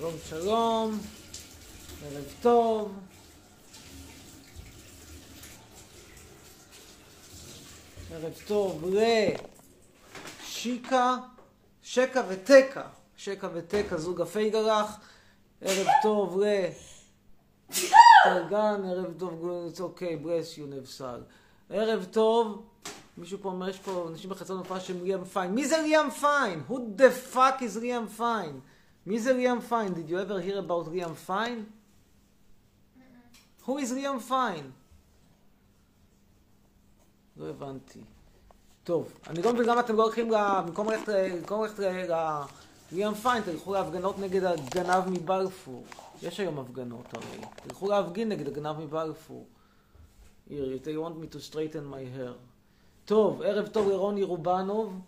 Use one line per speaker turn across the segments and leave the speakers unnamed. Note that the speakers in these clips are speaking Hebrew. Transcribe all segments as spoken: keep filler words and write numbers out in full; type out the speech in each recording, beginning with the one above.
שלום שלום, ערב טוב. ערב טוב לשיקה, שקה ותקה, שקה ותקה, זוג הפייגרח. ערב טוב לתרגן, ערב טוב, אוקיי, ברס יו נבסל. ערב טוב, מישהו פה אומר, יש פה אנשים בחצון הופעה של ליאם פיין. מי זה ליאם פיין? Who the fuck is ליאם פיין? מי זה ליאם פיין? Did you ever hear about ליאם פיין? Who is ליאם פיין? לא הבנתי. טוב, אני לא מבין למה אתם לא הולכים במקום ללכת לליאם פיין, תלכו להפגנות נגד הגנב מבלפור. יש היום הפגנות הרי. תלכו להפגין נגד הגנב מבלפור. Here, they want me to straighten my hair. טוב, ערב טוב לרוני רובנוב.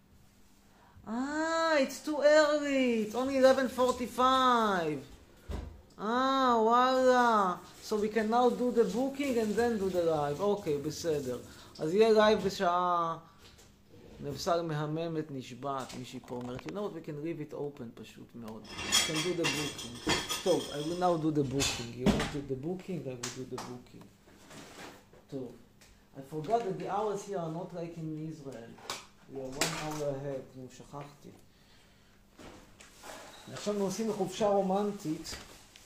Ah, it's too early. It's only eleven forty-five. Ah, וואלה. So we can now do the booking and then do the live. אוקיי, בסדר. אז יהיה לייב בשעה... נבסל מהממת נשבעת, מישהי פה אומרת. You know what, we can leave it open פשוט מאוד. We can do the booking. טוב, I will now do the booking. You want to do the booking? I will do the booking. טוב. I forgot that the hours here are not like in Israel. We are one hour ahead. נו, שכחתי. עכשיו אנחנו עושים חופשה רומנטית.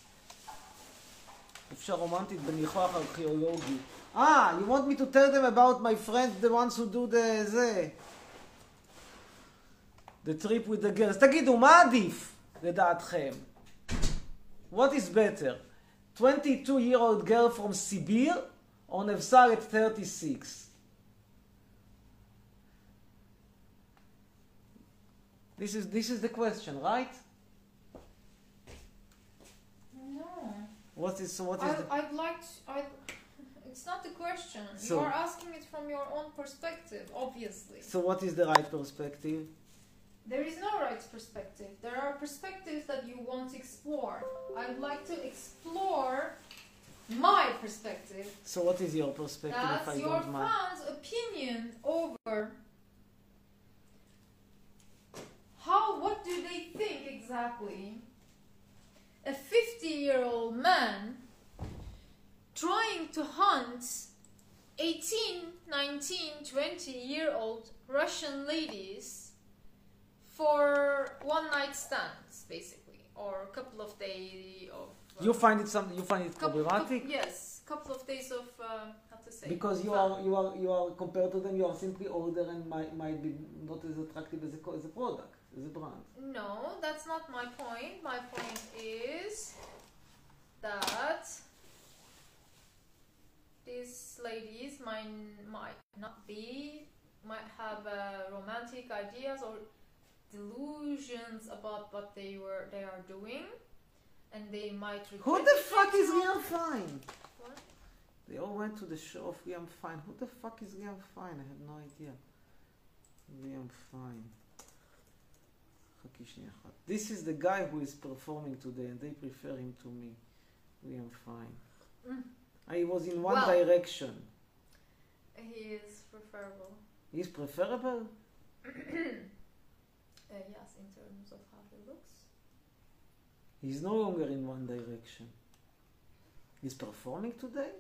חופשה רומנטית בניחוח ארכיאולוגי. Ah, you want me to tell them about my friends, the ones who do the... זה. The trip with the girls. תגידו, מה עדיף לדעתכם? What is better? twenty-two-year-old girl from Sibir or Nevsar at thirty-six? This is, this is the question, right?
No.
What is, what is
I,
the...
I'd like to... I'd, it's not the question.
So-
you are asking it from your own perspective, obviously.
So what is the right perspective?
There is no right perspective. There are perspectives that you want to explore. I'd like to explore my perspective.
So what is your perspective if I
That's your
don't mind?
fans' opinion over how, what do they think exactly? A fifty-year-old man trying to hunt eighteen, nineteen, twenty-year-old Russian ladies for one-night stands, basically, or a couple of days of... Uh,
You find it something, you find it
couple,
problematic?
couple, yes, couple of days of, uh, how to say...
Because you
fun.
are, you are, you are, compared to them, you are simply older and might, might be not as attractive as a, co- as a product, as a brand.
No, that's not my point. My point is that these ladies might, might not be, might have uh, romantic ideas or delusions about what they were, they are doing, and they might regret
Who the
it
fuck is
later on.
Liam Fine?
What?
They all went to the show of Liam Fine. Who the fuck is Liam Fine? I have no idea. Liam Fine. חכי שנייה אחת. This is the guy who is performing today and they prefer him to me. Liam Fine.
Mm.
I was in One
Well.
Direction.
He is preferable.
He's preferable?
Uh, yes, in terms of how he looks.
He's no longer in One Direction. He's performing today?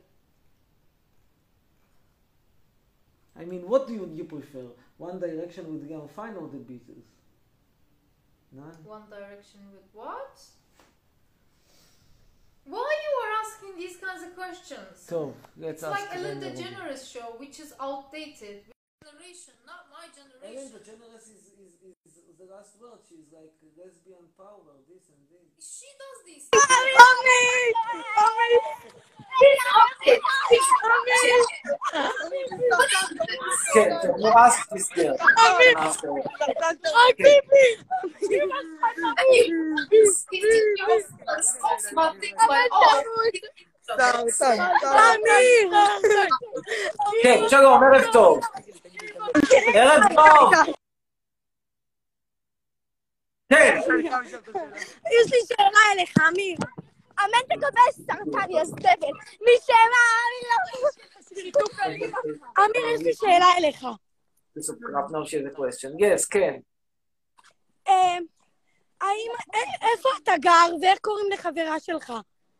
I mean, what do you, you prefer? One Direction with Liam Fine or the Beatles? None?
One Direction with what? Why you are asking these kinds of questions?
So, let's
It's
ask
like
Ellen
Ellen
DeGeneres.
DeGeneres show, which is outdated. Generation, not my
Ellen
generation.
DeGeneres is, is, is, is the last word. She's like lesbian power, this and this.
She does this.
כן, you ask this girl. Ask her. כן, שלום, ערב טוב. ערב טוב. כן.
יש לי שאלה אליך, אמיר. אמן תקבל סרטן, יא זבל. מי שאלה, אני לא... אמיר, יש לי שאלה אליך.
Now she has a question. Yes, כן.
האם, א- איפה אתה גר ואיך קוראים לחברה שלך?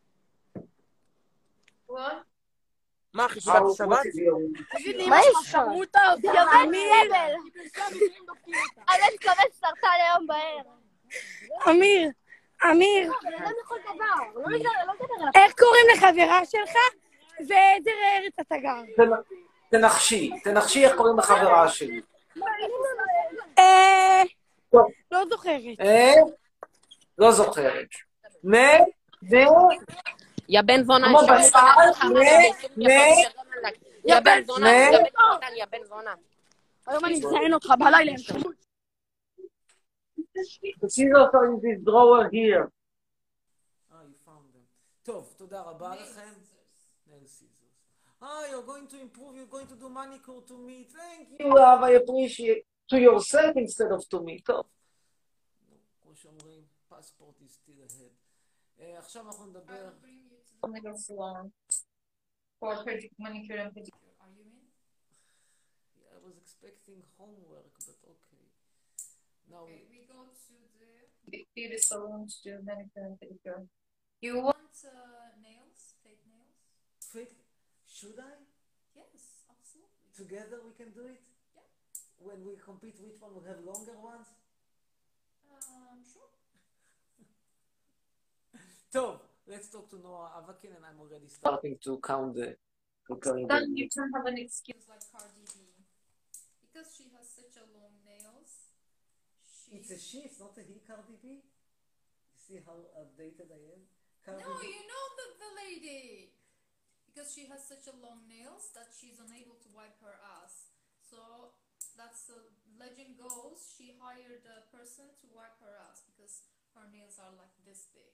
What?
מה, חיסולת השבת?
תגיד לי, אמא שלך שרמוטה או אמיר?
אני מקווה סרטן היום בערב.
אמיר, אמיר,
לא לכל דבר, לא לדבר עליו.
איך קוראים לחברה שלך ואיזה ארץ אתה גר?
תנחשי, תנחשי איך קוראים לחברה שלי.
אה... לא זוכרת.
אה? לא זוכרת. נ... נ...
יא בן זונה,
כמו בשר, נ... נ...
יא בן זונה,
נ...
יא בן זונה, יא בן זונה.
היום אני אזיין אותך בלילה.
The scissors are in this drawer here. Ah, you found them. טוב, תודה רבה לכם. Nail scissors. Ah, you're going to improve, you're going to do manicure to me. Thank you, love, I appreciate. To yourself instead of to me. טוב. כמו שאומרים, passport is still ahead. Uh, עכשיו אנחנו נדבר...
Nail salon for manicure and pedicure. Are you in?
Yeah, I was expecting homework, but okay. Now
Okay, we go to the beauty salon to do manicure and pedicure. You want uh, nails? Fake nails?
fake... Should I?
Yes, absolutely.
Together we can do it?
Yeah.
When we compete, which one will have longer ones?
Um, sure.
טוב, let's talk to Noah Avakin, and I'm already starting to count the...
Then you can have an excuse like Cardi B. Because she has such a long nails. She...
It's a she, it's not a he, Cardi B. You see how outdated I am? Cardi
No,
B.
you know the, the lady. Because she has such a long nails that she's unable to wipe her ass. So that's the legend goes. She hired a person to wipe her ass because her nails are like this big.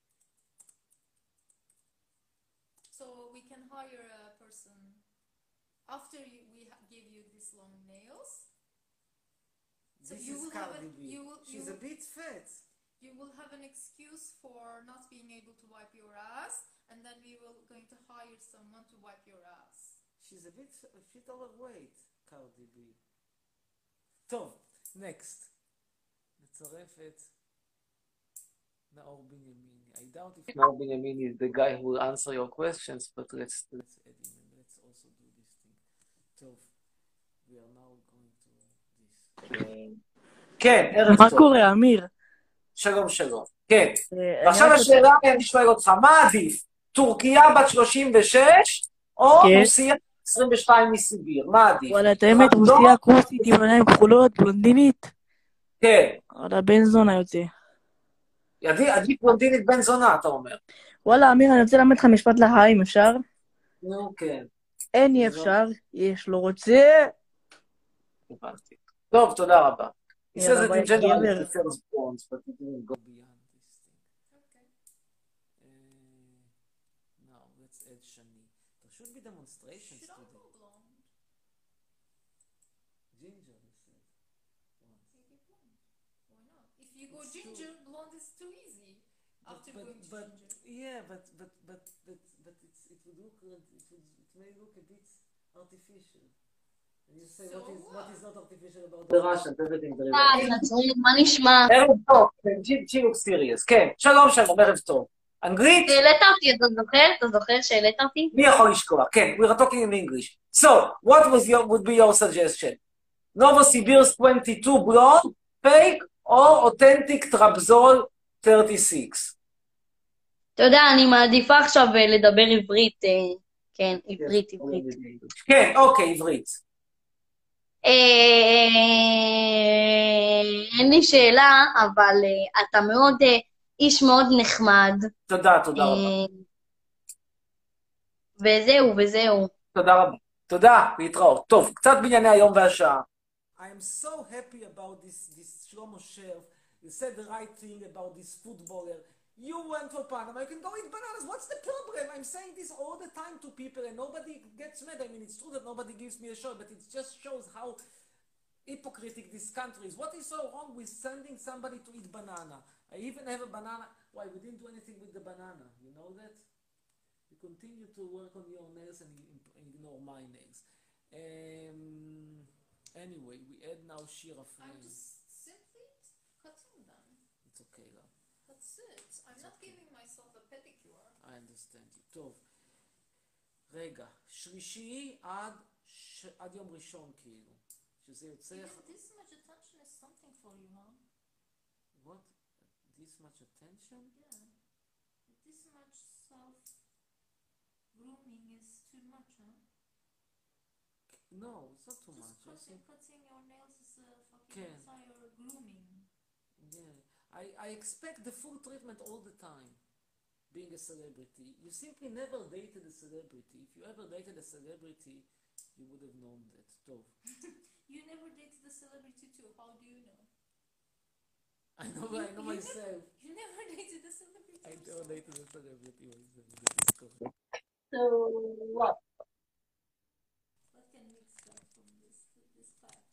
So we can hire a person after you, we ha- give you these long nails. So
This
you
is
will have
Cardi
an,
B.
you will, you
She's
will,
a bit fat.
you will have an excuse for not being able to wipe your ass, and then we will going to hire someone to wipe your ass.
She's a bit a bit overweight, Cardi B. טוב, next. נצרף את נאור בנימיני. I doubt if נאור בנימיני is the guy who will answer your questions, but let's let's add him and let's also do this thing. טוב, we are now going to this. כן, ערב טוב.
מה קורה, אמיר?
שלום שלום. כן.
אה,
ועכשיו
אני רק
השאלה, אני שואל אותך, מה עדיף? טורקיה בת שלושים ושש או
כן.
רוסיה עשרים ושתיים מסיביר? מה עדיף?
וואלה, את האמת,
רמדון?
רוסיה כוסית עם עיניים כחולות, בלונדינית.
כן.
וואלה, בן זונה יוצא.
עדיף עדיף בלונדינית בן זונה, אתה אומר.
וואלה, אמיר, אני רוצה ללמד לך משפט לחיים, אפשר?
נו, כן.
אין אי אפשר, יש לא רוצה.
הבנתי. טוב, תודה רבה. He says
יאללה,
it
ביי,
in general
גבר.
it prefers bronze, but he didn't go beyond this thing.
Okay.
Uh, now, let's add Shani. There should be demonstrations
Should I
today.
go blonde?
Ginger, you said. Once.
Maybe blonde. Why not? If you go
It's
ginger, blonde is too easy. After
but,
going to
but,
ginger.
yeah, but but but but but it's it would look it would it may look a bit artificial. And you say
So
what is
what?
what is not artificial about the Russians? Everything there is.
אה, נצרים, מה נשמע?
ערב טוב, she looks serious. כן, שלום שלום, ערב טוב. אנגלית?
העלית אותי, אתה זוכר? אתה זוכר שהעלית אותי?
מי יכול לשכוח? כן, we are talking in English. So, what was your, would be your suggestion? Novosibirsk twenty-two blonde, fake, or authentic Trabzon thirty-six?
אתה יודע, אני מעדיפה עכשיו אה, לדבר עברית. אה, כן, עברית, עברית.
כן, אוקיי, עברית.
אה, אין לי שאלה, אבל אה, אתה מאוד, אה, איש מאוד נחמד.
תודה, תודה רבה.
אה, וזהו, וזהו.
תודה רבה. תודה, להתראות. טוב, קצת בענייני היום והשעה. I am so happy about this, this Shlomo Sherv. You said the right thing about this footballer. You went for Panama, you can go eat bananas. What's the problem? I'm saying this all the time to people and nobody gets mad. I mean, it's true that nobody gives me a shot, but it just shows how hypocritic this country is. What is so wrong with sending somebody to eat banana? I even have a banana. Why? We didn't do anything with the banana. You know that? You continue to work on your nails and ignore my nails. Um, anyway, we add now Shira
I'm
Frame.
just simply cutting them.
It's
it. I'm not giving myself a pedicure.
I understand you. טוב. רגע, שלישי עד, ש... עד יום ראשון כאילו. שזה יוצא...
Even this much attention is something for you, huh?
What? This much attention?
Yeah. This much self-grooming is too much, huh?
No, it's not too much. I
Just
think...
cutting, cutting your nails is a fucking
כן.
entire grooming.
Yeah. I, I expect the full treatment all the time. Being a celebrity. You simply never dated a celebrity. If you ever dated a celebrity, you would have known that. טוב.
You never dated a celebrity too. How do you know?
I know, I know myself.
You never dated a celebrity
I
yourself.
never dated a celebrity myself. That is correct.
So, what?
What can we extract from this, this fact?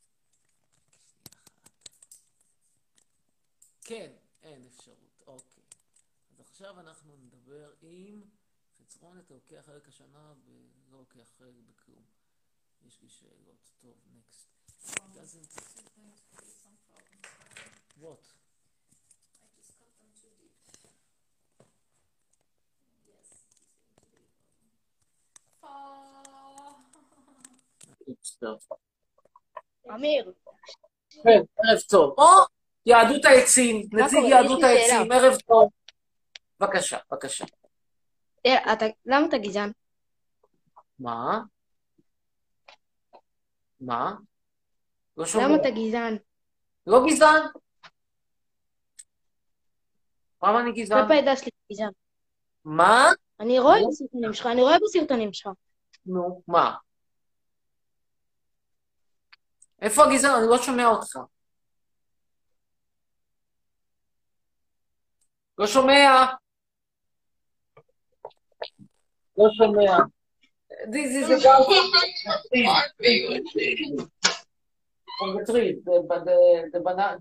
כן, אין אפשרות. אוקיי. אז עכשיו אנחנו נדבר עם חצרון, אתה לוקח חלק השנה ולא לוקח חלק בכלום. יש לי שאלות. טוב, next.
Wow,
Doesn't...
this is going to create some problems.
What?
I just cut them too deep. Yes, this is going to be a problem. Fa-
אמיר,
כן, ערב טוב. או, יהדות העצים, נציג
קורה?
יהדות
יש לי
העצים, ערב טוב. בבקשה, בבקשה.
תראה, אתה- למה אתה גזען?
מה? מה? לא שומע.
למה אתה גזען?
לא גזען? למה אני גזען?
כלפי העדה שלי גזען.
מה?
אני רואה בסרטונים שלך, אני רואה בסרטונים שלך.
נו, מה? איפה הגזען? אני לא שומע אותך. לא שומע. לא שומע. This is a guy from the tree, the, the, the banana,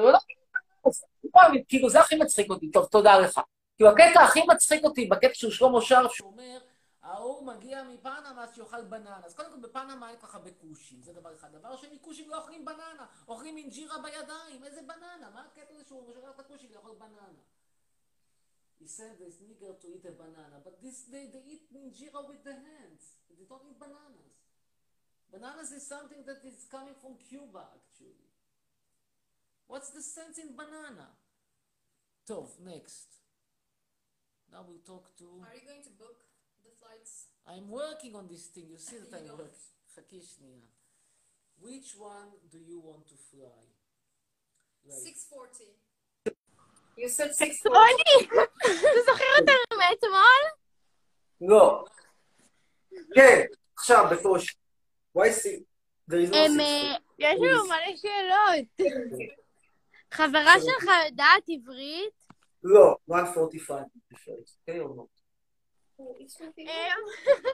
the, כאילו זה הכי מצחיק אותי, טוב, תודה לך. כאילו הקטע הכי מצחיק אותי, בקטע של שלמה שרף, שהוא אומר, ההוא מגיע מפנמה שיאכל בננה. אז קודם כל בפנמה אין ככה בכושים, זה דבר אחד. דבר שני, כושים לא אוכלים בננה, אוכלים אינג'ירה בידיים, איזה בננה? מה הקטע הזה שהוא משגר את הכושים לאכול בננה? He said this nigger to eat a banana, but this they, they eat injera with the hands. They don't eat bananas. Bananas is something that is coming from Cuba, actually. What's the sense in banana? Tov, next. Now we'll talk to...
Are you going to book the flights?
I'm working on this thing. You see that
You
I'm
don't.
working. חכי שנייה. Which one do you want to fly? Like,
six forty. You said six forty.
רוני, אתה זוכר אותנו מאתמול?
לא. כן, עכשיו, בקושי. Why see? There is no
הם,
six
אה,
forty.
יש לנו מלא שאלות. חברה שלך יודעת עברית?
לא, one forty-five. כן או לא?
אמ,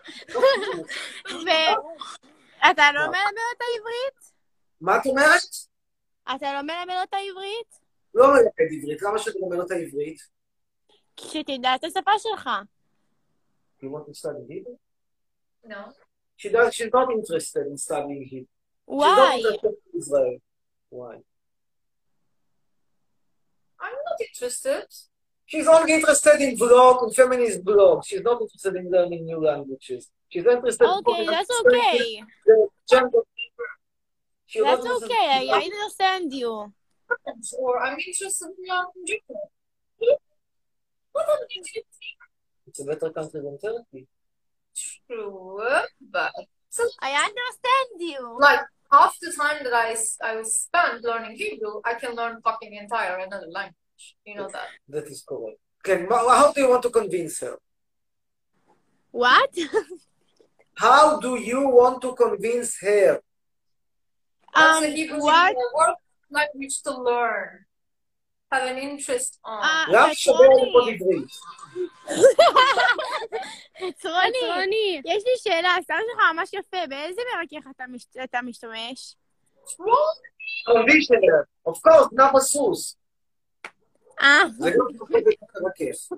ואתה לא מלמד אותה עברית?
מה את אומרת?
אתה לא מלמד אותה עברית?
לא מלמד עברית. למה שאתה מלמד אותה עברית?
שתדע את השפה שלך.
You want to study Hebrew?
No.
She does, she's not interested in studying Hebrew. She's not
וואי.
interested in Israel. Why?
I'm not interested.
She's only interested in blog, in feminist blog. She's not interested in learning new languages. She's interested in
Okay, that's
understanding
okay.
the gender. She's not
That's
interested
okay.
in-
I understand you.
Or I'm interested in learning Hebrew. What am I interested
It's a better country than Turkey.
True, but
I understand you.
like half the time that I, s- I will spend learning Hebrew, I can learn fucking entire another language. You know that.
That is correct. Okay, ma- how do you want to convince her?
What?
How do you want to convince her?
That's
Um,
a Hebrew
what?
a work language to learn. Have an interest on.
אה,
למה שווה לפה
חצרוני,
עברית?
חצרוני, יש לי שאלה, הסטאר שלך ממש יפה, באיזה מרכך אתה מש- אתה משתמש?
Convince her. Of course, נאבא סוס.
אה,
זה לא מרכך.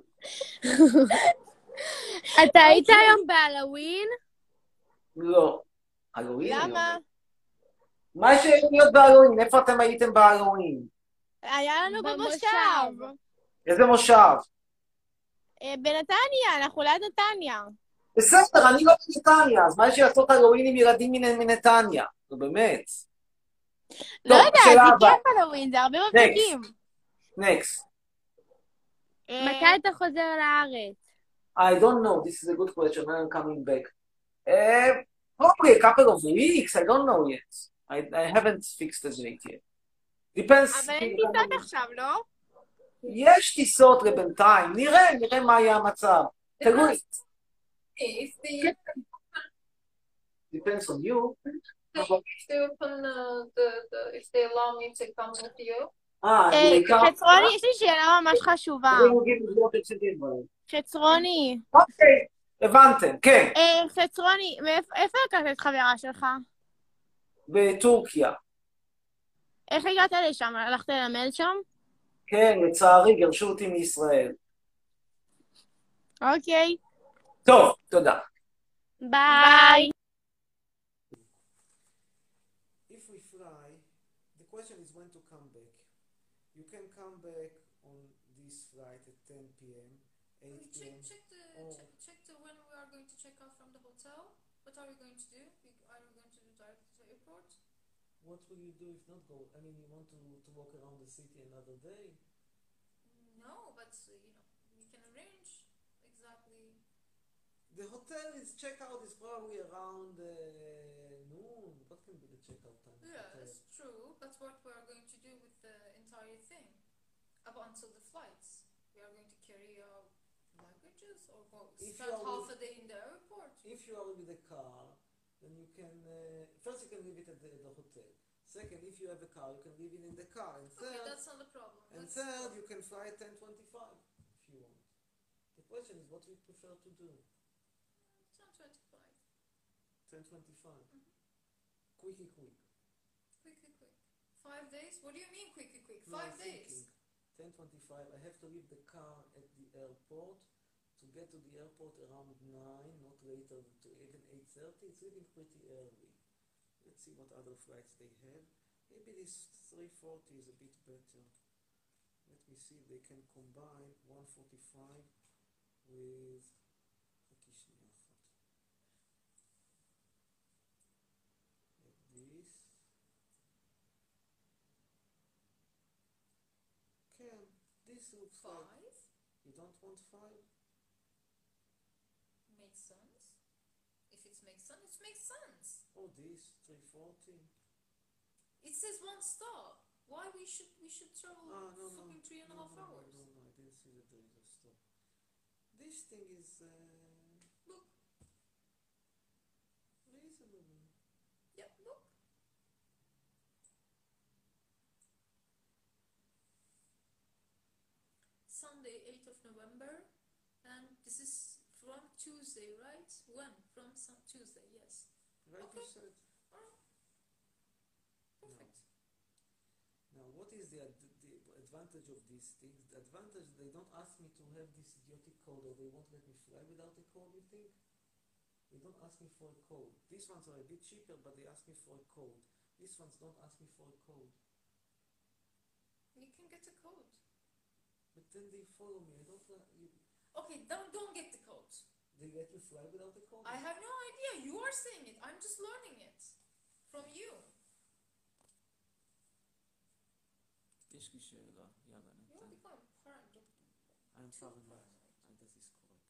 אתה היית היום בהלווין?
לא. הלואין? אני
למה?
אומר. מה יש להיות בהלואין? איפה אתם הייתם בהלואין?
היה לנו במושב.
איזה מושב?
אה, בנתניה, אנחנו ליד נתניה.
בסדר, אני לא בנתניה, אז מה יש לי לעשות הלואוין עם ילדים מנ- מנתניה? נו באמת.
לא
טוב,
יודעת,
שאלה
זה
הבאה.
כיף הלואוין, זה הרבה מבריקים.
Next.
מתי אתה חוזר לארץ?
I don't know, this is a good question, when I'm coming back. Uh, probably a couple of weeks, I don't know yet. I, I haven't fixed the date yet. Depends.
אבל אין טיסות עכשיו, לא?
יש טיסות לבינתיים, נראה, נראה מה יהיה המצב. תלוי.
If they,
Depends on you.
if they open uh, the, the, if they allow me to come with you.
אה,
אה,
בעיקר...
חצרוני, יש לי שאלה ממש חשובה. חצרוני.
אוקיי, הבנתם, כן.
אה, חצרוני, מאיפה- איפה לקחת את חברה שלך?
בטורקיה.
איך הגעת לשם? הלכת ללמד שם?
כן, לצערי, גירשו אותי מישראל.
אוקיי.
טוב, תודה.
ביי.
If we fly, the question is when to come back. You can come back on this flight at ten p m, eight p
Check,
m
check the,
Oh.
check, check the when we are going to check out from the hotel. What are we going to do? We- Are we going to do direct to the airport?
What will you do if not go? I mean, you want to, to walk around the city another day?
No, but uh, you know we can arrange exactly.
The hotel is checkout is probably around uh, noon. What can be the checkout time? of the
Yeah,
hotel?
it's true. That's what we are going to do with the entire thing. Up until the flights, we are going to carry our luggages or go
If
spend
you are
half
with-
a day in the airport.
If you are with a car, then you can uh, first you can leave it at the, the hotel. Second, if you have a car, you can leave it in the car. And
Okay,
third,
that's not a problem.
and
That's-
third, you can fly at ten twenty-five if you want. The question is, what we prefer to do?
ten twenty-five.
ten twenty-five. Quicky quick.
Quickly, quick. Five days? What do you mean quickly, quick?
No,
Five
I'm
days.
thinking ten twenty-five. I have to leave the car at the airport to get to the airport around nine, not later to even eight thirty. It's leaving pretty early. Let's see what other flights they have. Maybe this three forty is a bit better. Let me see if they can combine one forty-five with... חכי שנייה אחת. Like this. Can this looks like
Five?
you don't want five?
Makes sense. If it makes sense, it makes sense.
Oh, this three forty.
It says one stop. Why we should we should travel
Ah, no, no.
fucking three and a
no,
half
no,
hours?
No, no, I didn't see that there is a stop. This thing is uh,
Look,
reasonable.
yeah, look. Sunday, eighth of November, and this is from Tuesday, right? When? From some Tuesday, yes.
Right,
Okay.
you said.
Alright. Perfect.
Now, what is the, ad- the advantage of these things? The advantage, they don't ask me to have this idiotic code, or they won't let me fly without a code, you think? They don't ask me for a code. These ones are a bit cheaper, but they ask me for a code. These ones don't ask me for a code.
You can get a code.
But then they follow me. I don't like you.
Okay, don't don't get the code.
They let you fly without a code?
I have no idea. You are saying it. I'm just learning it from you.
יש לי שאלה, יאללה,
You
ניתן.
become paranoid.
I'm paranoid. And this is correct.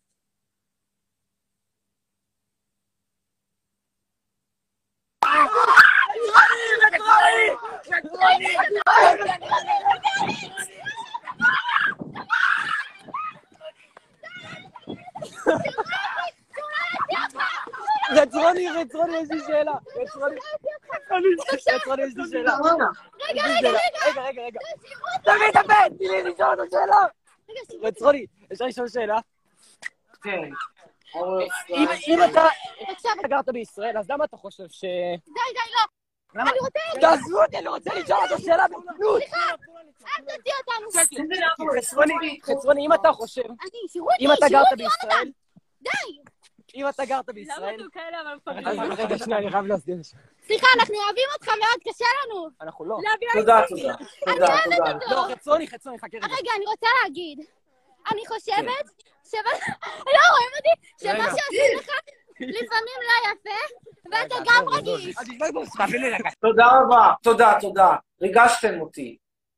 רצרוני, רצרוני, יש לי שאלה. רצרוני, רצרוני, יש לי שאלה.
רגע,
יש לי
רגע,
שאלה.
רגע.
רגע, רגע, רגע. תביא את הבן, תני לי לשאול אותו שאלה. רצרוני, אפשר לשאול שאלה?
כן.
אם אם אתה אתה גרת בישראל, אז למה אתה חושב ש...
די, די, לא. אני רוצה...
תעזבו אותי, אני רוצה לשאול אותו שאלה ברצינות.
אל תוציא אותנו.
חצרוני, חצרוני, אם אתה חושב,
אני, שירו אותי,
אם אתה
שירו
גרת
אותי,
בישראל,
די.
אם אתה גרת בישראל,
כאלה אבל
אז רגע, שנייה, אני חייב להסביר.
סליחה, אנחנו אוהבים אותך מאוד, קשה לנו.
אנחנו לא.
להביא
תודה,
אותך.
תודה.
אני
תודה,
אוהבת
תודה.
אותו.
לא, חצרוני, חצרוני, חכה רגע.
רגע, אני רוצה להגיד. אני חושבת שמה... לא, רואים אותי? שמה
רגע.
שעושים לך לפעמים לא יפה, ואתה גם רגיש.
תביא לי רגע.
תודה רבה, תודה, תודה. ריגשתם אותי.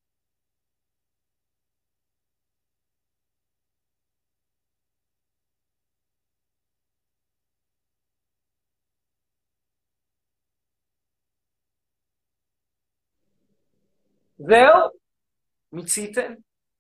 זהו? מיציתם?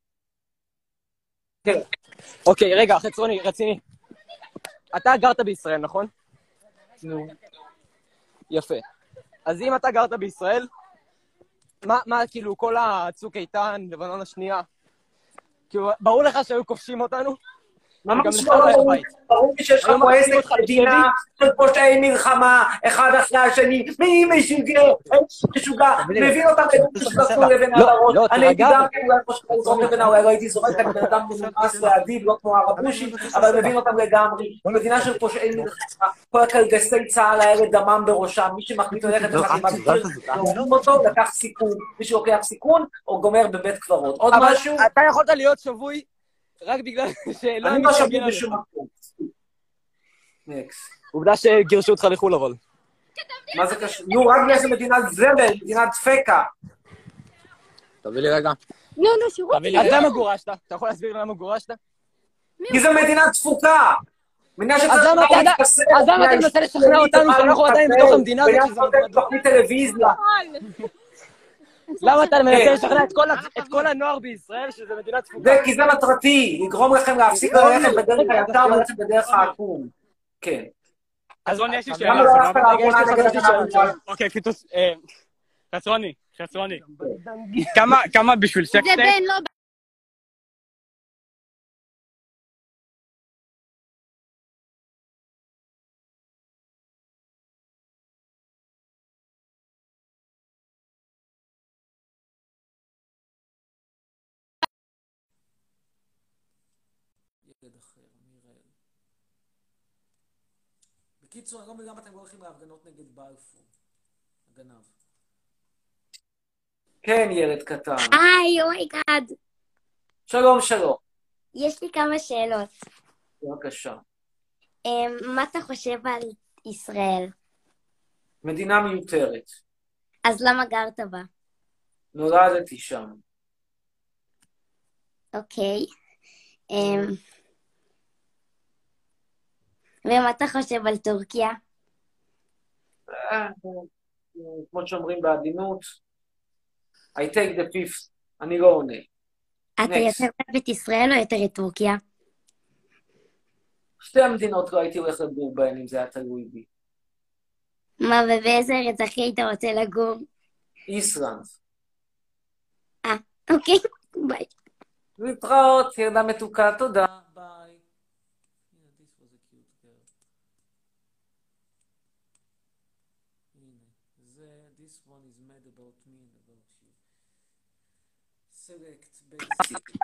כן. אוקיי, רגע, חצרוני, רציני. אתה גרת בישראל, נכון?
נו.
יפה. אז אם אתה גרת בישראל, מה, מה, כאילו, כל הצוק איתן, לבנון השנייה, כאילו, ברור לך שהיו כובשים אותנו?
ממש
וגם לך
לא
לא היה
ברור,
בית.
ברור לי שיש לך
היום
פה
מכניסים
עסק
אותך
מדינה של פושעי מלחמה, אחד אחרי השני, מי משוגע, משוגע, מבין אותם שזרקו לבן על הראש,
לא,
אני הייתי
תירגע.
גם כן אולי חושב לזרוק לבן, אולי לא הייתי זורק, אני בן אדם מנומס ואדיב, לא כמו הרבושים, אבל מבין אותם לגמרי, מדינה של פושעי מלחמה, כל הקלגסי צה"ל האלה דמם בראשם, מי שמחליט ללכת לחתימת קיר, להורים אותו, לקח סיכון, מי שלוקח סיכון, או גומר בבית קברות. עוד
אבל
משהו?
אתה יכולת להיות שבוי רק בגלל שלא
אני
מי
לא
שיגן
שבוי
עליך.
בשום מקום. נקסט.
עובדה שגירשו אותך לחו"ל אבל.
מה זה קשור? נו, רק בגלל מדינת זבל, מדינת דפקה.
תביא לי רגע.
נו, נו, שירות.
אז למה גורשת? אתה יכול להסביר לי למה גורשת?
כי זו מדינה דפוקה. מדינה שצריך
אז למה אתה יודע-
להתחסן,
אז למה אתה מנסה לשכנע אותנו שאנחנו עדיין בתוך המדינה הזאת
וגם
שזה
נותן
מדינה דפוקה?
תוכנית טלוויזיה.
למה אתה
כן.
מנסה לשכנע את כל ה- את כל הנוער בישראל שזה מדינה דפוקה?
זה כי זה מטרתי, לגרום לכם להפסיק ללכת בדרך הישר וללכת בדרך העקום. כן.
אז רוני, יש לי
למה
שאלה.
לא הלכת
רגע, יש
לאחרונה
לי
נגד
חצי
הגנה
שעה.
בצה"ל?
אוקיי, פיתוס... אה, חצרוני, חצרוני. כמה, כמה בשביל
זה
סקסטייק?
בן, לא
ילד אחר, מיראל. בקיצור, אני לא מבין למה אתם לא הולכים להפגנות נגד בלפור. הגנב. כן, ילד קטן.
היי, אומייגאד.
שלום, שלום.
יש לי כמה שאלות.
בבקשה.
מה אתה חושב על ישראל?
מדינה מיותרת.
אז למה גרת בה?
נולדתי שם.
אוקיי. אמ, ומה אתה חושב על טורקיה?
אה, כמו שאומרים בעדינות, I take the fifth, אני לא עונה.
אתה
Next.
יותר אוהב את ישראל או יותר את טורקיה?
שתי המדינות לא הייתי הולך לגור בהן אם זה היה תלוי בי.
מה, ובאיזה ארץ הכי היית רוצה לגור?
איסלנד.
אה, אוקיי, ביי.
להתראות, ילדה מתוקה, תודה. ביי. This was a cute girl. הנה, זה, this one is mad about me and about you. select basic.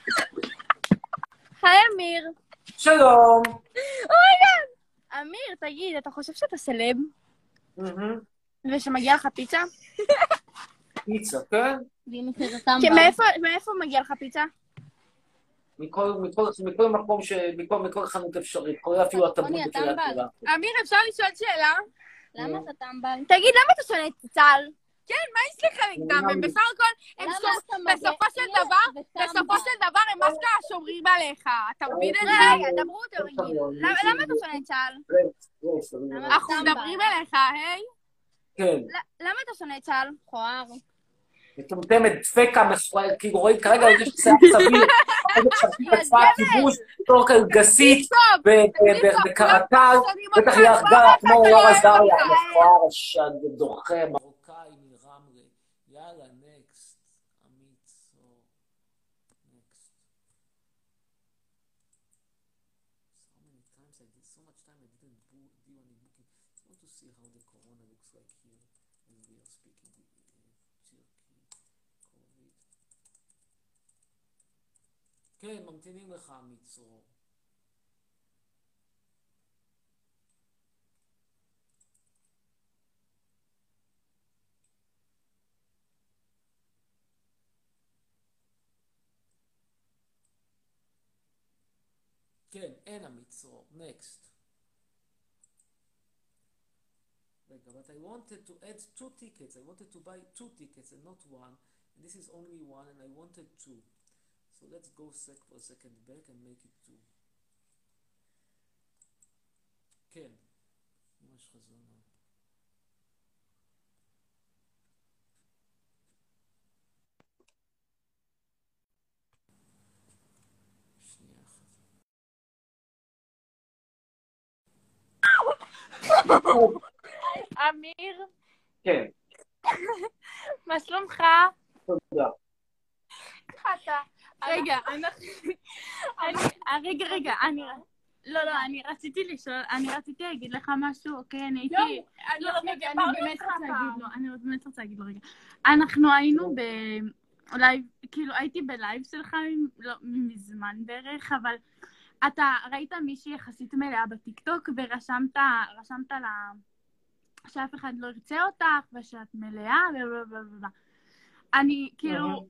היי, אמיר.
שלום.
אמיר, תגיד, אתה חושב שאתה סלב?
מהמם.
ושמגיע לך פיצה?
פיצה, כן?
כי מאיפה, מאיפה מגיע לך פיצה?
מכל, מכל, מכל מקום, ש... מכל, מכל חנות אפשרית, כולל אפילו הטבון בקריית גאולה.
אמיר, אפשר לשאול שאלה?
למה
אתה טמבל? תגיד, למה אתה שונא את צה"ל? כן, מה יש לך נגדם? הם בסך הכל, הם שומ- בסופו של דבר, בסופו של דבר הם אשכרה שומרים עליך. אתה מבין את זה? רגע, דברו אותו רגיל. למה למה אתה שונא את צה"ל? אנחנו מדברים אליך, היי?
כן.
למה אתה שונא את צה"ל? מכוער.
מטומטמת, דפקה, מכוער, כאילו רואים כרגע יש שיער צביר, איזה שרתית בצבא הכיבוש, בתור קלגסית, בקרטל, בטח היא הרגה כמו וואר עזריה, מכוער השד, דוחה, מרוקאי מרמלה. יאללה, נקסט. עמית, so, next. So many times I did, so much time I didn't do do any booking. I want to see how the corona looks like here as we are speaking with uh, Turkey, COVID. כן, ממתינים לך, מצרור. כן, אין המצרור. Next. רגע, but I wanted to add two tickets. I wanted to buy two tickets and not one. And this is only one and I wanted two. So let's go sec for a second back and make it two. כן. ממש חזונה. שנייה אחת.
אמיר,
כן,
מה שלומך?
תודה.
אתה. רגע, אנחנו... אני- רגע, רגע, אני... לא, לא, אני רציתי לשאול, אני רציתי להגיד לך משהו, אוקיי? אני הייתי... לא, רגע, אני באמת רוצה להגיד לו, אני באמת רוצה להגיד לו, רגע. אנחנו היינו ב... לייב, כאילו, הייתי בלייב שלך לא, מזמן בערך, אבל אתה ראית מישהי יחסית מלאה בטיקטוק, ורשמת, רשמת לה שאף אחד לא ירצה אותך, ושאת מלאה, ובלבלבלבל. אני, כאילו...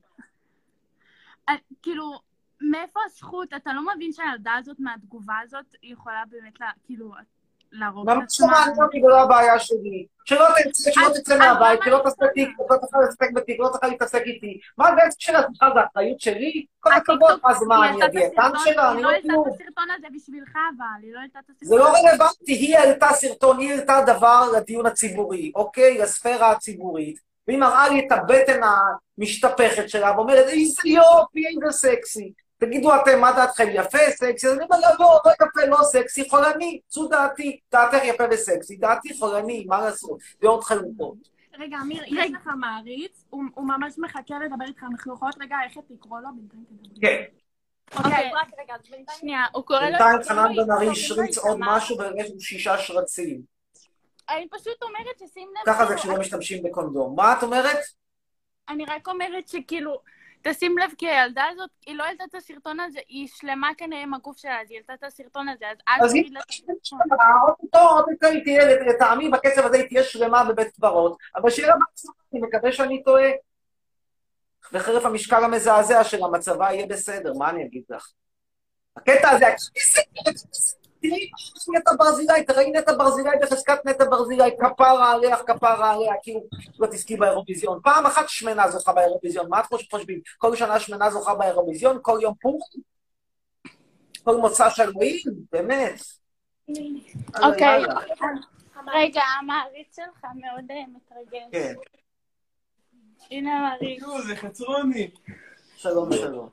אה, כאילו, מאיפה הזכות? אתה לא מבין שהילדה הזאת מהתגובה הזאת יכולה באמת, לה, כאילו, להרוג
למה
את עצמה?
שמעתי אותי, זה לא הבעיה שלי. שלא תצא, שלא
אז-
תצא
אז
מהבית,
למה
שלא
אני
תעשה תיק, לא תוכל להתעסק בתיק, לא תוכל להתעסק איתי. מה זה העסק של עצמך? זה האחריות שלי? כל הכבוד, מה זה, מה, אני הדיאטן שלה? אני
היא
לא
לא העלתה
כלום.
את הסרטון הזה בשבילך, אבל היא לא העלתה את הסרטון.
זה לא רלוונטי, היא העלתה סרטון, היא העלתה דבר לדיון הציבורי, אוקיי? לספירה הציבורית, והיא מראה לי את הבטן המשתפכת שלה, ואומרת, איזה יופי, איזה סקסי. תגידו אתם, מה דעתכם, יפה, סקסי? אז אני אומר לה, לא, לא יפה, לא סקסי, חולני, זו דעתי, דעתך יפה וסקסי, דעתי חולני, מה לעשות? דעות חלוקות.
רגע, אמיר, יש לך מעריץ, הוא הוא ממש מחכה לדבר איתך, אנחנו יכולות רגע איך לקרוא לו בינתיים תדבר.
כן,
אוקיי, רק רגע, אז בינתיים... שנייה, הוא קורא לו...
בינתיים חנן בן ארי
הוא
השריץ
קורא לו
עוד
איתמר.
משהו ויש לו שישה שרצים.
אני פשוט אומרת ששים לב...
ככה זה
כאילו,
כשלא משתמשים בקונדום. מה את אומרת?
אני רק אומרת שכאילו, תשים לב, כי הילדה הזאת, היא לא העלתה את הסרטון הזה, היא שלמה כנראה עם הגוף שלה, אז היא העלתה את הסרטון הזה, אז אל
אז היא
תגיד לה...
עוד יותר היא תהיה, לטעמי בקצב הזה היא תהיה שלמה בבית קברות, אבל שיהיה לה בעצמה, אני מקווה שאני טועה. וחרף המשקל המזעזע של המצבה יהיה בסדר, מה אני אגיד לך? הקטע הזה, תראי נטע ברזילי, תראי נטע ברזילי בחזקת נטע ברזילי, כפרה עליה, כפרה עליה, כאילו לא תזכי באירוויזיון. פעם אחת שמנה זוכה באירוויזיון, מה את חושבים? כל שנה שמנה זוכה באירוויזיון, כל יום פורים? כל מוצא של אלוהים? באמת.
אוקיי, רגע, המעריץ שלך מאוד אה, מתרגש.
כן,
הנה המעריץ.
זה חצרוני.
שלום, שלום.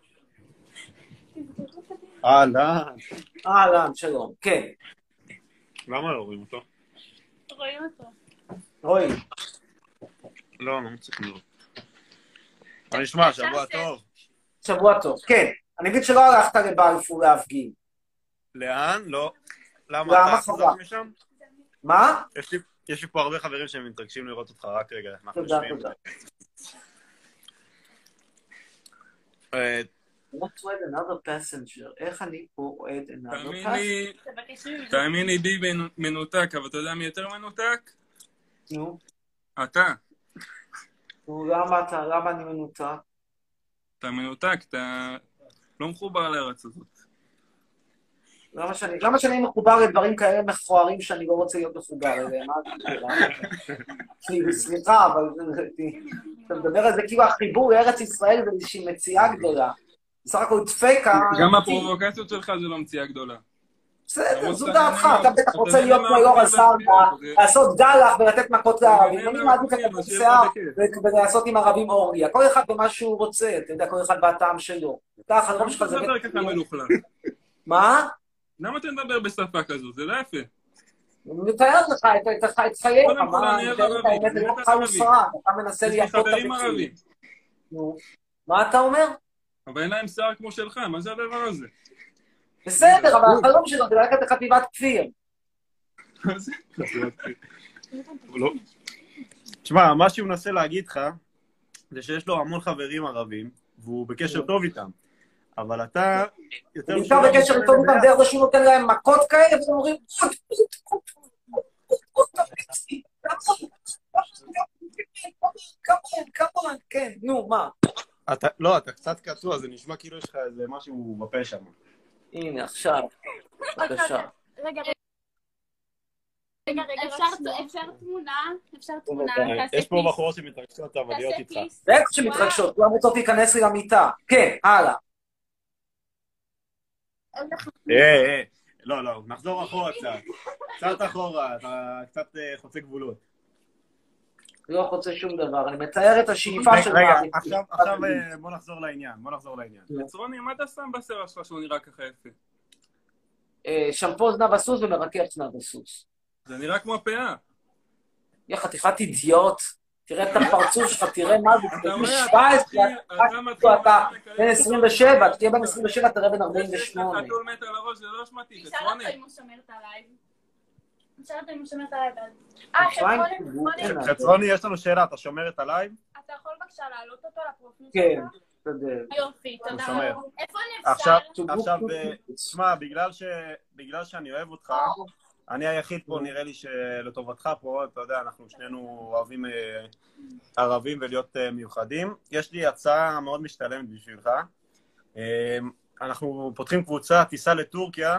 אהלן.
אהלן, שלום, כן.
למה לא רואים אותו?
רואים אותו.
רואי,
לא, לא מצליח לראות. מה נשמע? שבוע טוב.
שבוע טוב, כן. אני אגיד שלא הלכת לבלפור להפגין.
לאן? לא. למה?
למה
אתה
חבל?
חזרת משם?
מה?
יש לי- יש לי פה הרבה חברים שהם מתרגשים לראות אותך, רק רגע. אנחנו
תודה,
יושבים.
תודה.
אה,
Not to add another passenger. איך אני פה אוהד another
תאמין
passenger?
לי, תאמין לי די מנותק, אבל אתה יודע מי יותר מנותק?
נו,
אתה.
נו, למה אתה, למה אני מנותק?
אתה מנותק, אתה לא מחובר לארץ הזאת.
למה שאני, למה שאני מחובר לדברים כאלה מכוערים שאני לא רוצה להיות מחובר אליהם? מה זה כאילו, סליחה, אבל אתה מדבר על זה כאילו החיבור לארץ ישראל זה איזושהי מציאה גדולה. בסך הכל דפקה...
גם הפרובוקציות שלך זה לא מציאה גדולה.
בסדר, זו דעתך, אתה בטח רוצה להיות כמו יור הזרדה, לעשות גלח ולתת מכות לערבים, אני מעדיף לקחת שיער ולעשות עם ערבים אורגיה, כל אחד במה שהוא רוצה, אתה יודע, כל אחד בטעם שלו. ככה, החלום שלך זה...
למה אתה מדבר ככה מלוכלך?
מה?
למה אתה מדבר בשפה כזו? זה לא יפה.
אני מתאר לך את חייך,
קודם כל,
מה,
אני
אני
אוהב
מתאר לך
ערבים,
האמת,
אני
זה לא
אוהב
חל
ערבים.
וסרק, אתה מנסה
יש לי
לייפות את
חברים
הביצועים.
ערבים,
נו, מה אתה אומר?
אבל אין להם שיער כמו שלך, מה זה הדבר הזה?
בסדר, אבל החלום שלו זה ללכת לחטיבת כפיר.
מה זה?
לא. תשמע, מה שהוא מנסה להגיד לך, זה שיש לו המון חברים ערבים, והוא בקשר טוב איתם. אבל אתה... יותר
הוא נמצא בקשר איתו איתם דרך זה שהוא נותן להם מכות כאלה, והם אומרים... כמון, כמון, כן, נו, מה?
אתה, לא, אתה קצת קטוע, זה נשמע כאילו יש לך איזה משהו בפה שם.
הנה, עכשיו. בבקשה.
רגע, רגע, רגע, אפשר תמונה? אפשר תמונה?
יש פה בחורות שמתרגשות, אבל להיות איתך.
זה איך שמתרגשות, כולם רוצות להיכנס לי למיטה. כן, הלאה.
אה, אה, לא, לא, נחזור אחורה קצת. קצת אחורה, אתה קצת חוצה גבולות.
לא חוצה שום דבר, אני מתאר את השאיפה של...
רגע, עכשיו בוא נחזור לעניין, בוא נחזור לעניין.
צרוני, מה אתה שם בשיער שלך שהוא נראה ככה יפה?
שמפו זנב הסוס ומרכך זנב הסוס.
זה נראה כמו הפאה.
יא חתיכת אידיוט, תראה את הפרצוף שלך, תראה מה זה, תראה שבע עשרה, אתה בן עשרים ושבע, תהיה בן עשרים ושבע, תראה בן ארבעים ושמונה.
יש לך חתול מת על הראש, זה לא אשמתי,
תשאל
צרוני.
אותו אם הוא שומרת עליי. תשאל אותו אם הוא שומרת עליי. אה, חצרוני,
חצרוני, יש לנו שאלה, אתה שומרת עליי?
אתה יכול בבקשה להעלות אותו לפרופיל שלך?
כן, תודה.
יופי, תודה.
שומר.
איפה
עכשיו,
נפסל?
עכשיו, תשמע, בגלל שאני אוהב אותך, אני היחיד פה, נראה לי שלטובתך פה, אתה יודע, אנחנו שנינו אוהבים ערבים ולהיות מיוחדים. יש לי הצעה מאוד משתלמת בשבילך. אנחנו פותחים קבוצה, טיסה לטורקיה,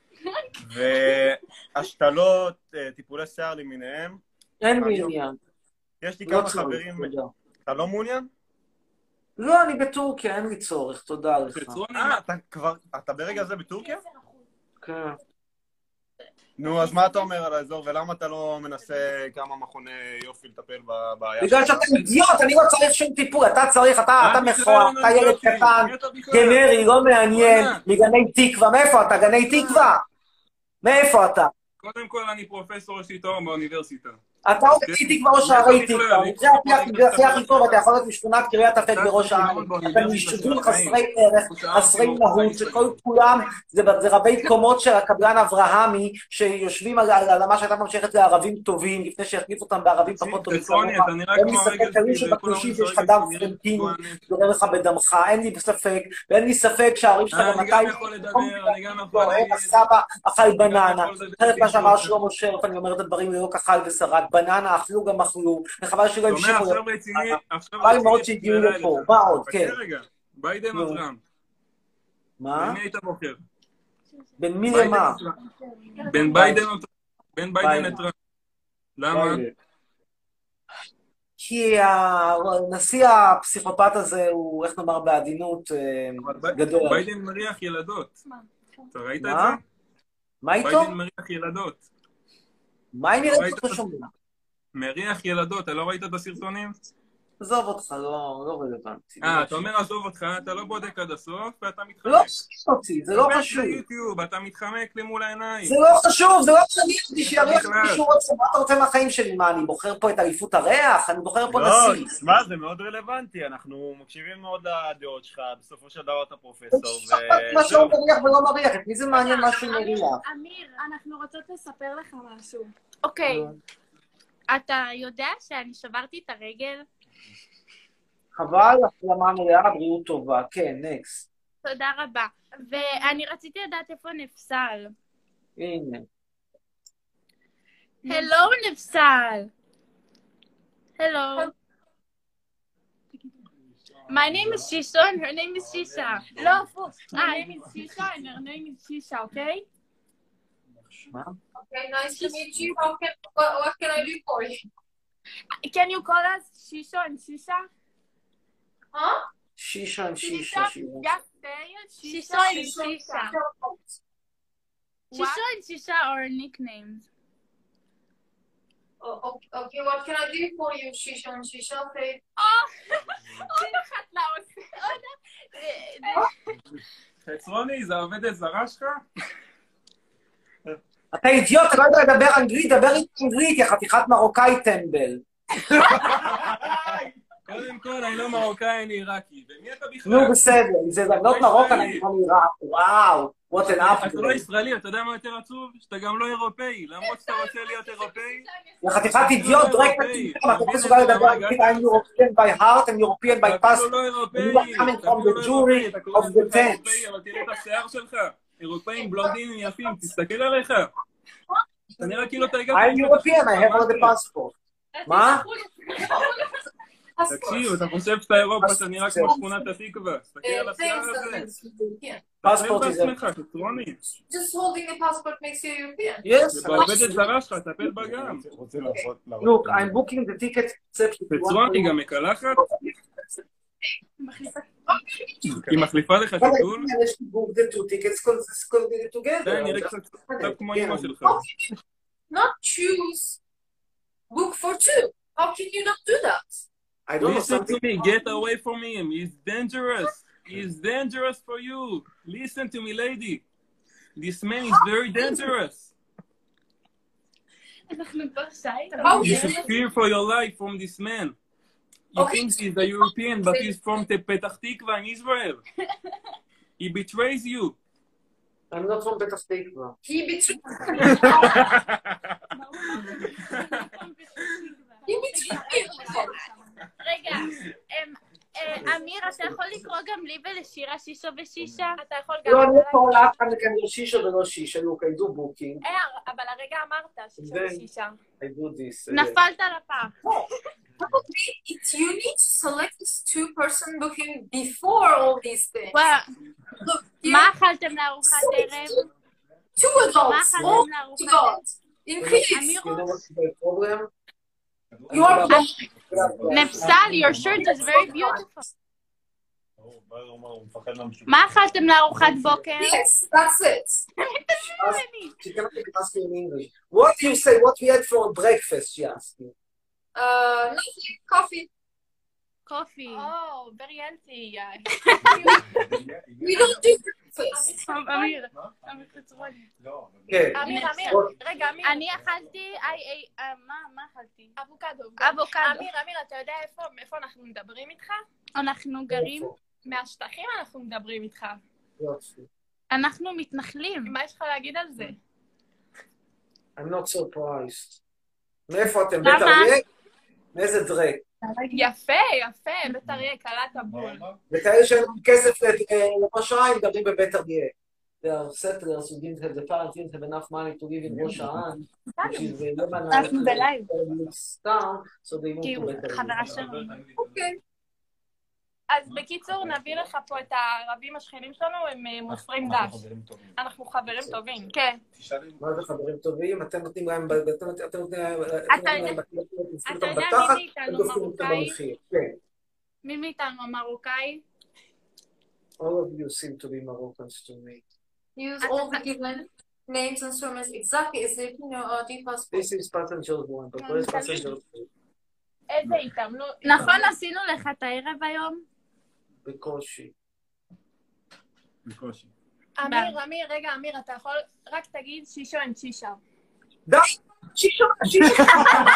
והשתלות, טיפולי שיער למיניהם.
אין לי עניין.
יש לי כמה חברים... אתה לא מעוניין?
לא, אני בטורקיה, אין לי צורך, תודה לך.
אה, אתה כבר... אתה ברגע הזה בטורקיה?
כן.
נו, אז מה אתה אומר על האזור, ולמה אתה לא מנסה כמה מכוני יופי לטפל בבעיה שלך?
בגלל שאתה אידיוט, אני לא צריך שום טיפול, אתה צריך, אתה מכוער, אתה ילד קטן, גנרי, לא מעניין, מגני תקווה, מאיפה אתה? גני תקווה? מאיפה אתה?
קודם כל אני פרופסור יש לי תואר באוניברסיטה.
אתה עוד איתי כבר ראש הערי תקווה, זה הכי הכי טוב, אתה יכול להיות משכונת קריית אפק בראש הערי. אתם יישובים חסרי ערך, חסרי מהות, שכל כולם זה רבי קומות של הקבלן אברהמי, שיושבים על מה שהייתה ממשיכת לערבים טובים, לפני שהחליף אותם בערבים פחות טובים. אין לי ספק, תראי שבקלושים יש לך דם פרנטיני, דורר לך בדמך, אין לי ספק, ואין לי ספק שהערים שלך גם מתי...
אני גם יכול לדבר, אני גם יכול להגיד...
הסבא אכל בננה, אחרת מה שאמר שלמה שרף, אני אומר את הדברים ללא כחל ושרק, בננה, אכלו גם אכלו, וחבל שלא המשיכו...
עכשיו רציני, עכשיו
רציני... מאוד שהגיעו לפה, מה עוד, כן.
רגע, ביידן או טראמפ?
מה?
בין מי היית בוחר?
בין מי למה?
בין ביידן או טראמפ? בין ביידן לטראמפ. למה?
כי הנשיא הפסיכופת הזה הוא, איך נאמר בעדינות, גדול.
ביידן מריח ילדות. אתה ראית את זה?
מה איתו?
ביידן מריח ילדות.
מה אם יראה אותו שומע?
מריח ילדות, אתה לא ראית את הסרטונים?
עזוב אותך, לא רלוונטי.
אה, אתה אומר עזוב אותך, אתה לא בודק עד הסוף, ואתה מתחמק.
לא חשוב אותי, זה לא חשוב.
אתה מתחמק לי מול העיניים.
זה לא חשוב, זה לא שאני אותי שיריח מישהו רוצה, מה אתה רוצה מהחיים שלי? מה, אני בוחר פה את אליפות הריח? אני בוחר פה נשיא.
לא, מה, זה מאוד רלוונטי, אנחנו מקשיבים מאוד לדעות שלך, בסופו של דבר אתה פרופסור.
מה שהוא מריח ולא מריח, את מי זה מעניין משהו מריח?
אמיר, אנחנו רוצות לספר לך משהו. אוקיי, אתה יודע שאני שברתי את הרגל?
חבל, החלמה מלאה, בריאות טובה. כן, נקסט.
תודה רבה. ואני רציתי לדעת איפה נפסל.
הנה.
הלו, נפסל. הלו. My name is Shisha and her name is Shisha. לא, הפוך. My name is Shisha and her name is Shisha, okay?
Okay, nice to meet you. How can, what, what can I do for you?
Can you call us Shisha and Shisha?
Huh?
Shisha and Shisha.
Just say it. Shisha and Shisha. Shisha and Shisha are nicknames.
Oh, okay, okay, what can I do for you, Shisha and Shisha? Say.
Oh, עוד אחת לאוס.
חצרוני, זה עובדת זרה שלך?
אתה אידיוט, אתה לא יודע לדבר אנגלית, דבר אנגלית, יא חתיכת מרוקאי טמבל.
קודם כל, אני לא מרוקאי, אני עיראקי. ומי אתה בכלל?
נו, בסדר, אם זה לבנות מרוקה, אני לא מעיראק. וואו, what an upgrade.
אתה לא ישראלי, אתה יודע מה יותר עצוב? שאתה גם לא אירופאי, למרות שאתה רוצה להיות אירופאי.
יא חתיכת אידיוט, דרק מציבים, אתה לא מסוגל לדבר אנגלית, I'm European by heart and European by past.
אתה לא אירופאי.
You are coming from the jury of the tent.
אבל תראה את השיער שלך. אירופאים בלונדינים יפים, תסתכל עליך. אתה נראה כאילו אתה הגעת...
I'm European, I have all the passport. מה?
תקשיב, אתה חושב שאתה אירופה, אתה נראה כמו שכונת התקווה. תסתכל על השיער הזה.
Passport is a...
בעצמך, חצרוני.
Just holding a passport makes you European.
Yes.
זה בעובדת זרה שלך, טפל בה גם.
רוצה לעבוד...
Look, I'm booking the ticket.
חצרוני גם מקלחת? היא מחליפה לך טיטול?
the two tickets together.
די, נראה קצת כמו אמא שלך.
Not choose. Book for two. How can you not do that?
I don't know
Listen
something.
to me, get away from him. He's dangerous. He's dangerous for you. Listen to me, lady. This man is very dangerous.
אנחנו כבר שי.
You should fear for your life from this man. You
Okay.
think he's a European, but he's from Petah Tikva in Israel. He betrays you.
I'm not from Petah Tikva.
He betrayed. He betrayed.
רגע, אמ, אה, אמיר, אתה יכול לקרוא גם לי ולשירה שישו ושישה? אתה יכול גם...
לא, אני לא קורא לאף אחד מכאן לא שישה ולא שישה. Look, I do booking.
אה, אבל הרגע אמרת שישו ושישה.
I do this. uh,
נפלת לפח.
Probably it's you need to select this two-person booking before all these things.
וואו,
Look, here,
מה אכלתם לארוחת ערב?
two
מה
adults. All
אכלתם לארוחת ערב?
adults. Increase.
אמיר,
You know what's the problem?
You are
נפסל, your shirt is very beautiful. מה אכלתם לארוחת בוקר?
yes, that's it.
She cannot even ask you in English. What do you say? What we had for breakfast? She asked me.
Uh, nothing. Coffee.
קופי. או, very healthy.
We don't do breakfast.
אמיר, אמיר חצרוני.
כן.
אמיר, אמיר, רגע, אמיר. אני אכלתי, איי, איי, מה, מה אכלתי? אבוקדו. אבוקדו. אמיר, אמיר, אתה יודע איפה, איפה אנחנו מדברים איתך? אנחנו גרים מהשטחים, אנחנו מדברים איתך.
יופי.
אנחנו מתנחלים. מה יש לך להגיד על זה?
I'm not surprised. מאיפה אתם?
למה?
בית אריה? מאיזה דרק?
יפה, יפה, בית אריה, קלעת בול.
וכאלה שאין להם כסף לראש העין, מדברים בבית אריה. They are settlers who didn't have the parents didn't have enough money to live in ראש העין, which is the
אנחנו בלייב.
town, so they moved
כי
to
הוא
בית אריה.
חברה שלנו.
אוקיי.
אז בקיצור, נביא לך פה את הערבים השכנים שלנו, הם אה, מוסרים דש. אנחנו חברים טובים. כן.
מה זה חברים טובים? אתם נותנים להם, אתם אתם נותנים להם,
אתה יודע-
אתם
אתה יודע מי
בתחת,
מאיתנו
הם דופקים אותם
מרוקאי?
במחיר. כן.
מי מאיתנו המרוקאי?
All of you seem to be Moroccans to me.
Use all the given names and surnames exactly as if you know uh, deep passport.
This is passenger one, but where is passenger two?
איזה התעמלות. נכון, עשינו לך את הערב היום?
בקושי.
בקושי.
אמיר, אמיר, רגע, אמיר, אתה יכול רק תגיד שישו אין שישה.
די! שישה! שישה!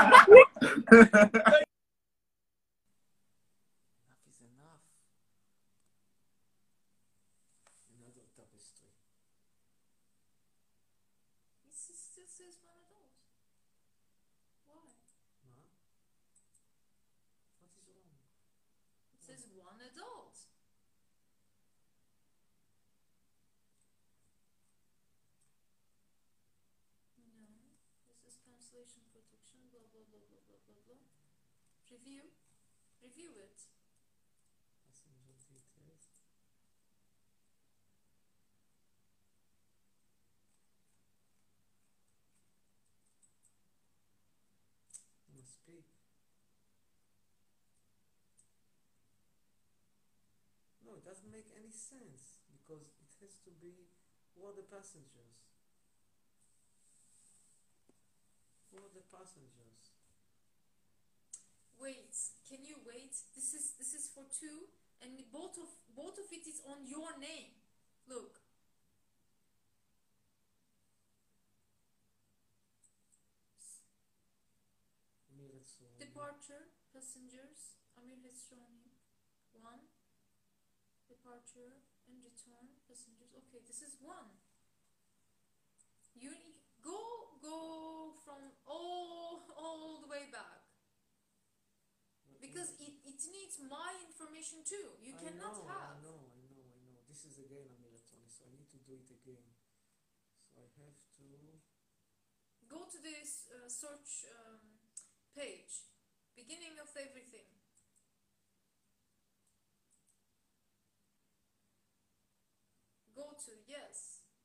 This is, still says one adult. Why?
What is wrong?
It says one adult. No, this is cancellation protection, blah, blah, blah, blah, blah, blah, blah. Review. Review it.
Passenger details. Must be. No, it doesn't make any sense because it has to be who are the passengers? Who are the passengers?
Wait, can you wait? This is this is for two, and both of both of it is on your name. Look.
Amir Etzroni.
Departure, passengers, Amir Hesroni. One. Departure and return, passengers. Okay, this is one. You need, go go from all all the way back. Because it, it needs my information too. You
I
cannot
know,
have.
I know, I know, I know. This is again Amir Etzroni, so I need to do it again. So I have to.
Go to this uh, search um, page. Beginning of everything. to, yes.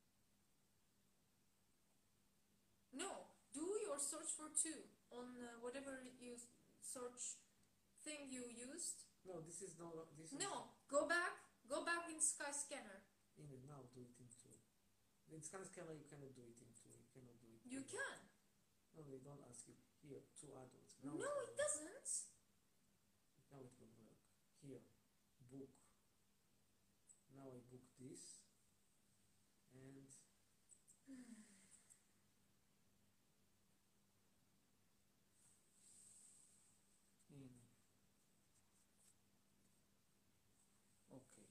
No, do your search for two on uh, whatever you search thing you used.
No, this is no, this is...
No, go back, go back in Skyscanner.
In it now, do it in two. In Skyscanner you cannot do it in two, you cannot do it.
You can.
No, they don't ask you. Here, two adults.
No,
Now
it doesn't.
Now it will work. Here, book. Now I book this. And... in. Okay.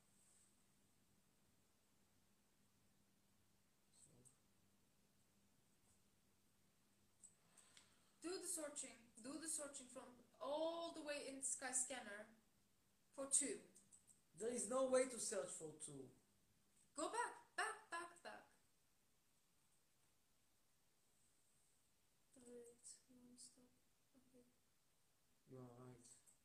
Do the searching. Do the searching from all the way in Skyscanner for two.
There is no way to search for two.
Go back, back, back, back. Wait, non-stop. Okay.
You are right.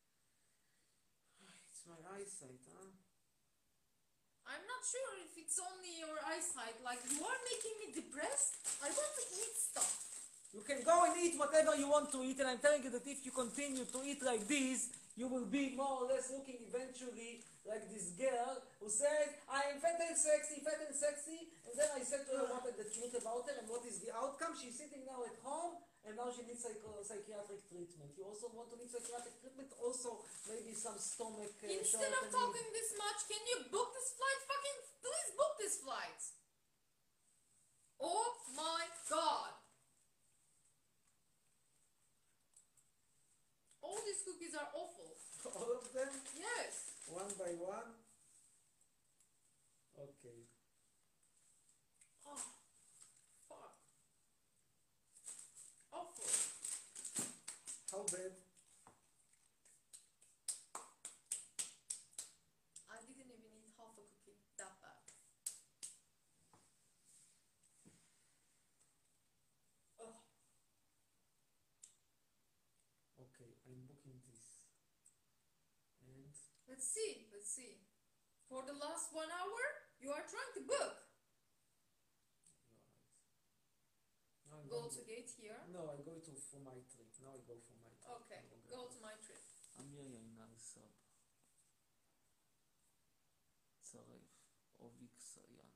It's my eyesight, huh?
I'm not sure if it's only your eyesight. Like, you are making me depressed. I want to eat stuff.
You can go and eat whatever you want to eat, and I'm telling you that if you continue to eat like this, you will be more or less looking eventually like this girl who says, I am fat and sexy, fat and sexy, and then I said to her what is the truth about her and what is the outcome. She's sitting now at home, and now she needs psycho psychiatric treatment. You also want to need psychiatric treatment? Also, maybe some stomach... Uh,
Instead of talking this much, can you book this flight? Fucking please book this flight. Oh my god. All these cookies are awful.
All of them?
Yes.
One by one? Okay.
Oh, fuck. Awful.
How bad?
I didn't even eat half a cookie. That bad. Oh.
Okay, I'm booking this. And...
Let's see, let's see. For the last one hour, you are trying to book.
Now I'm
Go
going
to gate here.
No, I go to for my trip. Now I go for my trip.
Okay,
No longer
go
go.
to my trip.
אמיר ינאי סב. צרף. אוביק סיין.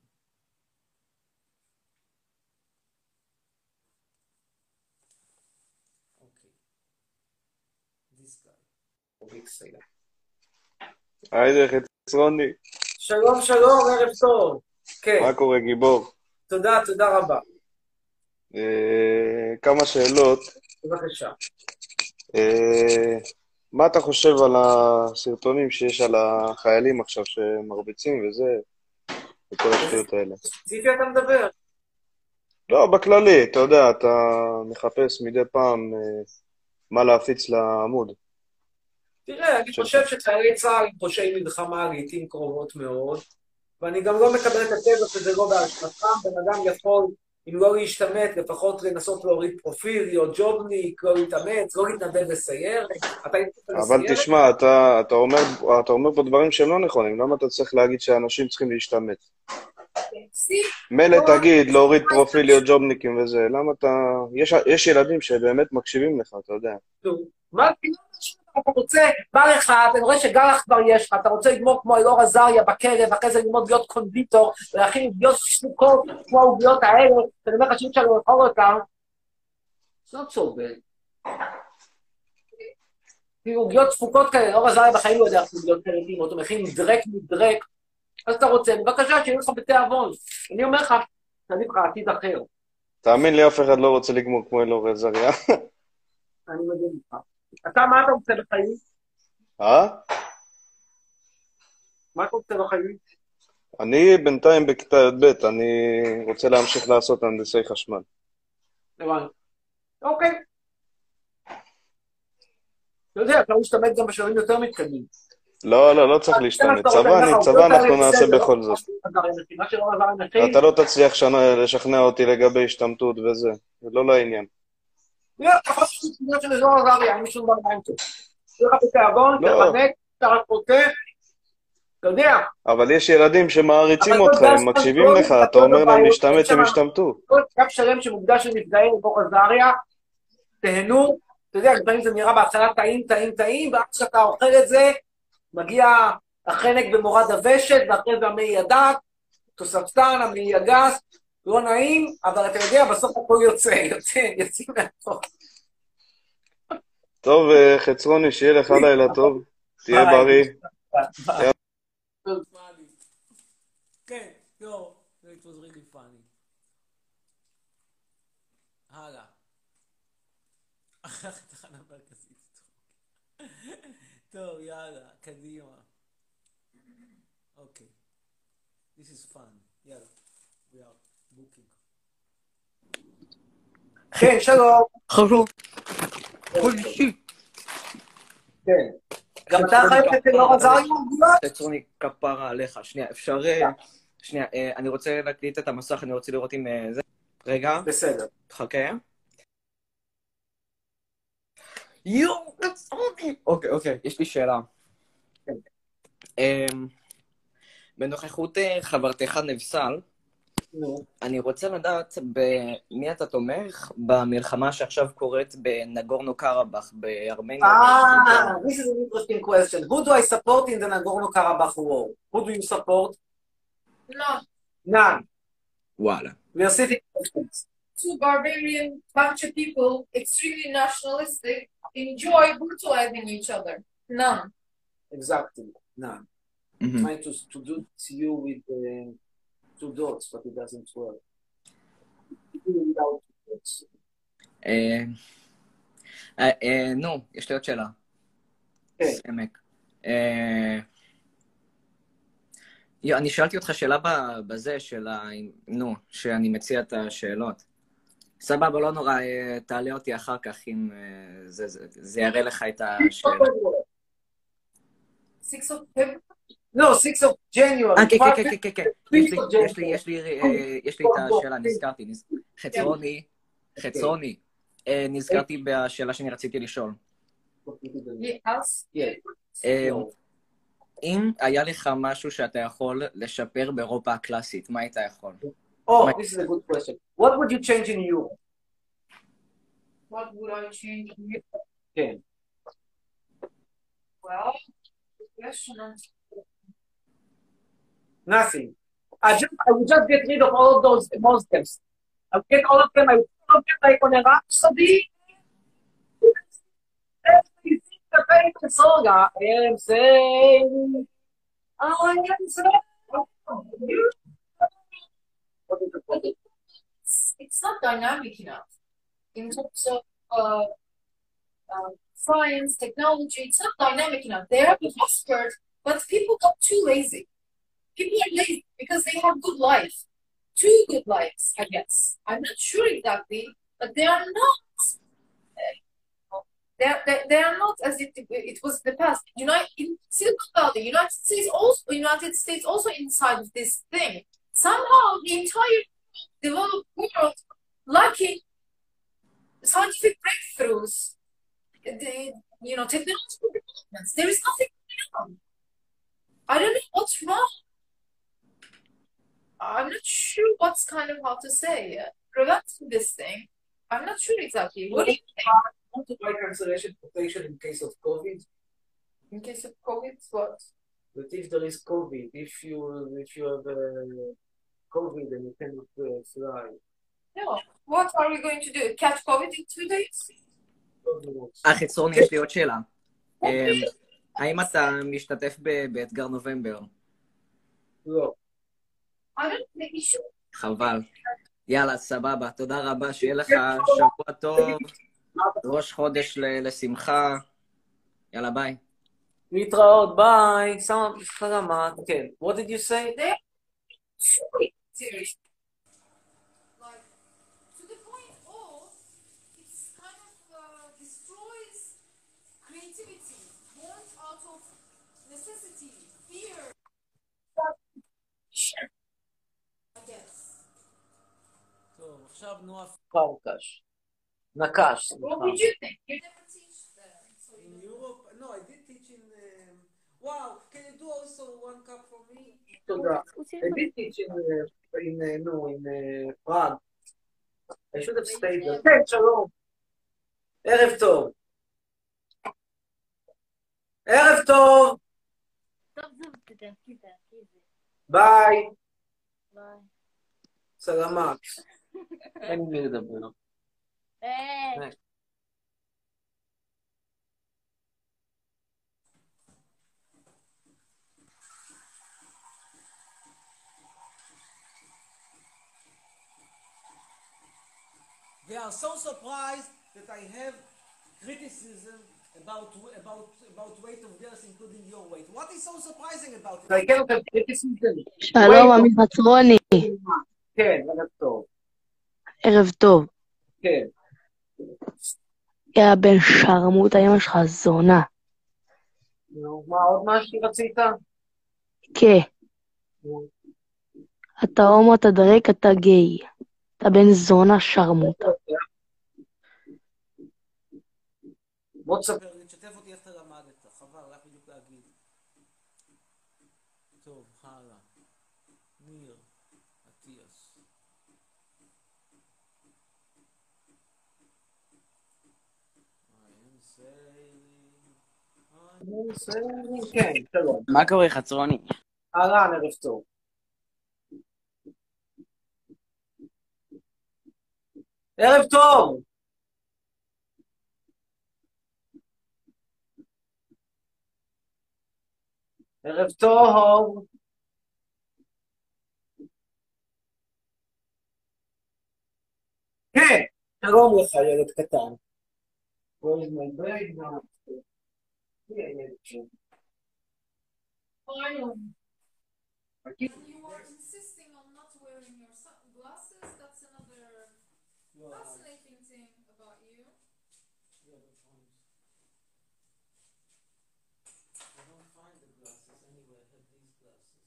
אוקיי. This guy.
אוביק סיין.
היי, חצרוני.
שלום, שלום, ערב טוב. כן.
מה קורה, גיבור?
תודה, תודה רבה.
אה, כמה שאלות.
בבקשה.
אה, מה אתה חושב על הסרטונים שיש על החיילים עכשיו שמרביצים וזה, וכל השטויות האלה?
ספציפי אתה מדבר?
לא, בכללי, אתה יודע, אתה מחפש מדי פעם אה, מה להפיץ לעמוד.
תראה, אני חושב שחיילי צה"ל הם פושעי מלחמה לעתים קרובות מאוד, ואני גם לא מקבל את הטבע שזה לא באשמתם. בן אדם יכול, אם לא להשתמט, לפחות לנסות להוריד פרופיל, להיות ג'ובניק, לא להתאמץ, לא להתנדב לסיירת.
אבל תשמע, אתה, אתה, אומר, אתה אומר פה דברים שהם לא נכונים. למה אתה צריך להגיד שאנשים צריכים להשתמט? מילא תגיד, להוריד פרופיל, להיות ג'ובניקים וזה. למה אתה... יש, יש ילדים שבאמת מקשיבים לך, אתה יודע.
מה אתה רוצה, בא לך, אתה רואה שגלח כבר יש לך, אתה רוצה לגמור כמו אלאור עזריה בכלא, ואחרי זה ללמוד להיות קונדיטור, ולהכין עוגיות ספוקות כמו העוגיות האלה, שאני אומר לך שאי אפשר לאכול אותם. זה לא צובל. כאילו עוגיות ספוקות כאלה, אלאור עזריה בחיים לא יודע איך עוגיות כאלה, אותו מכין מדרק מדרק, אז אתה רוצה, בבקשה שיהיה לך בתיאבון. אני אומר לך, תביא לך עתיד אחר.
תאמין לי, אף אחד לא רוצה לגמור כמו אלאור עזריה.
אני מבין לך. אתה, מה אתה רוצה בחיים?
אה?
מה אתה רוצה בחיים?
אני בינתיים בכיתה י"ב, אני רוצה להמשיך לעשות הנדסי חשמל.
הבנתי. אוקיי. אתה יודע, אתה משתמש גם בשלבים יותר מתקדמים.
לא, לא, לא צריך להשתמש. צבא, אני, צבא אנחנו נעשה בכל זאת. אתה לא תצליח לשכנע אותי לגבי השתמטות וזה. זה לא לעניין.
לא, אתה חושב שתמיד של אזור עזריה, אין משום דבר עם טוב. תהיה לך בתיאבון, תחנק, אתה רק רוצה, אתה יודע.
אבל יש ילדים שמעריצים
אבל
אותך,
אתה יודע
הם מקשיבים
שאנחנו
לך,
לא
אתה אומר להם
בבעיות,
להשתמט,
יש שם-
הם ישתמטו.
כל קו שלם שמוקדש לנפגעים בתוך עזריה, תהנו, אתה יודע, לפעמים זה נראה בהתחלה טעים, טעים, טעים, ואז כשאתה אוכל את זה, מגיע החנק במורד הוושת, ואחרי זה המעי הדק, תוספתן, המעי הגס, לא נעים, אבל אתה יודע, בסוף הכל יוצא, יוצא, יוצאים מהטוב.
טוב, אה, חצרוני, שיהיה לך לילה טוב, תהיה
ביי.
בריא.
ביי.
כן, לא, it was really funny. הלאה. אחר תחנה מרכזית. טוב, יאללה, קדימה. אוקיי. This is fun. יאללה. We are booking.
כן, שלום.
חשוב.
כן. גם אתה חייב את אלאור עזריה?
חצרוני, כפרה עליך. שנייה, אפשר... אה, שנייה, אה, אני רוצה להקליט את המסך, אני רוצה לראות אם אה, זה... רגע.
בסדר.
תחכה. יואו, חצרוני! אוקיי, אוקיי, יש לי שאלה.
כן.
אמ, בנוכחות אה, חברתך נבסל,
נו.
אני רוצה לדעת במי אתה תומך במלחמה שעכשיו קורית בנגורנו קרבאך, בארמניה.
Ah, this is an interesting question. Who do I support in the Nagorno-Karabakh war? Who do you support?
No.
None.
וואלה.
We are sitting questions.
Two barbarian bunch of people, extremely nationalistic, enjoy brutalizing each other. None.
Exactly. None.
Mhm.
Trying to, to do to you with uh, two dots, but it doesn't work. Without two dots.
אה, אה, אה, נו, יש לי עוד שאלה.
כן.
סמק. אה, יו, אני שאלתי אותך שאלה ב- בזה של ה... נו, שאני מציע את השאלות. סבבה, לא נורא, אה, תעלה אותי אחר כך אם אה, זה, זה, זה יראה לך את השאלה.
Six of February.
No, sixth of January.
אה, כן, כן, כן, כן, כן, כן. יש לי,
fifth of
יש לי,
January.
יש לי, אה, יש לי את השאלה, נזכרתי. נז- חצרוני, חצרוני, אה, נזכרתי בשאלה שאני רציתי לשאול.
Yes.
Yes.
אה,
No.
אם היה לך משהו שאתה יכול לשפר באירופה הקלאסית, מה היית יכול?
Oh, this is a good question. What would you change in Europe?
What would I change?
כן.
Well, good question.
Nothing. I just I would just get rid of all of those Muslims. I would get all of them. I would put all of them like on a rhapsody. Everything the famous song I am saying. I am saying.
It's, it's not dynamic enough in terms of uh, uh, science, technology. It's not dynamic enough. They have prospered, but people got too lazy. People are lazy because they have good life, two good lives, I guess. I'm not sure exactly, but they are not. Uh, they are, they, they are not as it it was in the past. United in Silicon Valley, United States also United States also inside of this thing. Somehow the entire developed world lacking scientific breakthroughs, the, you know, technological developments. There is nothing going on. I don't know what's wrong. I'm not sure what's kind of how to say uh, preventing this thing. I'm not sure exactly. What do you think?
Want to buy cancellation protection in case of COVID?
In case of COVID, what?
But if there is COVID, if you if you have uh, COVID and you cannot uh, fly,
No. What are we going to do? Catch COVID in two days?
אה, חצרוני, יש לי עוד שאלה. אה, האם אתה משתתף ב- באתגר נובמבר?
לא.
I don't think you should.
חבל. יאללה, סבבה. תודה רבה, שיהיה לך שבוע טוב, ראש חודש ל- לשמחה. יאללה, ביי.
להתראות, ביי. שמה סלמת. כן. What did you say?
They're truly serious. Like, to the point of, it's kind of uh, destroys creativity, born out of necessity, fear. Sure. I guess.
טוב, עכשיו נועה
פרקש. נקש,
What
סליחה.
did you think? You never teach them. So
in
you
Europe. No, I did teach in... Um, wow, can you do all also one cup for me?
תודה. הבאתי עם, נו, עם פראג. I should have stayed there. כן, שלום. ערב טוב. ערב טוב. ביי.
ביי.
סלמת. אין מי לדבר.
היי.
They are so surprised that I have criticism about about about weight of girls, including your weight. What is so surprising about it?
I cannot have criticism.
שלום, עמי חצרוני.
כן, ערב טוב.
ערב טוב.
כן.
יא בן שרמוטה, אמא שלך זונה.
נו, מה עוד משהו רצית?
כן. אתה הומו, אתה דרק, אתה גיי. אתה בן זונה שרמוטה.
בוא תספר.
תשתף אותי איך אתה למדת, חבל, רק בדיוק להגיד. טוב, הלאה. ניר, אטיאס.
כן, שלום.
מה קורה, חצרוני?
אהלן, ערב טוב. ערב טוב! ערב טוב! כן, שלום לך, ילד קטן. Where's my bag now?
And you are insisting on not wearing your glasses. That's another fascinating thing about you.
I don't find the glasses anyway. I have these glasses.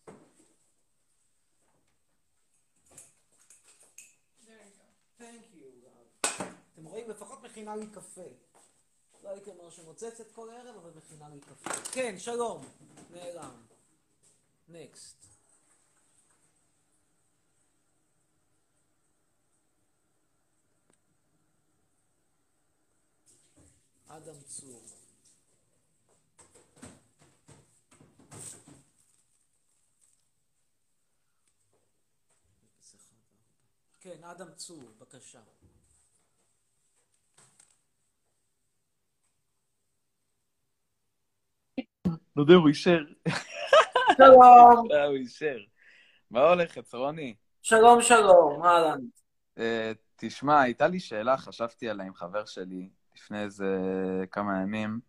There you go.
Thank you. אתם רואים, לפחות מכינה לי קפה. לא הייתי אומר שמוצצת כל ערב, אבל מכינה לי קפה. כן, שלום. נעלם. Next. אדם צור. כן, אדם צור, בבקשה.
לא יודע, הוא אישר.
שלום.
הוא אישר. מה הולך, חצרוני?
שלום, שלום, אהלן.
תשמע, הייתה לי שאלה, חשבתי עליה עם חבר שלי לפני איזה כמה ימים.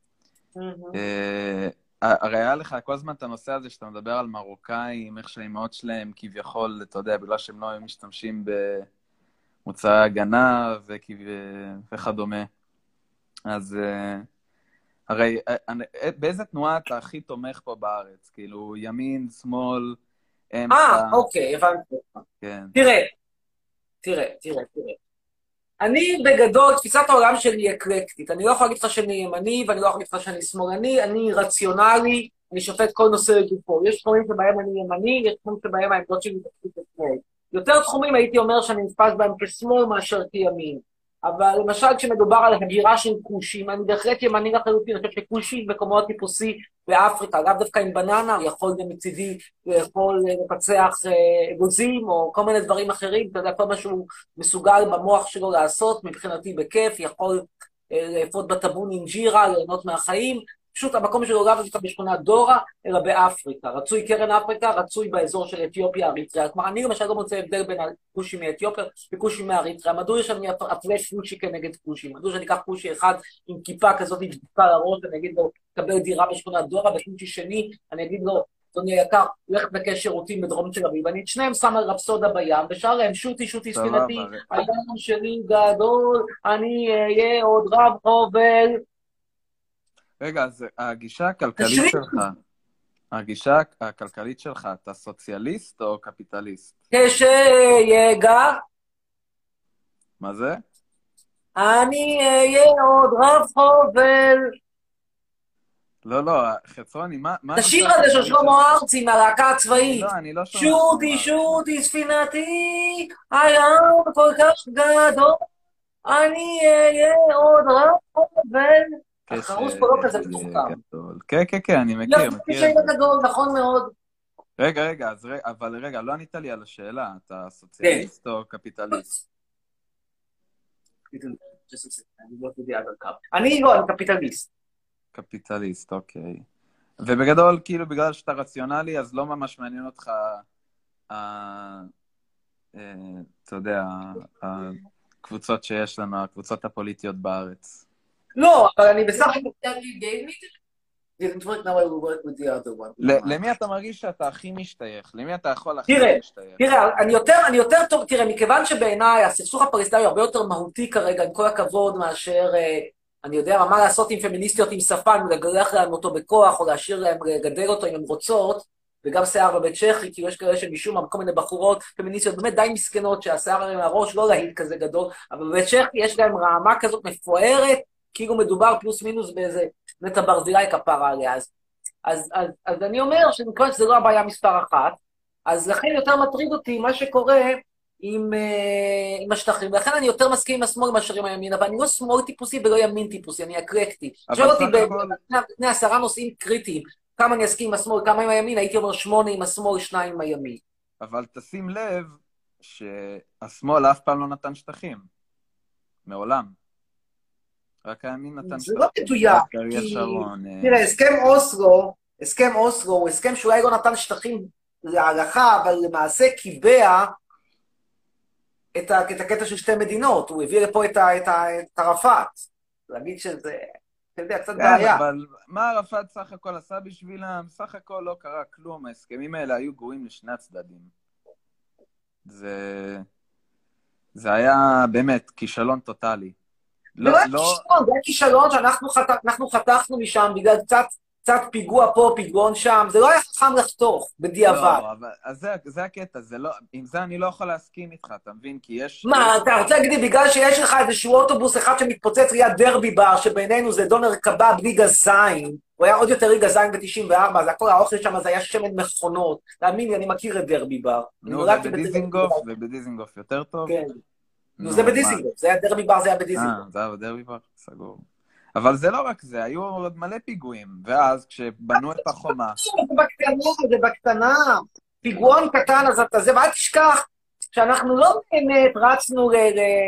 הרי היה לך כל הזמן את הנושא הזה שאתה מדבר על מרוקאים, איך שהאימהות שלהם כביכול, אתה יודע, בגלל שהם לא היו משתמשים במוצאי הגנה וכדומה. אז הרי באיזה תנועה אתה הכי תומך פה בארץ? כאילו, ימין, שמאל, אמצע?
אה, אוקיי, הבנתי.
כן.
תראה, תראה, תראה, תראה. אני בגדול, תפיסת העולם שלי היא אקלקטית. אני לא יכול להגיד לך שאני ימני, ואני לא יכול להגיד לך שאני שמאלני, אני רציונלי, אני שופט כל נושא לגופו. יש תחומים שבהם אני ימני, יש תחומים שבהם העמדות שלי תפקיד לשמאל. יותר תחומים הייתי אומר שאני נתפס בהם כשמאל מאשר כימין. אבל למשל כשמדובר על הגירה של כושים, אני בהחלט ימני לחלוטין, אני חושב שכושי מקומות טיפוסי באפריקה, לאו דווקא עם בננה, יכול גם מצידי יכול לפצח אגוזים או כל מיני דברים אחרים, אתה יודע, כל מה שהוא מסוגל במוח שלו לעשות, מבחינתי בכיף, יכול לאפות בטבון אינג'ירה, ליהנות מהחיים, פשוט המקום שלו לאו דווקא בשכונת דורה, אלא באפריקה. רצוי קרן אפריקה, רצוי באזור של אתיופיה, אריתריאה. כלומר, אני למשל לא מוצא הבדל בין הכושי מאתיופיה וכושי מאריתריאה. מדוע יש לנו הפרש כושי כנגד כושי? מדוע שאני אקח כושי אחד עם כיפה כזאת דבוקה לראש, ואני אגיד לו, קבל דירה בשכונת דורה, וכושי שני, אני אגיד לו, אדוני היקר, הולך לבקש שירותים בדרום תל אביב, ואני את שניהם שם על רפסודה בים, ושר להם, שוטי, שוטי ספינתי, הים שלי גדול, אני אהיה עוד רב חובל. רגע,
אז הגישה הכלכלית שלך, הגישה הכלכלית שלך, אתה סוציאליסט או קפיטליסט?
כשיגע.
מה זה?
אני אהיה עוד רב חובל.
לא, לא, חצרוני, מה... מה
השיר
הנושא
הזה של
החשוב
שלמה
שלך?
ארצי מהלהקה הצבאית.
לא, אני לא שומע
שוטי,
שלמה ארצי.
שוטי, ספינתי, הים כל כך גדול, אני אהיה עוד רב, החרוס פה לא כזה מתוחכם.
גדול. כן, כן, כן, אני מכיר,
יופי
מכיר
שהיית
את זה.
גדול, נכון מאוד.
רגע, רגע, אז רגע, אבל רגע, לא ענית לי על השאלה, אתה סוציאליסט או קפיטליסט?
אני לא, אני קפיטליסט.
קפיטליסט, אוקיי. ובגדול, כאילו, בגלל שאתה רציונלי, אז לא ממש מעניין אותך, אתה יודע, הקבוצות שיש לנו, הקבוצות הפוליטיות בארץ.
לא, אבל אני בסך הכל...
למי אתה מרגיש שאתה הכי משתייך? למי אתה יכול הכי משתייך?
תראה, אני יותר, אני יותר טוב, תראה, מכיוון שבעיניי הסכסוך הפלסטיני הוא הרבה יותר מהותי כרגע, עם כל הכבוד, מאשר, אני יודע מה לעשות עם פמיניסטיות עם שפן, לגלח להם אותו בכוח, או להשאיר להם לגדל אותו אם הן רוצות, וגם שיער בבית צ'כי, כי יש כאלה שמשום מה, כל מיני בחורות פמיניסטיות באמת די מסכנות, שהשיער עליהם הראש לא להיט כזה גדול, אבל בבית צ'כי יש להם רעמה כזאת מפוארת, כאילו מדובר פלוס מינוס באיזה נטע ברזילי כפרה עליה. אז, אז, אז, אז אני אומר שנקרא שזה לא הבעיה מספר אחת, אז לכן יותר מטריד אותי מה שקורה עם, uh, עם השטחים, ולכן אני יותר מסכים עם השמאל מאשר עם הימין, אבל אני לא שמאל טיפוסי ולא ימין טיפוסי, אני אקלקטי. שואל אותי בפני עשרה נושאים קריטיים, כמה אני אסכים עם השמאל, כמה עם הימין, הייתי אומר שמונה עם השמאל, שניים עם הימין.
אבל תשים לב שהשמאל אף פעם לא נתן שטחים. מעולם. רק הימין נתן
זה לא מדויק, כי... תראה, הסכם אוסלו, הסכם אוסלו הוא הסכם שאולי לא נתן שטחים להלכה, אבל למעשה קיבע את הקטע של שתי מדינות, הוא הביא לפה את ערפאת. להגיד שזה, אתה יודע, קצת בעיה.
אבל מה ערפאת סך הכל עשה בשבילם? סך הכל לא קרה כלום, ההסכמים האלה היו גרועים לשני הצדדים. זה... זה היה באמת כישלון טוטלי.
לא, לא... זה היה כישלון שאנחנו חתכנו משם בגלל קצת, קצת פיגוע פה, פיגעון שם, זה לא היה חכם לחתוך בדיעבד.
לא, אבל זה, זה הקטע, זה לא, עם זה אני לא יכול להסכים איתך, אתה מבין? כי יש...
מה, אתה רוצה להגיד לי, בגלל שיש לך איזשהו אוטובוס אחד שמתפוצץ ליד דרבי בר, שבינינו זה דונר קבב בלי גזיים, הוא היה עוד יותר לי גזיים ב-תשעים וארבע, אז הכל האוכל שם זה היה שמן מכונות, תאמין לי, אני מכיר את דרבי בר.
נו, ובדיזינגוף, ובדיזינגוף יותר טוב?
כן. נו, זה בדיזינגוף, זה היה דרבי בר, זה היה בדיזינגוף.
אה, זה היה בדרבי בר, סגור. אבל זה לא רק זה, היו עוד מלא פיגועים, ואז כשבנו את החומה...
זה בקטנה, זה בקטנה, פיגועון קטן, אז אתה זה, ואל תשכח שאנחנו לא באמת רצנו ל...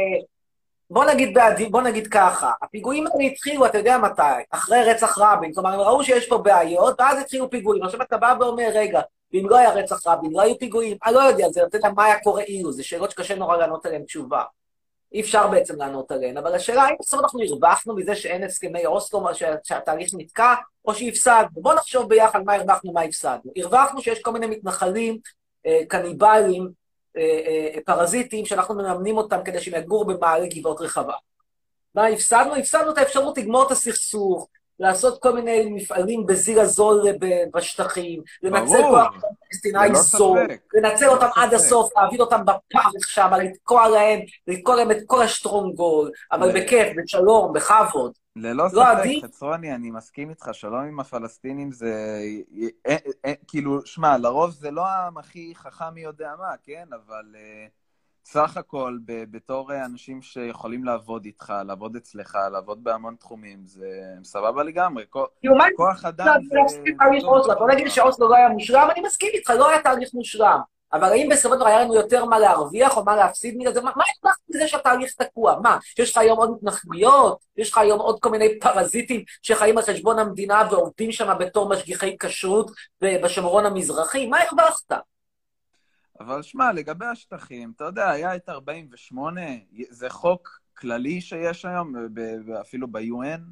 בוא נגיד בעדי, בוא נגיד ככה, הפיגועים האלה התחילו, אתה יודע מתי, אחרי רצח רבין, כלומר, הם ראו שיש פה בעיות, ואז התחילו פיגועים, עכשיו אתה בא ואומר, רגע, ואם לא היה רצח רבין, לא היו פיגועים, אני לא יודע, זה אתה יודע מה היה קורה אילו, זה שאלות שקשה נורא לענות עליהן תשובה. אי אפשר בעצם לענות עליהן, אבל השאלה, האם בסוף אנחנו הרווחנו מזה שאין הסכמי אוסלו, שהתהליך נתקע, או שהפסדנו? בוא נחשוב ביחד מה הרווחנו, מה הפסדנו. הרווחנו שיש כל מיני מתנחלים, קניבלים, פרזיטים, שאנחנו מממנים אותם כדי שהם יגורו במעלה גבעות רחבה. מה הפסדנו? הפסדנו את האפשרות לגמור את הסכסוך, לעשות כל מיני מפעלים בזיר הזול בשטחים, לנצל כוח פלסטיני זול, לנצל אותם עד הסוף, להעביר אותם בפרק שם, לתקוע להם, לתקוע להם את כל השטרונגול, אבל בכיף, בשלום, בכבוד.
ללא ספק, חצרוני, אני מסכים איתך, שלום עם הפלסטינים זה... כאילו, שמע, לרוב זה לא העם הכי חכם מי יודע מה, כן? אבל... סך הכל, בתור אנשים שיכולים לעבוד איתך, לעבוד אצלך, לעבוד בהמון תחומים, זה סבבה לגמרי. כוח אדם זה...
בוא נגיד שאוסלו לא היה מושלם, אני מסכים איתך, לא היה תהליך מושלם. אבל האם בסופו של דבר היה לנו יותר מה להרוויח או מה להפסיד מזה? מה הרווחת מזה שהתהליך תקוע? מה? יש לך היום עוד התנחלויות? יש לך היום עוד כל מיני פרזיטים שחיים על חשבון המדינה ועובדים שם בתור משגיחי כשרות בשומרון המזרחי? מה הרווחת?
אבל שמע, לגבי השטחים, אתה יודע, היה את ארבעים ושמונה, זה חוק כללי שיש היום, אפילו ב-יו אן,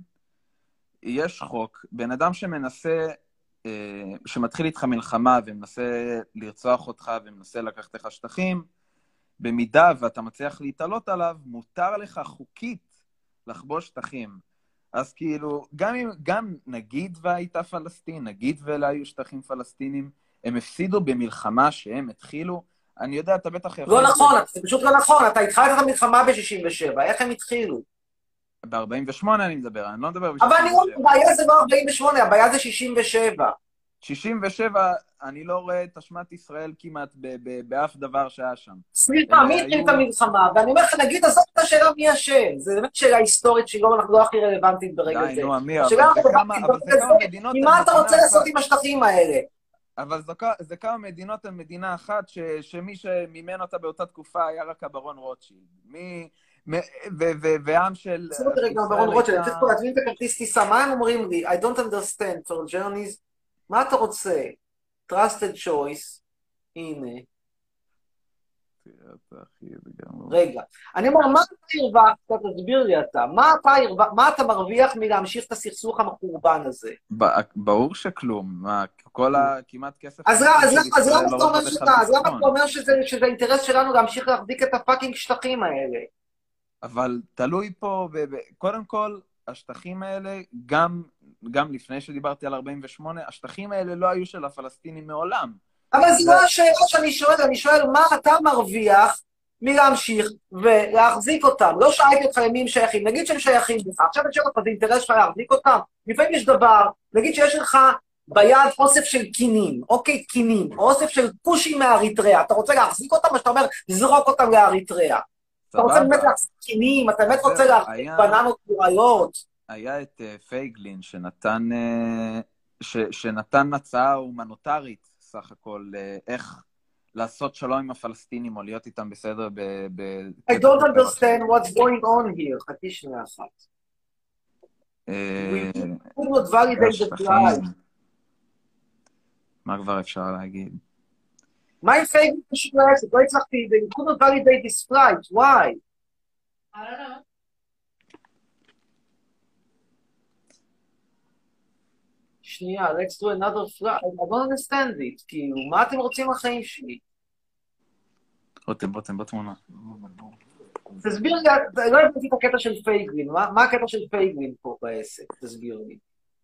יש חוק, בן אדם שמנסה, שמתחיל איתך מלחמה ומנסה לרצוח אותך ומנסה לקחת לך שטחים, במידה ואתה מצליח להתעלות עליו, מותר לך חוקית לחבוש שטחים. אז כאילו, גם, גם נגיד והייתה פלסטין, נגיד ואלה היו שטחים פלסטינים, הם הפסידו במלחמה שהם התחילו, אני יודע, אתה בטח יכול...
לא נכון, זה פשוט לא נכון, אתה התחלת את המלחמה ב-שישים ושבע, איך הם התחילו?
ב-ארבעים ושמונה אני מדבר, אני לא מדבר ב-שישים
אבל אני
ושבע.
אומר, הבעיה זה לא ארבעים ושמונה, הבעיה זה שישים ושבע.
שישים ושבע, אני לא רואה את אשמת ישראל כמעט ב- ב- באף דבר שהיה שם.
סליחה,
אלה
מי התחיל
היו-
את המלחמה? ואני אומר לך, נגיד, עזוב את השאלה מי אשם. זו באמת שאלה היסטורית שהיא לא לא הכי רלוונטית ברגע
די,
זה.
נו, אמיר,
השאלה
אבל זה כמה-
הרלוונטית
אבל זה
ברגע
כמה
זה,
מדינות
היא
על
מה אתה
מדינה
רוצה לעשות
אחת.
עם השטחים האלה?
אבל זו, זה כמה מדינות על מדינה אחת, ש, שמי שמימן אותה באותה תקופה היה רק הברון רוטשילד. מי... מ- ו- ו- ועם של...
עשו אותי רגע,
ישראל
ברון רוטשילד, אני
הייתה-
צריך פה להזמין את הכרטיס טיסה, מה הם אומרים לי? I don't understand for journeys, מה אתה רוצה? trusted choice, הנה,
תראה, אחי, זה גם-
רגע. אני אומר, מה אתה הרווחת? תסביר לי אתה. מה אתה הרווח- מה אתה מרוויח מלהמשיך את הסכסוך המחורבן הזה?
ב- ברור שכלום, מה, כל ה... כמעט כסף...
אז למה- אז למה- אז
ישראל
למה
לא
אתה אומר
עובד לך
שאתה- אז למה
בביטחון.
אתה אומר שזה שזה האינטרס שלנו להמשיך להחזיק את הפאקינג שטחים האלה?
אבל תלוי פה, ב- ב- קודם כל, השטחים האלה, גם, גם לפני שדיברתי על ארבעים ושמונה, השטחים האלה לא היו של הפלסטינים מעולם.
אבל זו
זה-
לא השאלה שאני שואל, אני שואל מה אתה מרוויח מלהמשיך ולהחזיק אותם. לא שאלתי אותך למי הם שייכים, נגיד שהם שייכים לך, עכשיו אני שואל אותך, זה אינטרס שלך להחזיק אותם? לפעמים יש דבר, נגיד שיש לך ביד אוסף של קינים, אוקיי, קינים, או אוסף של פושים מאריתריאה, אתה רוצה להחזיק אותם, או שאתה אומר, זרוק אותם לאריתריאה. אתה רוצה
סבבה.
באמת להחזיק קינים, אתה באמת רוצה
זהו,
להחזיק
היה-
בננות פוריות.
היה את אה, פייגלין שנתן, אה, ש, שנתן הצעה הומניטרית, סך הכל, אה, איך לעשות שלום עם הפלסטינים או להיות איתם בסדר ב... ב
I don't understand what's going on here, חצי שנייה אחת.
אה,
We could not validate the
והשטחים.
flight.
מה כבר אפשר להגיד?
מה עם פייגלין קשור לעסק? לא הצלחתי, they could not validate this flight, why?
I don't know.
שנייה, let's do another flight. I don't understand it, כאילו, מה אתם רוצים מהחיים שלי?
רותם, רותם, בתמונה.
תסביר לי, לא הבנתי את הקטע של פייגלין, מה מה הקטע של פייגלין פה בעסק? תסביר לי.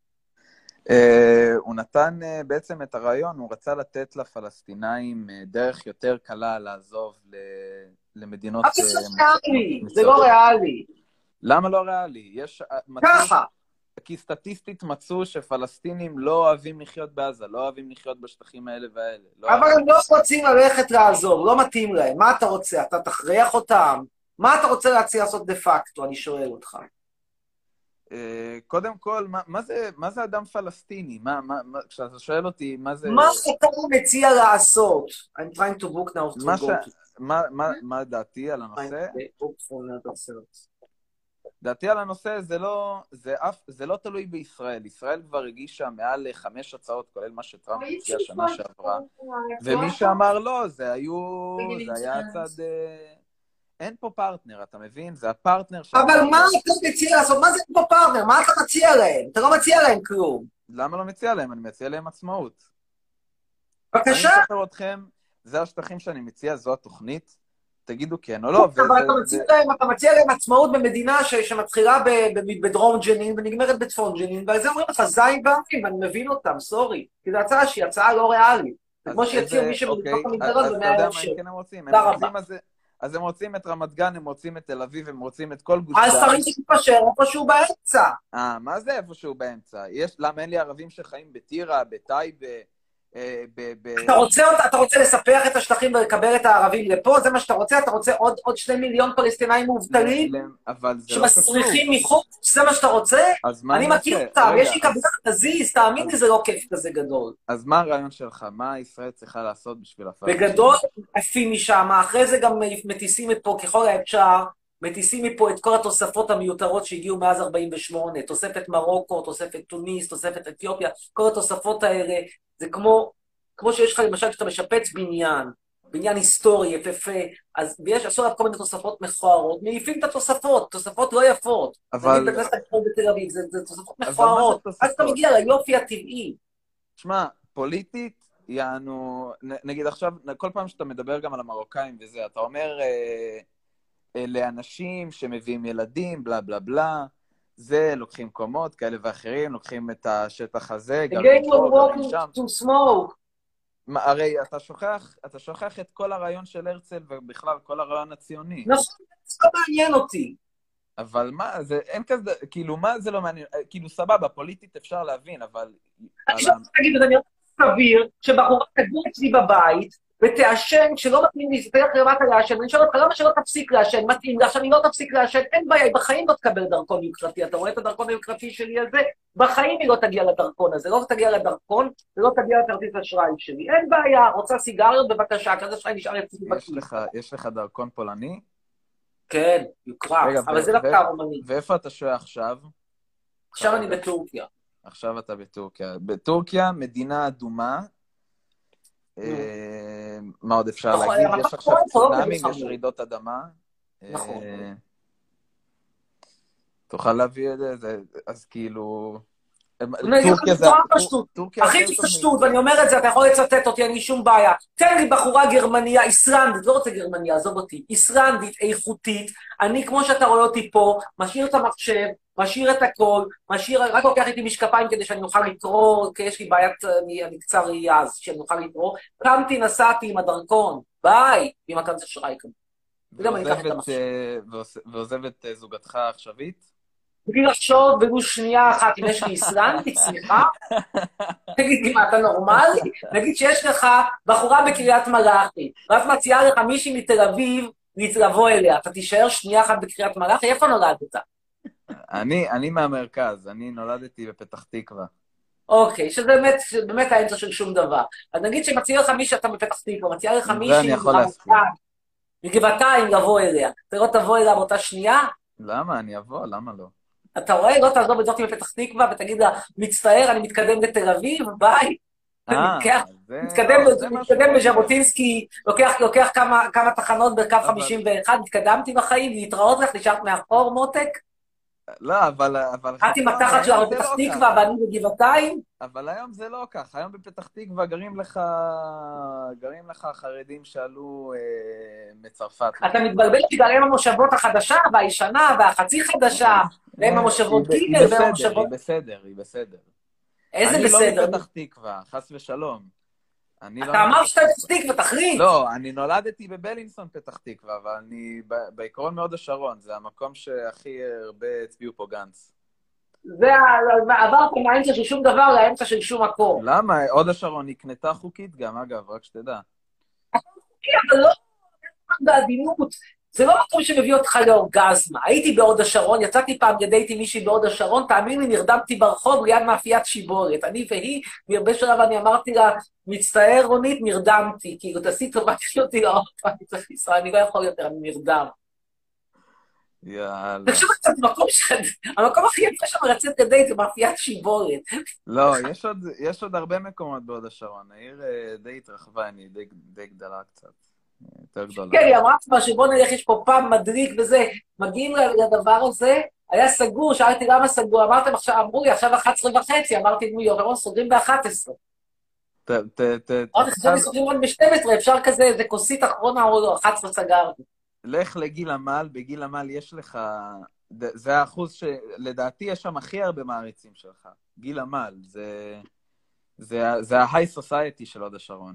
אה, הוא נתן אה, בעצם את הרעיון, הוא רצה לתת לפלסטינאים אה, דרך יותר קלה לעזוב ל- למדינות...
אבל זה
אה,
לא ריאלי, זה
מצויות.
לא ריאלי.
למה לא ריאלי? יש... אה, מצאו-
ככה.
כי סטטיסטית מצאו שפלסטינים לא אוהבים לחיות בעזה, לא אוהבים לחיות בשטחים האלה והאלה. לא
אבל
אוהבים.
הם לא רוצים ללכת לעזור, לא מתאים להם. מה אתה רוצה? אתה תכריח אותם? מה אתה רוצה להציע לעשות דה פקטו? אני שואל אותך.
אה, קודם כל, מה, מה, זה, מה זה אדם פלסטיני? מה, מה, מה, כשאתה שואל אותי, מה זה...
מה אתה מציע לעשות? I'm trying to book now to
מה,
go
ש...
to...
מה, מה, מה דעתי על הנושא?
book for another search.
דעתי על הנושא זה לא, זה, אף, זה לא תלוי בישראל. ישראל כבר הגישה מעל חמש הצעות, כולל מה שטראמפ הציע שנה שעברה. ומי שאמר לא, זה היו, זה היה הצד... אה, אין פה פרטנר, אתה מבין? זה הפרטנר ש...
אבל מה אתה מציע לעשות? מה זה פה פרטנר? מה אתה מציע להם? אתה לא מציע להם כלום.
למה לא מציע להם? אני מציע להם עצמאות.
בבקשה.
אני מספר אתכם, זה השטחים שאני מציע, זו התוכנית. תגידו כן או לא.
אבל אתה מציע להם, אתה מציע להם עצמאות במדינה ש- שמתחילה ב- ב- בדרום ג'נין ונגמרת בצפון ג'נין, ועל זה אומרים לך זין ואבים, אני מבין אותם, סורי. כי זו הצעה שהיא הצעה לא ריאלית. זה כמו שיציעו מי שמתוך המגדרות
אז אתה
במאה
יודע
אלף
מה
שקל.
כן הם רוצים?
תודה
הם
רבה.
רוצים אז- אז הם רוצים את רמת גן, הם רוצים את תל אביב, הם רוצים את כל גוש
אז
דן.
צריך להתפשר איפשהו באמצע.
אה, מה זה איפשהו באמצע? יש, למה אין לי ערבים שחיים בטירה, בטייבה, אה, ב... ב...
אתה רוצה, אתה רוצה לספח את השטחים ולקבל את הערבים לפה? זה מה שאתה רוצה? אתה רוצה עוד, עוד שני מיליון פלסטינאים מובטלים?
ל- אבל זה לא
שמסריחים
קשור.
מחוץ? זה מה שאתה רוצה?
אז מה
אני
אני
מכיר
עושה?
אותם,
רגע,
יש לי קבלה, תזיז, תאמין לי, זה לא כיף כזה גדול.
אז מה הרעיון שלך? מה ישראל צריכה לעשות בשביל הפלסטינים?
בגדול, עפים משם, אחרי זה גם מטיסים מפה ככל האפשר, מטיסים מפה את כל התוספות המיותרות שהגיעו מאז ארבעים ושמונה, תוספת מרוקו, תוספת טוניס, תוספת אתיופיה, כל התוספות האלה, זה כמו, כמו שיש לך למשל כשאתה משפץ בניין, בניין היסטורי, יפהפה, אז ויש, עשו עליו כל מיני תוספות מכוערות, מעיפים את התוספות, תוספות לא יפות.
אבל...
נגיד בכנסת הגדול בתל אביב, זה, זה תוספות
אבל
מכוערות,
מה זה
אז אתה
תוספות?
מגיע ליופי הטבעי.
תשמע, פוליטית, יענו, נ- נגיד עכשיו, כל פעם שאתה מדבר גם על המרוקאים וזה, אתה אומר, אה, אלה אנשים שמביאים ילדים, בלה בלה בלה, זה, לוקחים קומות כאלה ואחרים, לוקחים את השטח הזה,
The
גרים
game
פה,
will
גרים
walk
שם.
to smoke.
מה, הרי אתה שוכח, אתה שוכח את כל הרעיון של הרצל ובכלל כל הרעיון הציוני.
נכון, זה לא מעניין אותי.
אבל מה, זה, אין כזה, כאילו, מה זה לא מעניין? כאילו, סבבה, פוליטית אפשר להבין, אבל...
אני חושב להגיד, זה נראה סביר שבחורה תגור אצלי בבית, ותעשן, שלא מתאים לי, תלך למטה לעשן, ואני שואל אותך, למה שלא תפסיק לעשן? מתאים לי, עכשיו אני לא תפסיק לעשן, אין בעיה, היא בחיים לא תקבל דרכון יוקרתי, אתה רואה את הדרכון היוקרתי שלי הזה? בחיים היא לא תגיע לדרכון הזה, לא תגיע לדרכון, ולא תגיע לכרטיס אשראי שלי, אין בעיה, רוצה סיגריות, בבקשה, כרטיס אשראי נשאר אצלי בכיס.
יש לך דרכון פולני?
כן, יוקרה, אבל זה לא קר אומני.
ואיפה אתה שוהה עכשיו?
עכשיו אני בטורקיה.
עכשיו אתה בטורקיה. בטורקיה, מדינה אדומה, מה עוד אפשר להגיד? יש עכשיו צונאמים, יש רעידות אדמה.
נכון.
תוכל להביא את זה, אז כאילו...
טורקיה זה... הכי פשטות, ואני אומר את זה, אתה יכול לצטט אותי, אין לי שום בעיה. תן לי בחורה גרמניה, איסלנדית, לא רוצה גרמניה, עזוב אותי, איסלנדית, איכותית, אני כמו שאתה רואה אותי פה, משאיר את המחשב, משאיר את הכל, משאיר, רק לוקח איתי משקפיים כדי שאני אוכל לקרוא, כי יש לי בעיית, אני קצר ראייה, אז שאני אוכל לקרוא, קמתי, נסעתי עם הדרכון, ביי, ועם הכרטיס אשראי כאן. וגם אני אקח את המחשב.
ועוזבת זוגתך העכשווית?
בלי לחשוב ולו שנייה אחת אם יש לי איסלנדית, סליחה? תגיד לי, מה, אתה נורמלי? נגיד שיש לך בחורה בקריית מלאכי, ואת מציעה לך מישהי מתל אביב לבוא אליה, אתה תישאר שנייה אחת בקריית מלאכי? איפה נולדת?
אני, אני מהמרכז, אני נולדתי בפתח תקווה.
אוקיי, שזה באמת, באמת האמצע של שום דבר. אז נגיד שמציע לך מישהי, אתה בפתח תקווה, מציעה לך מישהי מגבעתיים לבוא אליה, אתה לא תבוא אליה באותה שנייה?
למה? אני אבוא, למה לא?
אתה רואה? לא תעזוב את זאתי בפתח תקווה ותגיד לה, מצטער, אני מתקדם לתל אביב, ביי. מתקדם בז'בוטינסקי, לוקח כמה תחנות בקו חמישים ואחת, התקדמתי בחיים, להתראות לך, נשארת מאחור מותק?
לא, אבל...
את עם התחת שלה בפתח תקווה ואני בגבעתיים?
אבל היום זה לא כך, היום בפתח תקווה גרים לך גרים לך חרדים שעלו מצרפת.
אתה מתבלבל בגלל הם המושבות החדשה והישנה והחצי חדשה, והם המושבות גיגל והם המושבות...
היא בסדר, היא בסדר.
איזה בסדר?
אני לא בפתח תקווה, חס ושלום.
אתה אמר שאתה בפתח תקווה, תחריד.
לא, אני נולדתי בבלינסון פתח תקווה, אבל אני בעיקרון מהוד השרון, זה המקום שהכי הרבה הצביעו פה גנץ.
זה עברת מהאמצע של שום דבר לאמצע של שום מקום.
למה? הוד השרון נקנתה חוקית גם, אגב, רק שתדע.
אבל לא בעדינות. זה לא מקום שמביא אותך לאורגזמה. הייתי בהוד השרון, יצאתי פעם לדייט עם מישהי בהוד השרון, תאמין לי, נרדמתי ברחוב ליד מאפיית שיבורת. אני והיא, מהרבה שלב אני אמרתי לה, מצטער רונית, נרדמתי. כאילו, תעשי טובה, תשאיר אותי לאוטו, אני צריך ישראל, אני לא יכול יותר, אני נרדם.
יאללה.
תקשוב קצת, המקום הכי יפה שם לצאת לדייט זה מאפיית שיבורת.
לא, יש עוד הרבה מקומות בהוד השרון. העיר די התרחבה, אני די גדלה קצת.
כן, היא אמרה מה שבוא נלך, יש פה פעם מדריק וזה, מגיעים לדבר הזה, היה סגור, שאלתי למה סגור, אמרתם עכשיו, אמרו לי עכשיו אחת עשרה וחצי, אמרתי נו יורון, סוגרים ב-אחת עשרה.
ת, ת, ת,
אמרתי, חשבתי סוגרים רק ב-שתים עשרה, אפשר כזה, איזה כוסית אחרונה או לא, אחת עשרה סגרתי.
לך לגיל עמל, בגיל עמל יש לך, זה האחוז שלדעתי יש שם הכי הרבה מעריצים שלך, גיל עמל, זה ה-high society של הוד השרון.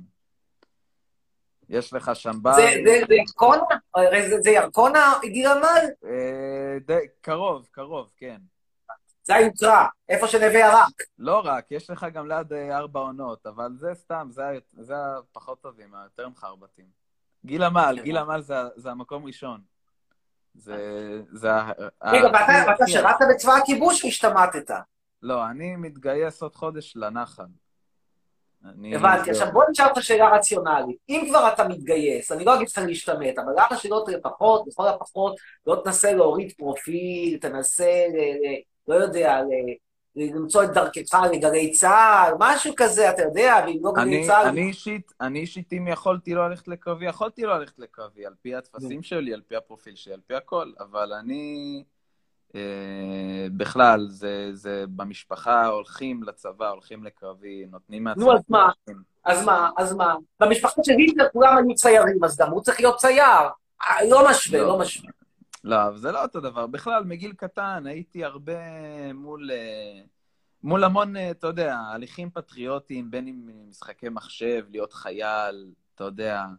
יש לך שם בר...
זה ירקונה? זה ירקונה, גיל עמל?
קרוב, קרוב, כן.
זה היוקרה, איפה שנווה ירק.
לא רק, יש לך גם ליד ארבע עונות, אבל זה סתם, זה הפחות טובים, היותר מחרבטים. גיל עמל, גיל עמל זה המקום ראשון. זה...
רגע, ואתה שירת בצבא הכיבוש או השתמטת?
לא, אני מתגייס עוד חודש לנחל.
הבנתי, עכשיו בוא נשאר את השאלה הרציונלית. אם כבר אתה מתגייס, אני לא אגיד לך להשתמט, אבל למה שלא לפחות, לכל הפחות, לא תנסה להוריד פרופיל, תנסה, לא יודע, למצוא את דרכך לגלי צה"ל, משהו כזה, אתה יודע, ואם לא גלי צה"ל...
אני אישית, אני אישית, אם יכולתי לא ללכת לקרבי, יכולתי לא ללכת לקרבי, על פי התפסים שלי, על פי הפרופיל שלי, על פי הכל, אבל אני... בכלל, זה במשפחה הולכים לצבא, הולכים לקרבי, נותנים מעצמם...
נו, אז מה? אז מה? אז מה? במשפחה של היטלר כולם היו ציירים, אז גם הוא צריך להיות צייר. לא משווה, לא משווה.
לא, זה לא אותו דבר. בכלל, מגיל קטן הייתי הרבה מול... מול המון, אתה יודע, הליכים פטריוטיים, בין אם משחקי מחשב, להיות חייל, אתה יודע,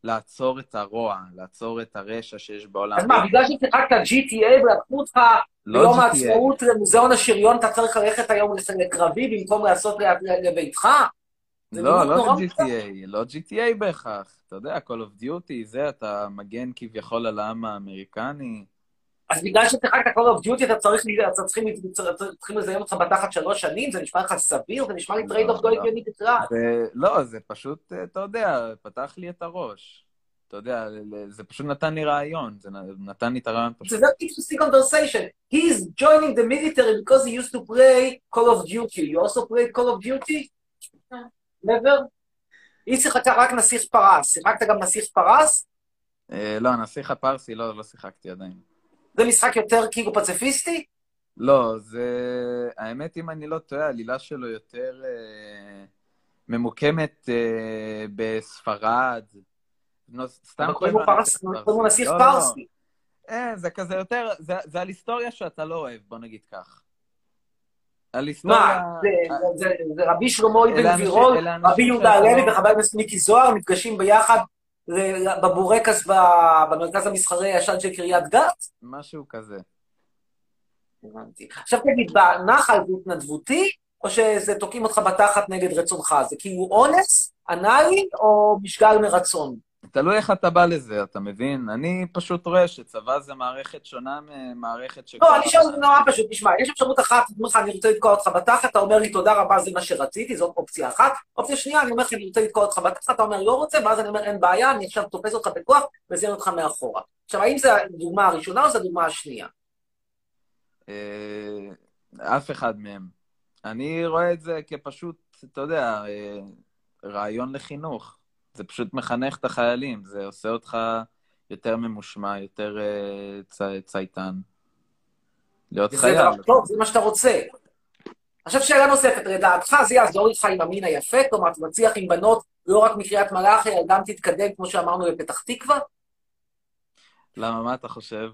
לעצור את הרוע, לעצור את הרשע שיש בעולם.
אז מה, בגלל ששיחקת ג'י טי איי ולקחו אותך
לא
ביום
ג'י טי איי.
העצמאות למוזיאון השריון, אתה צריך ללכת היום לקרבי במקום לעשות ל- לביתך? זה
לא,
לימוד
לא
נורא
ג'י טי איי, לא ג'י טי איי בהכרח. אתה יודע, Call of Duty, זה, אתה מגן כביכול על העם האמריקני.
אז בגלל ששיחקת Call of Duty, אתה צריך, אתה צריכים, צריכים לזיין אותך בתחת שלוש שנים, זה נשמע לך סביר, זה נשמע לי טרייד אוף לא הגיוני בכלל.
זה- לא, זה פשוט, אתה יודע, פתח לי את הראש. אתה יודע, זה פשוט נתן לי רעיון, זה נתן לי את הרעיון
It's
פשוט.
a very interesting conversation. He's joining the military because he used to play Call of Duty. You also played Call of Duty? Never? היא שיחקה רק נסיך פרס. שיחקת גם נסיך פרס?
אה, לא, הנסיך הפרסי, לא, לא שיחקתי עדיין.
זה משחק יותר כאילו פציפיסטי?
לא, זה... האמת, אם אני לא טועה, העלילה שלו יותר אה, ממוקמת אה, בספרד. לא, סתם
אבל קוראים לו
קוראים לה
פרס-
נסיך
קוראים לו נסיך
לא, לא, לא.
פרסי.
אה, זה כזה יותר... זה, זה על היסטוריה שאתה לא אוהב, בוא נגיד כך. על היסטוריה...
מה? זה- זה- זה- זה רבי שלמה
אלה
אבן
אנשים-
גבירול,
אלה אנשים
רבי יהודה
שאתה
הלוי
לא-
וחבר הכנסת מיקי זוהר נפגשים ביחד ל- בבורקס ב- במרכז המסחרי הישן של קריית גת?
משהו כזה.
הבנתי. עכשיו תגיד, בנחל זה התנדבותי, או שזה תוקעים אותך בתחת נגד רצונך? זה כאילו אונס, אנאלי, או משגל מרצון?
תלוי איך אתה בא לזה, אתה מבין? אני פשוט רואה שצבא זה מערכת שונה ממערכת שכל...
לא, אני שואל זה נורא פשוט, תשמע, יש אפשרות אחת, אני אומר לך, אני רוצה לתקוע אותך בתחת, אתה אומר לי תודה רבה, זה מה שרציתי, זאת אופציה אחת. אופציה שנייה, אני אומר לך, אני רוצה לתקוע אותך בתחת, אתה אומר לא רוצה, ואז אני אומר אין בעיה, אני עכשיו תופס אותך בכוח, וזיין אותך מאחורה. עכשיו, האם זו הדוגמה הראשונה או זו הדוגמה השנייה?
אה, אף אחד מהם. אני רואה את זה כפשוט, אתה יודע, אה, רעיון לחינוך. זה פשוט מחנך את החיילים, זה עושה אותך יותר ממושמע, יותר אה, צי, צייתן. להיות
וזה
חייל.
דבר טוב, זה מה שאתה רוצה. עכשיו שאלה נוספת, לדעתך זה יעזור לך עם המין היפה, כלומר, אתה מצליח עם בנות לא רק מקריית מלאכי, אלא גם תתקדם, כמו שאמרנו, לפתח תקווה?
למה, מה אתה חושב?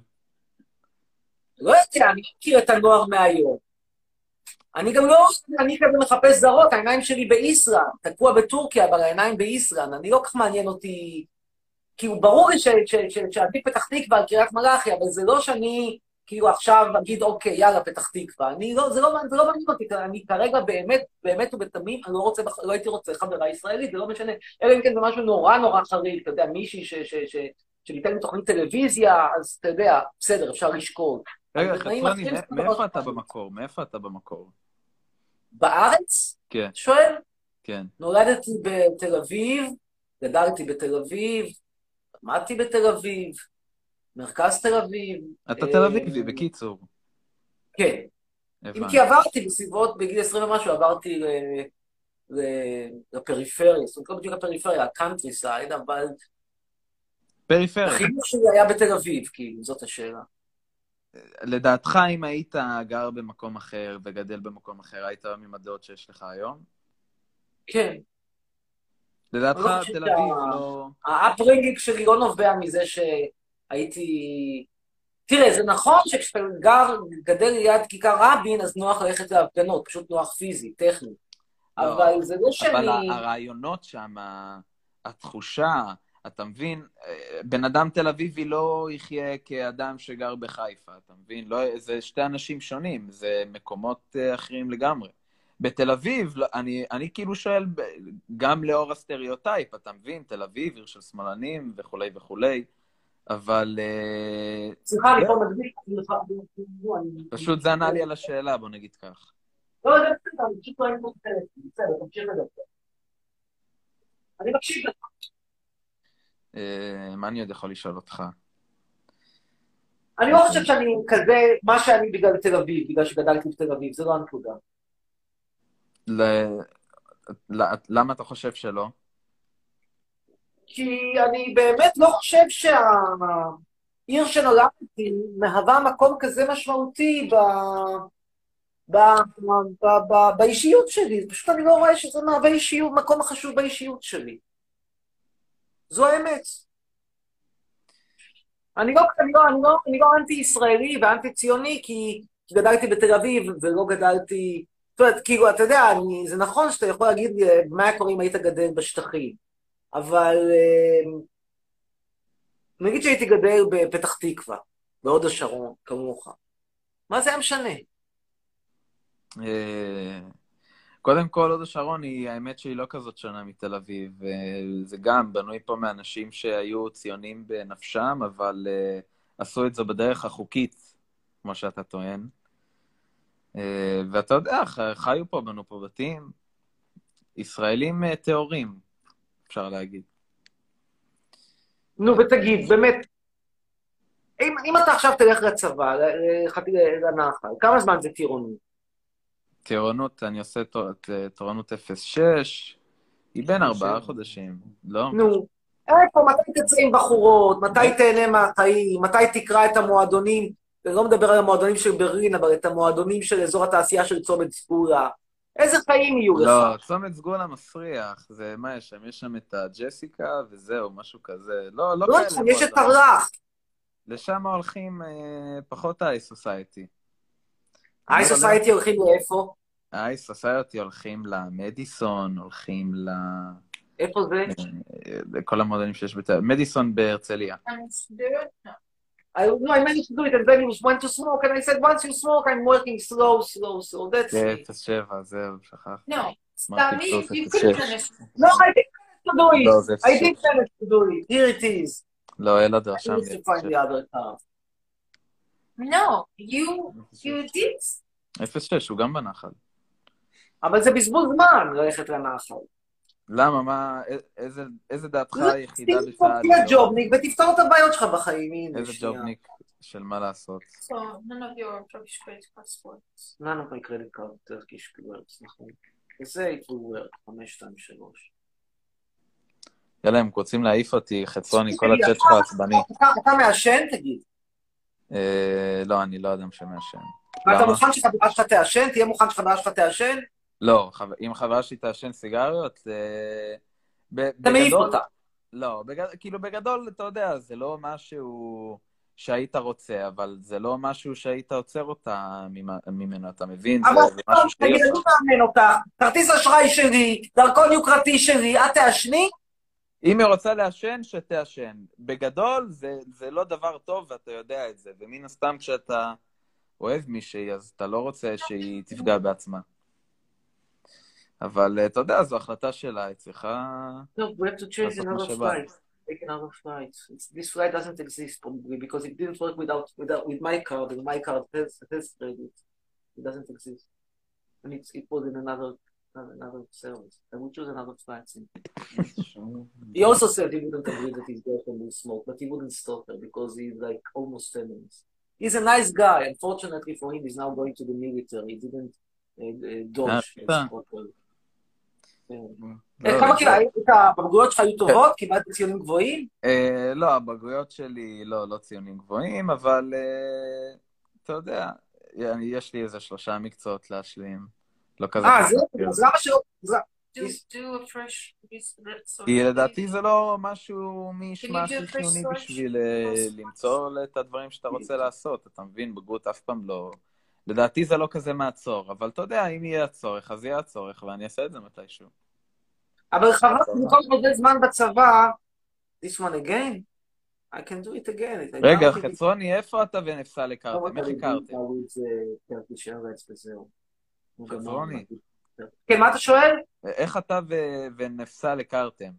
לא יודע, אני מכיר את הנוער מהיום. אני גם לא, אני כזה מחפש זרות, העיניים שלי באיסלנד, תקוע בטורקיה, אבל העיניים באיסלנד, אני לא כך מעניין אותי, כאילו ברור לי שעדיף פתח תקווה על קריית מלאכי, אבל זה לא שאני כאילו עכשיו אגיד, אוקיי, יאללה, פתח תקווה. אני לא, זה לא, זה לא מעניין אותי, אני כרגע באמת, באמת ובתמים, אני לא רוצה, לא הייתי רוצה חברה ישראלית, זה לא משנה, אלא אם כן זה משהו נורא נורא חריג, אתה יודע, מישהי ש, ש, ש, שניתן לי תוכנית טלוויזיה, אז אתה יודע, בסדר, אפשר לשקול.
רגע,
אבל בתנאים
חצרוני,
אחרים,
מא- מאיפה אתה במקור? מאיפה אתה במקור?
בארץ?
כן,
שואל?
כן.
נולדתי בתל אביב, גדלתי בתל אביב, למדתי בתל אביב, מרכז תל אביב.
אתה
אה,
תל אביבי, בקיצור.
כן. אם
הבנתי.
כי עברתי בסביבות, בגיל עשרים ומשהו, עברתי ל- ל- לפריפריה, זאת אומרת, לא בדיוק לפריפריה, הקאנטרי סייד, אבל
פריפריה.
החינוך שלי היה בתל אביב, כאילו, זאת השאלה.
לדעתך, אם היית גר במקום אחר וגדל במקום אחר, היית היום עם הדעות שיש לך היום?
כן.
לדעתך,
אני לא חושב
תל
שה-
אביב לא...
האפברינגינג שלי לא נובע מזה שהייתי... תראה, זה נכון שכשאתה גר, גדל ליד כיכר רבין, אז נוח ללכת להפגנות, פשוט נוח פיזי, טכני.
לא,
אבל זה לא שאני...
אבל ה- הרעיונות שם, ה- התחושה, אתה מבין? אה, בן אדם תל אביבי לא יחיה כאדם שגר בחיפה, אתה מבין? לא, זה שתי אנשים שונים, זה מקומות אה, אחרים לגמרי. בתל אביב, לא, אני, אני כאילו שואל, ב- גם לאור הסטריאוטייפ, אתה מבין? תל אביב, עיר של שמאלנים וכולי וכולי, אבל... אה,
סליחה, אני
זה-
פה מדביק.
פשוט זה ענה לי על השאלה, בוא נגיד כך.
לא, זה בסדר, אני פשוט לא הייתי פה טלפון, בסדר, תמשיך לדבר. אני מקשיב לך.
אה, מה אני עוד יכול לשאול אותך?
אני לא חושב שאני כזה, מה שאני בגלל תל אביב, בגלל שגדלתי בתל אביב, זה לא הנקודה.
ל- ל- למה אתה חושב שלא?
כי אני באמת לא חושב שהעיר שנולדתי מהווה מקום כזה משמעותי ב... ב... ב... ב... באישיות שלי. פשוט אני לא רואה שזה מהווה אישיות, מקום חשוב באישיות שלי. זו האמת. אני לא, אני לא, אני לא, אני לא אנטי-ישראלי ואנטי-ציוני, כי גדלתי בתל אביב ולא גדלתי... זאת אומרת, כאילו, אתה יודע, אני, זה נכון שאתה יכול להגיד לי מה היה קורה אם היית גדל בשטחים, אבל נגיד שהייתי גדל בפתח תקווה, בהוד השרון, כמוך. מה זה היה משנה?
קודם כל, הוד השרון היא, האמת שהיא לא כזאת שונה מתל אביב. זה גם בנוי פה מאנשים שהיו ציונים בנפשם, אבל עשו את זה בדרך החוקית, כמו שאתה טוען. ואתה יודע, חיו פה, בנו פה בתים, ישראלים טהורים, אפשר להגיד.
נו, ותגיד, באמת, אם, אם אתה עכשיו תלך לצבא, לנחל, כמה זמן זה טירונות?
טירונות, אני עושה תורנות אפס שש, היא בין ארבעה חודשים, לא?
נו, איפה, מתי תצא עם בחורות, מתי תהנה מהחיים, מתי תקרא את המועדונים, אני לא מדבר על המועדונים של ברלין, אבל את המועדונים של אזור התעשייה של צומת סגולה. איזה חיים יהיו לך?
לא, צומת סגולה מסריח, זה מה יש שם? יש שם את הג'סיקה וזהו, משהו כזה. לא, לא כאלה.
לא, יש את הרך.
לשם הולכים פחות ה-High Society.
ה-High Society הולכים לאיפה?
ה-High Society הולכים למדיסון, הולכים ל...
איפה זה?
לכל המועדונים שיש בתל... מדיסון בהרצליה.
I, no, I managed to do it, and then he was went to smoke, and I said, once you smoke, I'm working slow, slow, slow, that's it.
אפס שבע, זהו, שכח.
No, Tamim, you could manage.
No, I didn't manage to do it. I didn't manage to do it. Here it is.
לא, אלא דרשם
לי. I need to find the other car.
No, you, you did.
אפס שש, הוא גם בנחל.
אבל זה בזבוז זמן ללכת לנחל.
למה? מה, איזה, איזה דעתך היחידה בצעד?
תהיה ג'ובניק ותפתור את הבעיות שלך בחיים.
איזה ג'ובניק של מה לעשות?
So, none of your Turkish credit cards works.
None of my credit card Turkish works, נכון. וזה it will work, חמש, שתיים, שלוש.
יאללה, הם רוצים להעיף אותי, חצרוני, כל הצ'אט שלך עצבני.
אתה מעשן, תגיד?
לא, אני לא אדם שמעשן.
ואתה מוכן שחברה שלך תעשן? תהיה מוכן שחברה שלך תעשן?
לא, אם חברה שלי תעשן סיגריות,
אתה מעיף אותה.
לא, כאילו בגדול, אתה יודע, זה לא משהו שהיית רוצה, אבל זה לא משהו שהיית עוצר אותה ממנו, אתה מבין?
אבל תגיד, אני מאמן אותך, כרטיס אשראי שלי, דרכון יוקרתי שלי, את תעשני?
אם היא רוצה לעשן, שתעשן. בגדול, זה לא דבר טוב, ואתה יודע את זה, ומן הסתם כשאתה אוהב מישהי, אז אתה לא רוצה שהיא תפגע בעצמה. אבל אתה יודע, זו החלטה שלה, היא צריכה...
No, we have to choose another flight. Take another flight. This flight doesn't exist probably because it didn't work without, without with my card, and my card has, has credit. It doesn't exist. And it's, it was in another, another service. I would choose another flight. He also said he wouldn't agree that his girlfriend will smoke, but he wouldn't stop her because he's like almost feminist. He's a nice guy. Unfortunately for him, he's now going to the military. He didn't uh, uh, dodge. כמה כאילו, הבגרויות שלך היו טובות? קיבלת ציונים גבוהים?
לא, הבגרויות שלי לא ציונים גבוהים, אבל אתה יודע, יש לי איזה שלושה מקצועות להשלים. לא כזה...
אה, אז למה שלא...
כי לדעתי זה לא משהו משהו חיוני בשביל למצוא את הדברים שאתה רוצה לעשות, אתה מבין? בגרות אף פעם לא... לדעתי זה לא כזה מעצור, אבל אתה יודע, אם יהיה הצורך, אז יהיה הצורך, ואני אעשה את זה מתישהו.
אבל חבל, במקום הרבה זמן בצבא, this one again, I can do it again.
רגע, חצרוני, איפה אתה ונפסל הכרתם? איך הכרתם? חצרוני.
כן, מה אתה שואל?
איך אתה ונפסל הכרתם?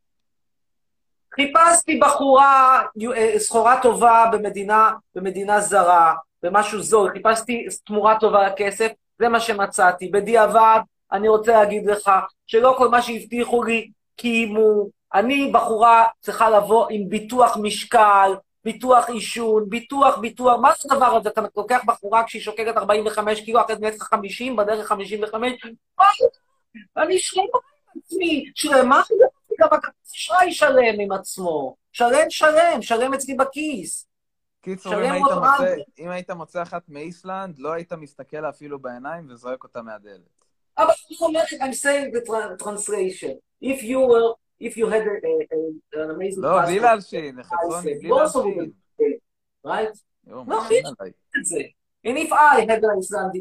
חיפשתי בחורה, סחורה טובה במדינה, במדינה זרה, במשהו זול, חיפשתי תמורה טובה לכסף, זה מה שמצאתי. בדיעבד, אני רוצה להגיד לך, שלא כל מה שהבטיחו לי, קיימו, אני בחורה צריכה לבוא עם ביטוח משקל, ביטוח אישון, ביטוח, ביטוח, מה זה הדבר הזה? אתה לוקח בחורה כשהיא שוקלת ארבעים וחמש קילו, אחרי זה נצחה חמישים, בדרך חמישים וחמש, אני שלמה עם עצמי, שלמה, גם הכרטיס אשראי שלם עם עצמו, שלם, שלם, שלם אצלי בכיס.
קיצור, אם היית מוצא אחת מאיסלנד, לא היית מסתכל אפילו בעיניים וזרק אותה מהדלת.
אבל אני אומר, I'm saying the translation. If you were, if you had an amazing...
לא, בלי להלשין, חצרוני, בלי להלשין.
Right? לא, בלי להלשין את זה. And if I had an Icelandic girl,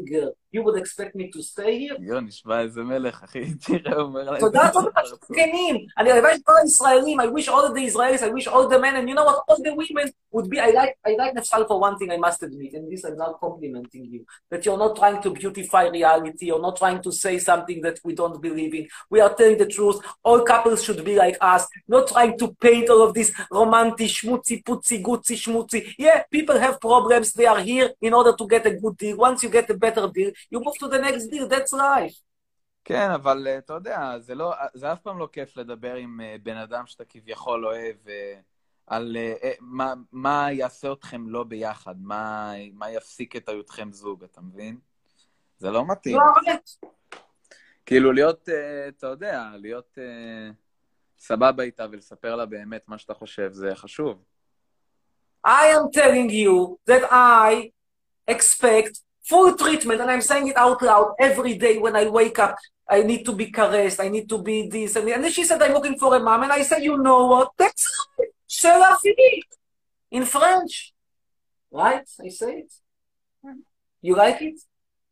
you would expect me to stay here?
יו, נשמע איזה מלך, אחי. תראה, אומר להם.
תודה, תודה, שכנים. אני הלוואי שכל הישראלים, I wish all the Israelis, I wish all the men, and you know what, all the women would be, I like, I like Nefsal for one thing, I must admit, and this I'm not complimenting you, that you're not trying to beautify reality, you're not trying to say something that we don't believe in. We are telling the truth. All couples should be like us, not trying to paint all of this romantic, schmutzy, putzy, gutsy, schmutzy. Yeah, people have problems, they are here in order to get a good deal. Once you get a better deal, you move to the next deal, that's life.
כן, אבל אתה יודע, זה לא, זה אף פעם לא כיף לדבר עם בן אדם שאתה כביכול אוהב, על מה, מה יעשה אתכם לא ביחד, מה, מה יפסיק את היותכם זוג, אתה מבין? זה לא מתאים.
לא, באמת.
כאילו להיות, אתה יודע, להיות סבבה איתה ולספר לה באמת מה שאתה חושב, זה חשוב.
I am telling you that I expect full treatment, and I'm saying it out loud every day when I wake up. I need to be caressed, I need to be this, and, and then she said, I'm looking for a mom, and I said, you know what, that's right, c'est la fille, in French. Right? I say it. You like it?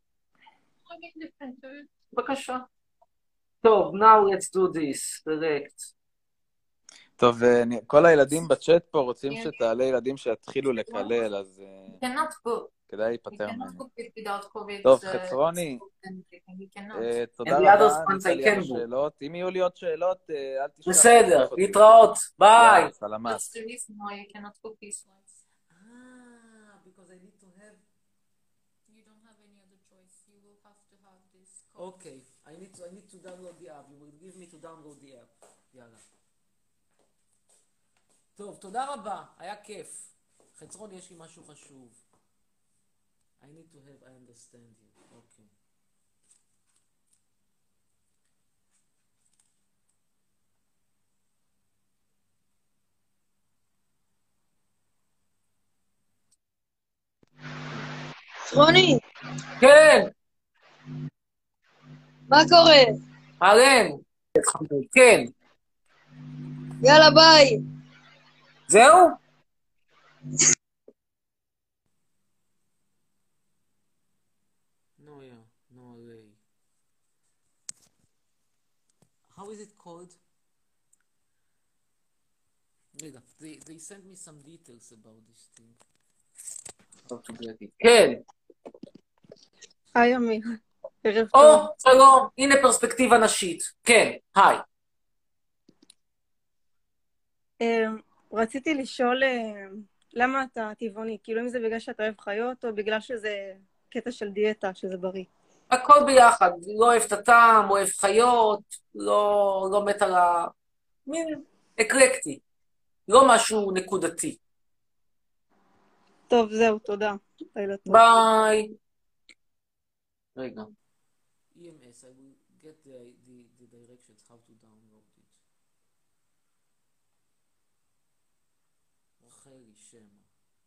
בבקשה. טוב, now let's do this, direct.
טוב, כל הילדים בצ'אט פה רוצים שתעלה ילדים שיתחילו לקלל, אז כדאי להיפטר מהם. טוב, חצרוני, תודה רבה, ניתן לי שאלות. אם יהיו לי עוד שאלות, אל תשכח.
בסדר, להתראות, ביי.
סלמת.
Okay, I need to I need to download the app. You will give me to download the app. יאללה. טוב, תודה רבה, היה כיף. חצרון, יש לי משהו חשוב. I need to have, I understand you. אוקיי.
חצרוני,
כן.
מה קורה?
אהלן. כן.
יאללה, ביי.
זהו?
No, yeah, no way. How is it called? רגע, they, they sent me some details about this thing.
כן.
היי, אמיר. ערב
או,
טוב.
שלום, הנה פרספקטיבה נשית. כן, היי.
אמ, רציתי לשאול אה, למה אתה טבעוני? כאילו אם זה בגלל שאתה אוהב חיות, או בגלל שזה קטע של דיאטה, שזה בריא?
הכל ביחד. לא אוהב את הטעם, אוהב חיות, לא, לא מת על ה... מין אקלקטי. לא משהו נקודתי.
טוב, זהו, תודה. לילה טוב.
ביי. רגע.
E M S, I will get the, the, the directions how to download it. רחלי שמה.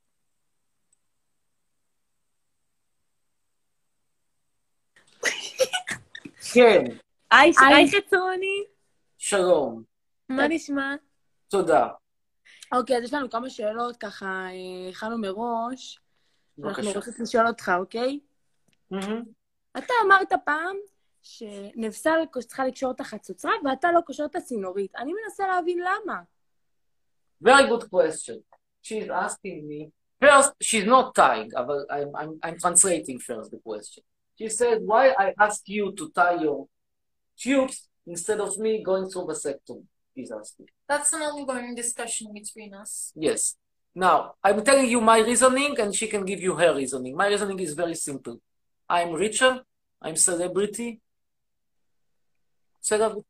כן.
היי, היי חצרוני.
שלום.
מה נשמע?
תודה.
אוקיי, אז יש לנו כמה שאלות, ככה הכנו מראש. אנחנו
בבקשה.
רוצים לשאול אותך, אוקיי?
מהמם.
אתה אמרת פעם שנבסל צריכה לקשור את החצוצרה, ואתה לא קושר את הצינורית. אני מנסה להבין למה.
Very good question. She's asking me. First, she's not tying, but I'm, I'm, I'm translating first the question. She said, why I ask you to tie your tubes instead of me going through vasectomy? She's asking.
That's an ongoing discussion between us.
Yes. Now, I'm telling you my reasoning, and she can give you her reasoning. My reasoning is very simple. I'm richer. I'm celebrity. Celebrity.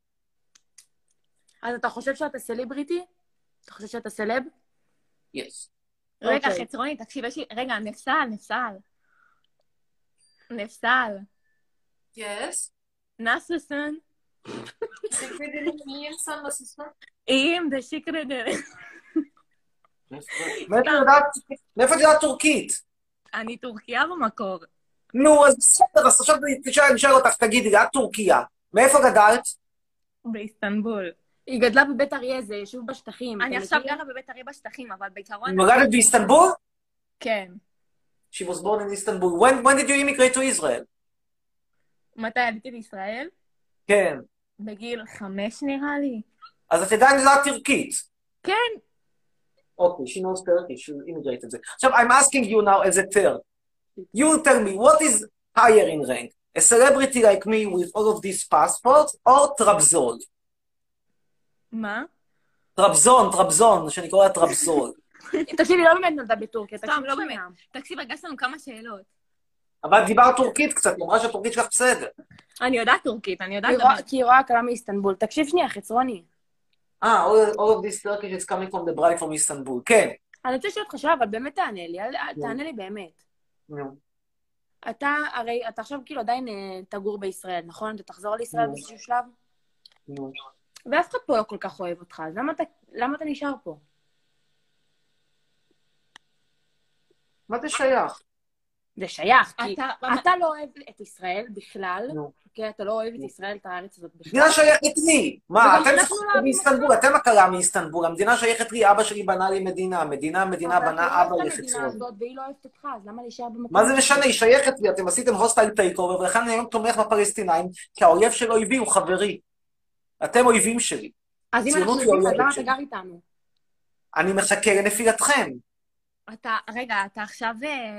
אז אתה חושב שאתה סלבריטי? אתה חושב שאתה סלב?
Yes.
רגע,
אוקיי.
חצרוני, תקשיב, יש לי... רגע, נפסל, נפסל. נפסל.
Yes.
נסוסון.
Secretary me and son nasılsın?
אים, דה שיקרדר.
מאיפה את יודעת טורקית?
אני טורקיה במקור.
נו, אז בסדר, אז עכשיו אני אשאל אותך, תגידי, את טורקיה. מאיפה גדלת?
באיסטנבול. היא גדלה בבית אריה, זה יישוב בשטחים. אני
אתה
עכשיו
מכיר?
גרה בבית אריה בשטחים, אבל בעיקרון...
נולדת באיסטנבול?
כן.
She was born in Istanbul. When, when did you immigrate to Israel?
מתי עליתי לישראל?
כן.
בגיל חמש נראה לי.
אז את עדיין יודעת טורקית.
כן.
Okay, she knows Turkish, she immigrated there. So I'm asking you now as a third. You tell me, what is higher in rank? A celebrity like me with all of these passports, or Trabzon?
מה?
טרבזון, טרבזון, שאני קורא לה טרבזון.
תקשיבי, לא באמת נולדה בטורקיה,
סתם, לא באמת. תקשיב, הגשת לנו כמה שאלות.
אבל דיברת טורקית קצת, היא אמרה שהטורקית שלך בסדר.
אני יודעת טורקית, אני יודעת...
כי היא רואה קלה מאיסטנבול. תקשיב שנייה, חצרוני.
אה, all of this Turkish is coming from the bride from Istanbul, כן.
אני רוצה לשאול אותך שאלה, אבל באמת תענה לי, תענה לי באמת. אתה, הרי, אתה עכשיו כאילו עדיין תגור בישראל, נכון? אתה תחזור לישראל באיזשהו שלב? ואף אחד פה לא כל כך אוהב אותך, אז למה אתה נשאר פה?
מה זה שייך?
זה שייך, כי אתה לא אוהב את ישראל בכלל, כי אתה לא אוהב את ישראל, את הארץ הזאת בכלל.
המדינה שייכת לי. מה, אתם שייכים מאיסטנבול, אתם הקלה מאיסטנבול, המדינה שייכת לי, אבא שלי בנה לי מדינה, המדינה, המדינה בנה אבא לחצרון.
והיא לא אוהבת אותך, אז למה להישאר במקום?
מה זה משנה, היא שייכת לי, אתם עשיתם הוסטייל טייק אובר, ולכן אני היום תומך בפלסטינאים, כי האויב של אויבי הוא חברי. אתם אויבים שלי.
אז אם אנחנו יודעים, אז למה אתה גר איתנו?
אני מחכה לנפילתכם.
אתה, רגע, אתה עכשיו...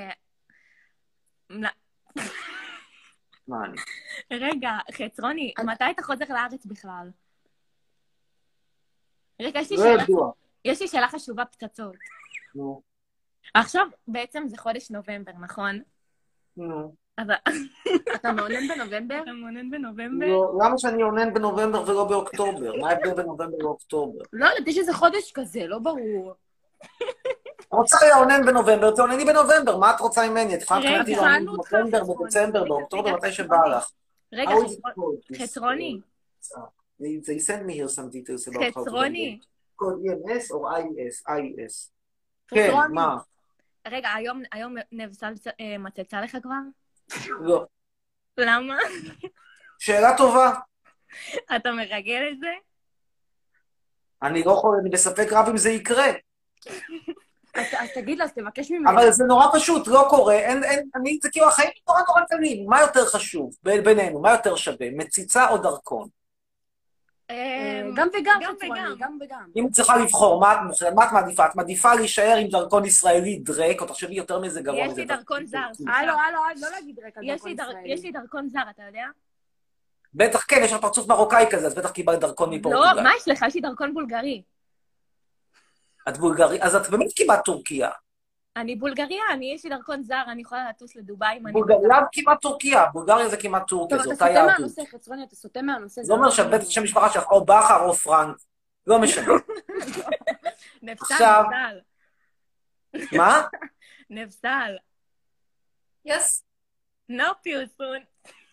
מה אני?
רגע, חצרוני, מתי אתה חוזר לארץ בכלל? רגע, יש לי שאלה... יש לי שאלה חשובה פצצות.
נו.
עכשיו בעצם זה חודש נובמבר, נכון?
נו.
אתה מעונן בנובמבר?
אתה מעונן בנובמבר?
לא, למה שאני עונן בנובמבר ולא באוקטובר? מה ההבדל בנובמבר ואוקטובר?
לא, יש איזה חודש כזה, לא ברור.
רוצה לעונן בנובמבר, תעונני בנובמבר, מה את רוצה ממני? את יכולה לקחת לי לעונן בנובמבר, בדצמבר, באוקטובר, מתי שבא לך.
רגע, חצרוני.
They send me here some details about how to
חצרוני.
code E M S או I E S? I E S. כן, מה?
רגע, היום נבסל מצצה לך כבר?
לא.
למה?
שאלה טובה.
אתה מרגל את זה?
אני לא יכול, אני בספק רב אם זה יקרה.
אז תגיד לה, אז תבקש ממנו.
אבל זה נורא פשוט, לא קורה, אין, אין, אני, זה כאילו, החיים נורא נורא קלים, מה יותר חשוב בינינו, מה יותר שווה, מציצה או דרכון?
גם וגם, גם וגם.
אם צריכה לבחור, מה את מעדיפה? את מעדיפה להישאר עם דרכון ישראלי דרק, או תחשבי יותר מזה גרוע.
יש לי דרכון זר.
הלו, הלו, לא להגיד דרק על דרכון ישראלי.
יש לי דרכון זר, אתה יודע?
בטח כן, יש לך פרצוף מרוקאי כזה, אז בטח קיבלת דרכון מפורטוגל.
לא, מה יש לך? יש לי דרכון בולגרי.
את בולגרי, אז את באמת כמעט טורקיה.
אני בולגריה, אני יש לי דרכון זר, אני יכולה לטוס לדובאי.
בולגריה כמעט טורקיה, בולגריה זה כמעט טורקיה, זו אותה יהדות.
אתה סוטה מהנושא, חצרוני, אתה סוטה מהנושא.
זה אומר שאת בטח שם משפחה שלך, או בכר או פרנק, לא משנה.
נבסל.
מה?
נבסל.
Yes.
No פרסום.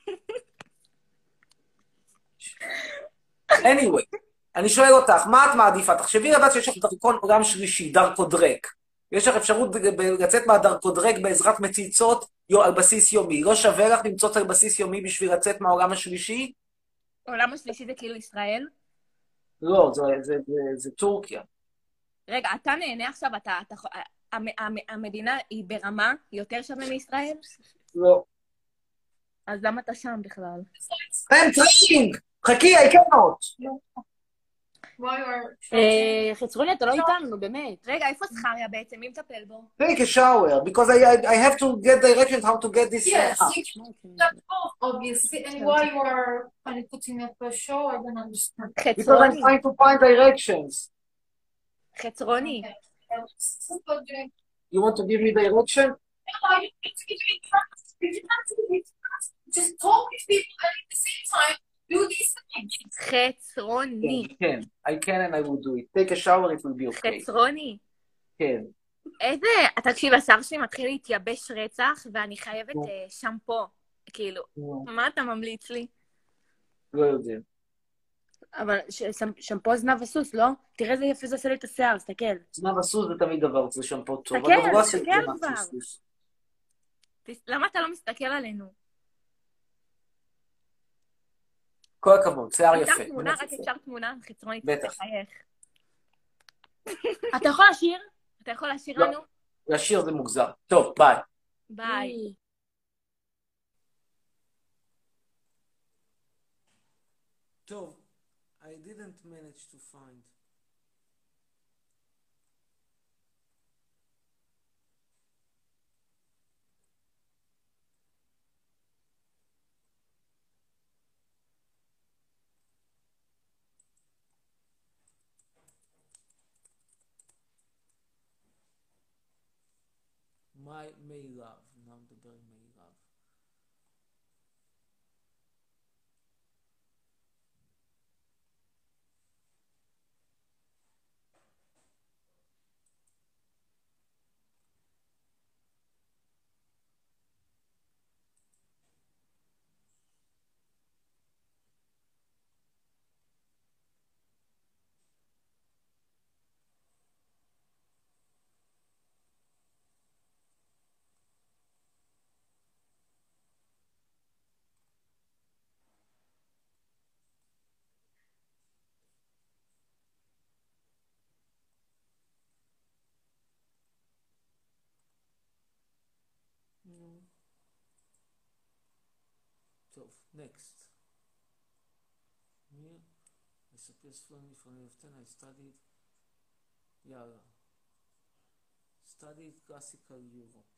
anyway. אני שואל אותך, מה את מעדיפה? תחשבי לדעת שיש לך דרכון עולם שלישי, דרכודרק. יש לך אפשרות לצאת מהדרכודרק בעזרת מציצות על בסיס יומי. לא שווה לך למצוץ על בסיס יומי בשביל לצאת מהעולם השלישי?
העולם השלישי זה כאילו ישראל?
לא, זה, זה, זה, זה טורקיה.
רגע, אתה נהנה עכשיו, אתה, אתה, המדינה היא ברמה יותר שווה מישראל?
לא.
אז למה אתה שם בכלל?
I'm trying! חכי, I cannot!
חצרוני, אתה לא איתנו, באמת.
רגע, איפה זכריה בעצם? מי מטפל בו?
Take a shower, because I, I have to get directions how to get this...
Yes, obviously, and why you are kind of putting up a show, I don't understand.
Because I'm trying to find directions.
חצרוני.
You want to give me direction?
No, you need to give me directions. Just talk with people and at the same time, do these things.
חצרוני.
כן, I can and I will do it. Take a shower, it will be okay.
חצרוני.
כן.
איזה... תקשיב, השיער שלי מתחיל להתייבש רצח, ואני חייבת שמפו. כאילו, מה אתה ממליץ לי?
לא יודע.
אבל שמפו זנב הסוס, לא? תראה איזה יפה זה עושה לי את השיער, תסתכל.
זנב הסוס זה תמיד דבר, זה שמפו טוב.
תסתכל, תסתכל כבר. למה אתה לא מסתכל עלינו?
כל הכבוד, שיער יפה.
אפשר תמונה, רק אפשר תמונה, חצרונית, תחייך.
אתה יכול לשיר?
אתה יכול לשיר לנו?
לשיר זה מוגזר. טוב, ביי.
ביי.
טוב, I didn't manage to find. My may love, now מדבר עם may love. טוב, next. Here, I suppose fluently from age of ten I studied, יאללה. Studied classical Europe.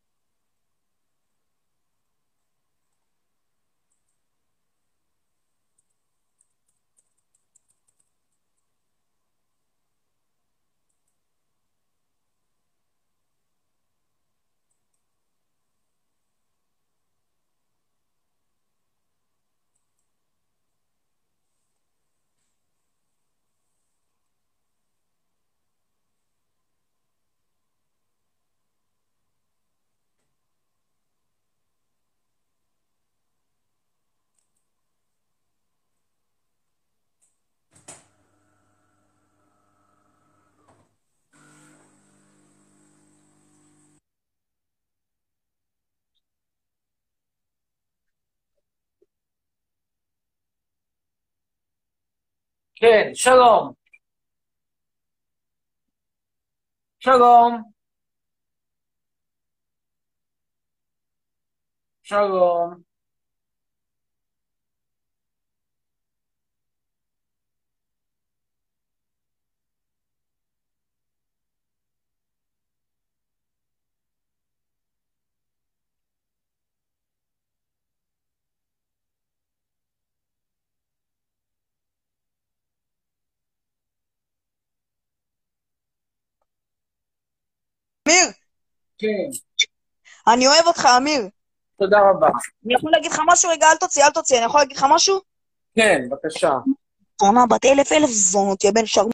כן, שלום. שלום. שלום.
אמיר,
כן,
אני אוהב אותך, אמיר.
תודה רבה.
אני יכול להגיד לך משהו? רגע, אל תוציא, אל תוציא. אני יכול להגיד לך משהו?
כן, בבקשה.
זונה בת אלף אלף זונות, יא בן שרמוט.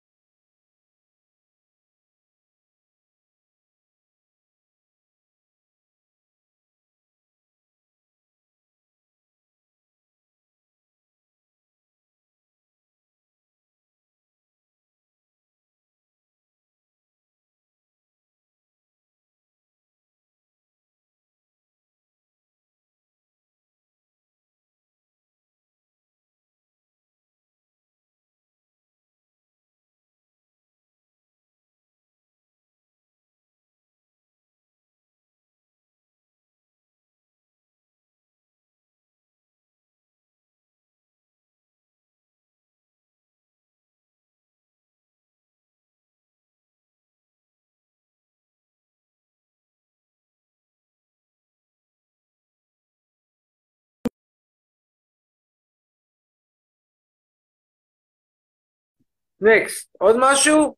נקסט, עוד משהו?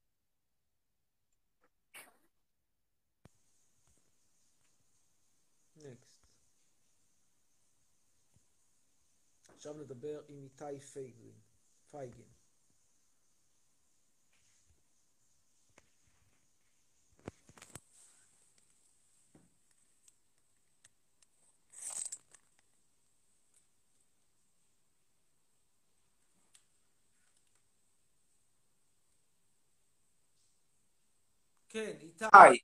Next. עכשיו נדבר עם איתי פייגלין. פייגין. כן, איתי.
היי.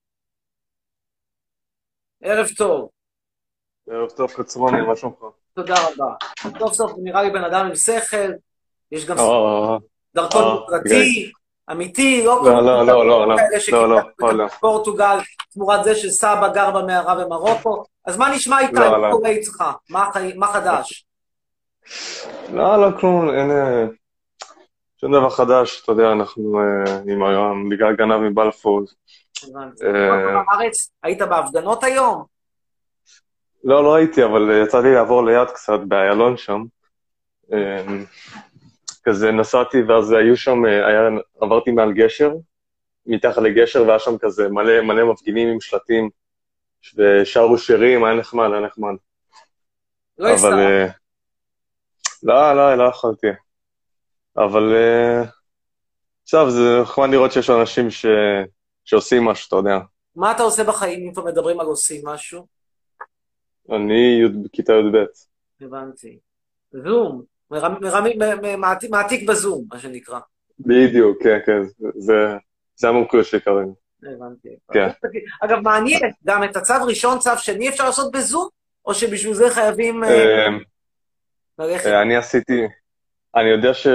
ערב טוב.
ערב טוב, קצרוני, מה שלומך?
תודה רבה. סוף סוף נראה לי בן אדם עם שכל, יש גם
אה,
דרכון
אה,
פרטי, אמיתי, לא
לא, לא, לא, לא, לא, לא, לא, לא.
פורטוגל, תמורת זה שסבא גר במערה במרוקו. אז מה נשמע איתה,
לא,
מה
לא.
קורה איתך? מה חי- מה חדש?
לא, לא, כלום, אין... אה, שום דבר חדש, אתה יודע, אנחנו אה, עם היום, בגלל גנב מבלפור.
הבנתי.
אה,
בארץ, היית בהפגנות היום?
לא, לא הייתי, אבל אה, יצא לי לעבור ליד קצת, באיילון שם. אה, כזה נסעתי, ואז היו שם, אה, היה, עברתי מעל גשר, מתחת לגשר, והיה שם כזה מלא, מלא מפגינים עם שלטים, ושרו שירים, היה נחמד, היה נחמד.
לא
אבל...
הסתרה.
אה, לא, לא, לא יכולתי. אבל אה, עכשיו זה נחמד לראות שיש אנשים ש... שעושים משהו, אתה יודע.
מה אתה עושה בחיים אם כבר מדברים על עושים משהו?
אני י'- בכיתה י"ב.
הבנתי. זום. מרמ- מרמים- מ- מ- מעתיק- מעתיק בזום, מה שנקרא.
בדיוק, כן, כן. זה, זה המומחיות שלי כרגע.
הבנתי.
כן.
אגב, מעניין, גם את הצו ראשון, צו שני אפשר לעשות בזום? או שבשביל זה חייבים אה,
אה,
ללכת?
אה, אני עשיתי, אני יודע ש...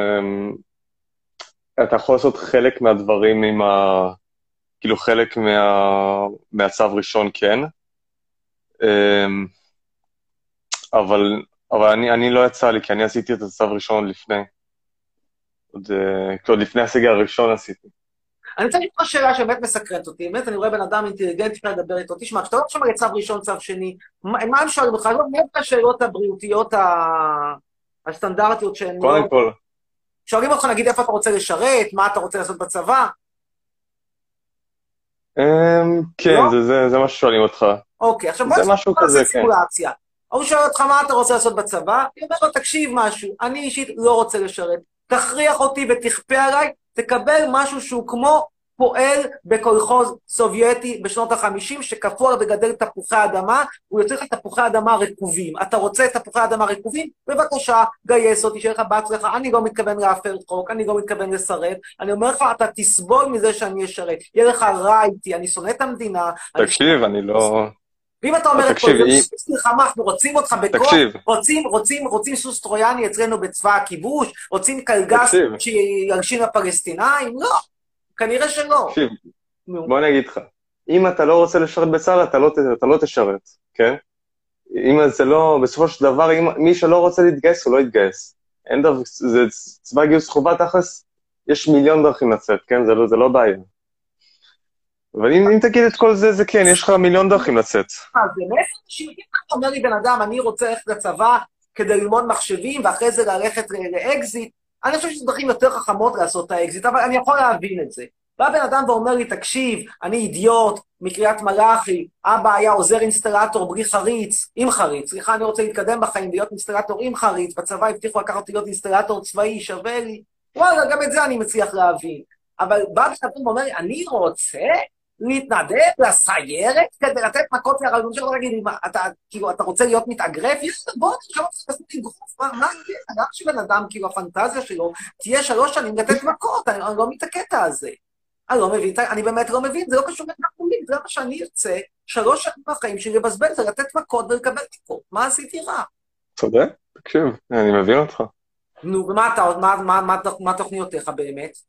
אתה יכול לעשות חלק מהדברים עם ה... כאילו חלק מה... מהצו ראשון, כן. אה, אבל, אבל אני, אני לא יצא לי, כי אני עשיתי את הצו ראשון לפני. עוד, אה, עוד לפני הסגר הראשון עשיתי.
אני רוצה לשאול שאלה שבאמת מסקרנת אותי, באמת אני רואה בן אדם אינטליגנטי שאתה לדבר איתו, תשמע, כשאתה לא שומע צו ראשון, צו שני, מה מה הם שואלים לך? לא, מאיפה השאלות הבריאותיות ה- הסטנדרטיות שהן לא...
קודם כל,
שואלים אותך, נגיד, איפה אתה רוצה לשרת, מה אתה רוצה לעשות בצבא?
אמ, כן,
לא?
זה, זה, זה מה ששואלים אותך.
אוקיי, עכשיו בוא
זה
נעשה
משהו
בוא נעשה
כזה, כן.
סימולציה. הוא שואל אותך מה אתה רוצה לעשות בצבא, אני אומר לו, תקשיב משהו, אני אישית לא רוצה לשרת, תכריח אותי ותכפה עליי, תקבל משהו שהוא כמו פועל בקולחוז סובייטי בשנות ה-חמישים, שכפו עליו לגדל תפוחי אדמה, הוא יוצא לך תפוחי אדמה רקובים. אתה רוצה תפוחי אדמה רקובים? בבקשה, גייס אותי, שיהיה לך בהצלחה. אני לא מתכוון להפר חוק, אני לא מתכוון לסרב. אני אומר לך, אתה תסבול מזה שאני אשרת. יהיה לך רע איתי, אני שונא את המדינה.
תקשיב, אני לא...
ואם אתה אומר את כל
תקשיב,
זה,
אם-
סוס מלחמה, אנחנו רוצים אותך בכוח,
תקשיב.
רוצים, רוצים, רוצים סוס טרויאני אצלנו בצבא הכיבוש, רוצים קלגס
תקשיב.
שיגשים לפלסטינאים? לא, כנראה שלא.
תקשיב,
נו.
בוא אני אגיד לך. אם אתה לא רוצה לשרת בצה"ל, אתה לא, ת- אתה לא תשרת, כן? אם זה לא, בסופו של דבר, אם, מי שלא רוצה להתגייס, הוא לא יתגייס. אין דבר, זה צבא גיוס חובה תכלס, יש מיליון דרכים לצאת, כן? זה לא, זה לא בעיה. אבל אם, אם תגיד את כל זה, זה כן, יש לך מיליון דרכים לצאת.
מה זה, מאיפה אנשים, אם אתה אומר לי בן אדם, אני רוצה ללכת לצבא כדי ללמוד מחשבים, ואחרי זה ללכת ל- לאקזיט, אני חושב שזה דרכים יותר חכמות לעשות את האקזיט, אבל אני יכול להבין את זה. בא בן אדם ואומר לי, תקשיב, אני אידיוט מקריית מלאכי, אבא היה עוזר אינסטלטור בלי חריץ, עם חריץ, סליחה, אני רוצה להתקדם בחיים, להיות אינסטלטור עם חריץ, בצבא הבטיחו לקחת אותי להיות אינסטלטור צבאי, שווה לי, וואלה, גם את זה אני מצליח להבין. אבל בא בן אדם ואומר לי, אני רוצה להתנדב לסיירת כדי לתת מכות להרגלים שלו, תגיד לי, מה, אתה, כאילו, אתה רוצה להיות מתאגרף? יאללה, בוא, עכשיו אתה עושה תגרוף, מה, מה זה? אדם שבן אדם, כאילו, הפנטזיה שלו, תהיה שלוש שנים לתת מכות, אני, אני לא מבין את הקטע הזה. אני לא מבין, אני באמת לא מבין, זה לא קשור לתחומים, זה מה שאני ארצה, שלוש שנים בחיים שלי לבזבז זה לתת מכות ולקבל מכות, מה עשיתי רע?
צודק? תקשיב, אני מבין אותך.
נו, ומה אתה, מה, מה, מה, מה תוכניותיך באמת?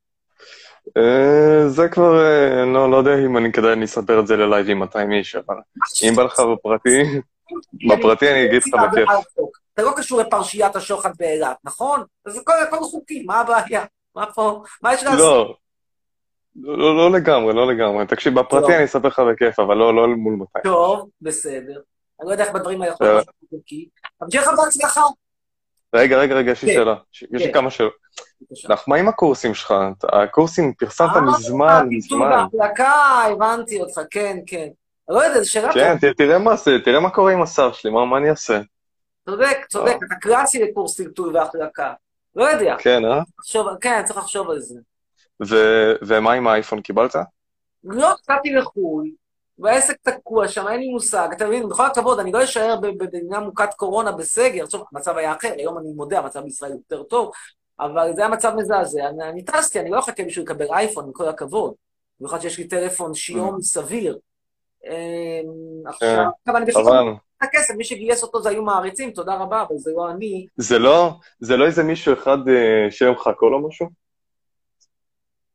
אה, זה כבר, אה, לא, לא יודע אם אני כדאי אני אספר את זה ללייב עם מאתיים איש, אבל אם בא לך בפרטי, בפרטי אני אגיד לך בכיף.
אתה לא קשור לפרשיית השוחד באילת, נכון? אז זה הכל חוקי, מה הבעיה? מה פה? מה יש לעשות?
לא, לא, לא לגמרי, לא לגמרי. תקשיב, בפרטי אני אספר לך בכיף, אבל לא, לא מול מאתיים.
טוב, בסדר. אני לא יודע איך בדברים האלה יכולים לעשות חוקי. אבל שיהיה לך בהצלחה.
רגע, רגע, רגע, יש לי שאלה. יש לי כמה שאלות. לך, מה עם הקורסים שלך? הקורסים פרסמת מזמן, מזמן.
בהחלקה, הבנתי אותך, כן, כן. לא יודע, זו שאלה
כן, תראה מה זה, תראה מה קורה עם השר שלי, מה אני אעשה?
צודק, צודק, אתה קלאסי לקורס טלטול והחלקה. לא יודע.
כן, אה?
כן, צריך לחשוב על זה.
ומה עם האייפון, קיבלת?
לא, קצתי לחו"ל, והעסק תקוע שם, אין לי מושג. אתה מבין, בכל הכבוד, אני לא אשאר במדינה מוכת קורונה בסגר. טוב, המצב היה אחר, היום אני מודה, המצב בישראל יותר טוב, אבל זה היה מצב מזעזע. אני, אני טסתי, אני לא אחכה בשביל לקבל אייפון, עם כל הכבוד. במיוחד שיש לי טלפון שיום סביר. עכשיו, אני בשביל את הכסף, מי שגייס אותו זה היו מעריצים, תודה רבה, אבל זה לא אני.
זה לא, זה לא איזה מישהו אחד שיהיה לך קול או משהו?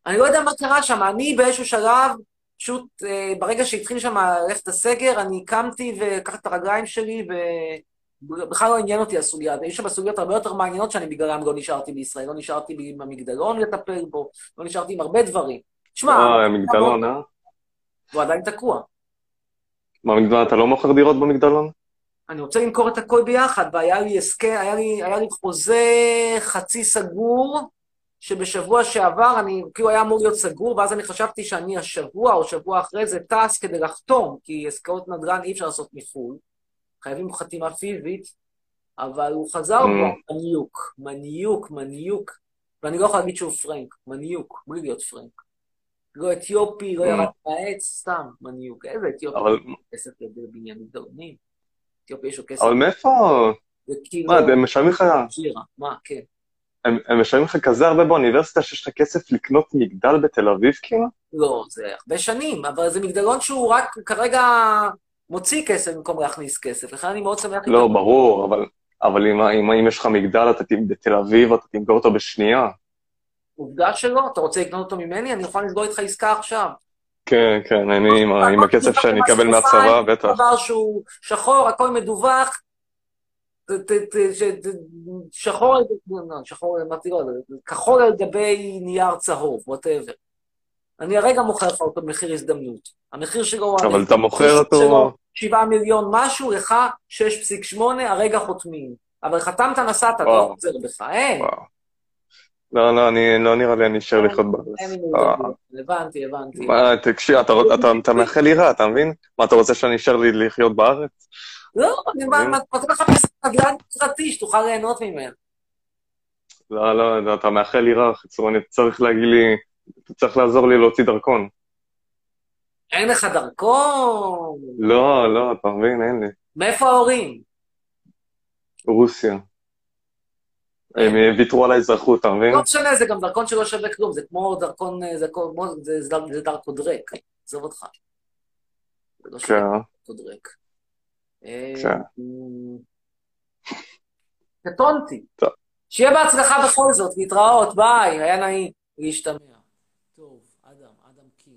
אני לא יודע מה קרה שם, אני באיזשהו שלב, פשוט אה, ברגע שהתחיל שם ללכת הסגר, אני קמתי ולקחתי את הרגליים שלי, ובכלל לא עניין אותי הסוגיה. יש שם סוגיות הרבה יותר מעניינות שאני בגללם לא נשארתי בישראל, לא נשארתי עם המגדלון לטפל בו, לא נשארתי עם הרבה דברים. תשמע,
אה, מגדלון, אה?
הוא עדיין תקוע.
מה, מגדלון, אתה לא מוכר דירות במגדלון?
אני רוצה למכור את הכל ביחד, והיה לי הסכם, היה לי, היה לי חוזה חצי סגור, שבשבוע שעבר אני, כאילו היה אמור להיות סגור, ואז אני חשבתי שאני השבוע או שבוע אחרי זה טס כדי לחתום, כי עסקאות נדל"ן אי אפשר לעשות מחו"ל, חייבים חתימה פיזית, אבל הוא חזר בו, מניוק, מניוק, מניוק, ואני לא יכול להגיד שהוא פרנק, מניוק, בלי להיות פרנק. לא אתיופי, לא ירד מהעץ, סתם, מניוק. איזה אתיופי? כסף לבניין מגדלונים. אתיופי יש לו כסף.
אבל מאיפה? מה, הם משלמים לך...
מה, כן.
הם משלמים לך כזה הרבה באוניברסיטה שיש לך כסף לקנות מגדל בתל אביב, כאילו?
לא, זה הרבה שנים, אבל זה מגדלון שהוא רק כרגע מוציא כסף במקום להכניס כסף, לכן אני מאוד שמח...
לא, ברור, אבל אם יש לך מגדל בתל אביב, אתה תמכור אותו בשנייה.
עובדה שלא, אתה רוצה לקנות אותו ממני? אני יכול לסגור איתך עסקה עכשיו.
כן, כן, אני עם הכסף שאני אקבל מהצבא, בטח.
דבר שהוא שחור, הכל מדווח, שחור, שחור, אמרתי לו, כחול על גבי נייר צהוב, whatever. אני הרגע מוכר לך אותו במחיר הזדמנות. המחיר שלו...
אבל אתה מוכר אותו...
שבעה מיליון משהו, לך שש נקודה שמונה, הרגע חותמים. אבל חתמת נסעת, לא עוזר בך, אין.
לא, לא, לא נראה לי, אני אשאר לחיות בארץ.
הבנתי, הבנתי.
תקשיב, אתה מאחל לי רע, אתה מבין? מה, אתה רוצה שאני אשאר לי לחיות בארץ?
לא, אני מתחיל לך נדל"ן פרטי שתוכל ליהנות ממנו.
לא, לא, אתה מאחל לי רע, חצור, אני צריך להגיד לי, אתה צריך לעזור לי להוציא דרכון.
אין לך דרכון?
לא, לא, אתה מבין, אין לי.
מאיפה ההורים?
רוסיה. הם ויתרו על האזרחות, אתה מבין?
לא משנה, זה גם דרכון שלא שווה כלום, זה כמו דרכון, זה דרכו דרק, עזוב אותך. זה לא שווה דרכו דרק. קטונתי. שיהיה בהצלחה בכל זאת, להתראות, ביי, היה נעים להשתמע. טוב, אדם, אדם קינג.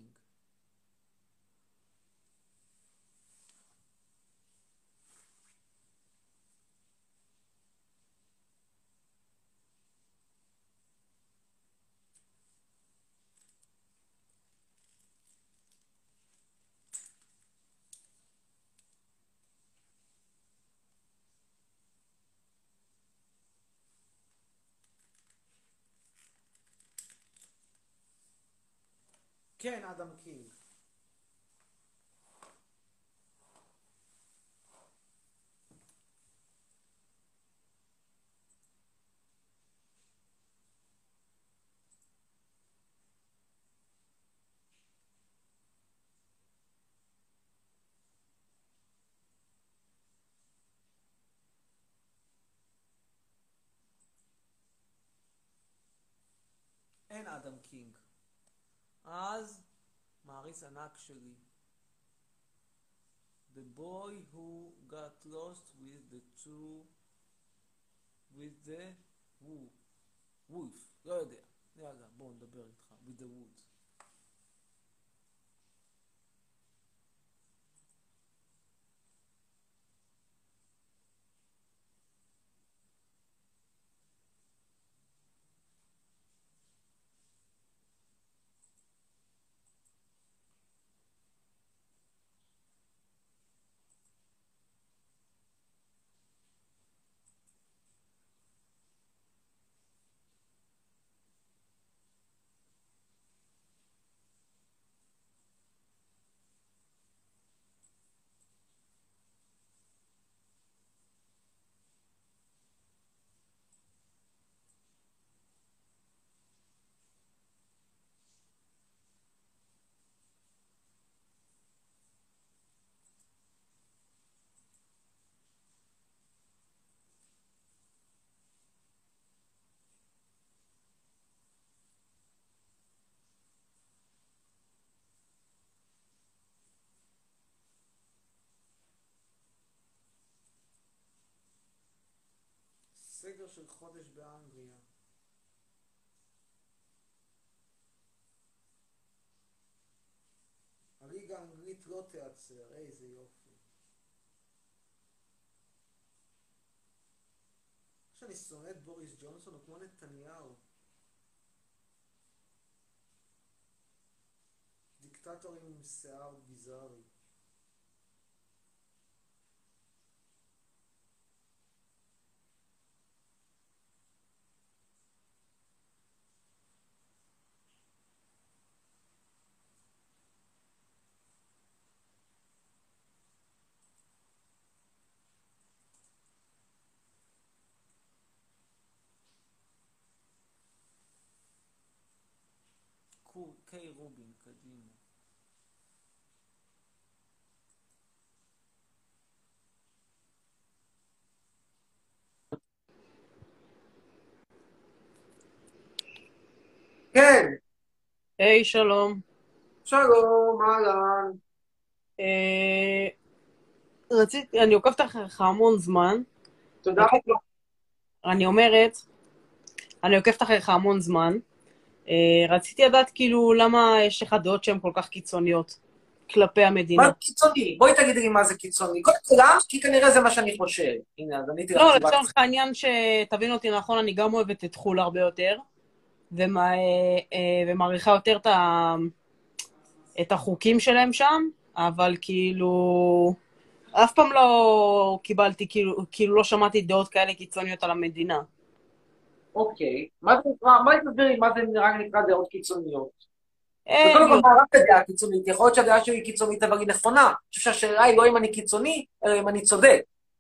כן, אדם קינג. אין אדם קינג. אז מעריץ ענק שלי. The boy who got lost with the two with the wolf. לא יודע. יאללה, בואו נדבר איתך. with the woods. סגר של חודש באנגליה.
האנגלית לא תיעצר, איזה יופי. שאני שונא את בוריס ג'ונסון, הוא כמו נתניהו. דיקטטורים עם שיער ביזארי. קיי רובין, קדימה. כן.
היי, שלום.
שלום, אהלן.
אה, רציתי, אני עוקבת אחריך המון זמן.
תודה רבה.
אני אומרת, אני עוקבת אחריך המון זמן. אה, רציתי לדעת כאילו למה יש לך דעות שהן כל כך קיצוניות כלפי המדינה.
מה קיצוני? בואי תגידי לי מה זה קיצוני. קודם כל, למה? כי כנראה זה מה שאני חושב. הנה, אז אני תראה.
לא, לצורך העניין שתבין אותי נכון, אני גם אוהבת את חול הרבה יותר, ומה, ומעריכה יותר את, ה, את החוקים שלהם שם, אבל כאילו, אף פעם לא קיבלתי, כאילו, כאילו לא שמעתי דעות כאלה קיצוניות על המדינה.
אוקיי. מה זה נקרא, מה תסבירי, מה זה נראה נקרא דעות קיצוניות? וקודם כל, מה רק הדעה קיצונית? יכול להיות שהדעה שלי קיצונית, אבל היא נכונה. אני חושב שהשאלה היא לא אם אני קיצוני, אלא אם אני צודק.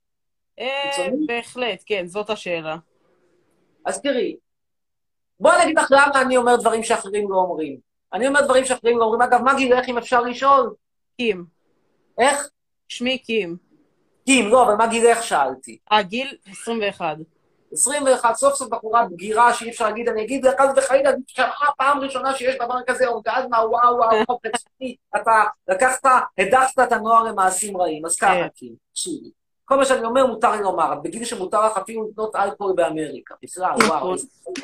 בהחלט, כן, זאת השאלה.
אז תראי, בואי נגיד לך למה אני אומר דברים שאחרים לא אומרים. אני אומר דברים שאחרים לא אומרים. אגב, מה גילך אם אפשר לשאול?
קים.
איך?
שמי קים.
קים, לא, אבל מה גילך שאלתי?
אה, גיל עשרים ואחת.
עשרים ואחת, סוף סוף בחורה בגירה שאי אפשר להגיד, אני אגיד לך וחלילה, שמעה פעם ראשונה שיש דבר כזה, אורגזמה, וואו, וואו, וואו, פצעי, אתה לקחת, הדחת את הנוער למעשים רעים, אז ככה, קים, תקשיבי. כל מה שאני אומר מותר לי לומר, בגיל שמותר לך אפילו לקנות אלכוהול באמריקה, בכלל, וואו.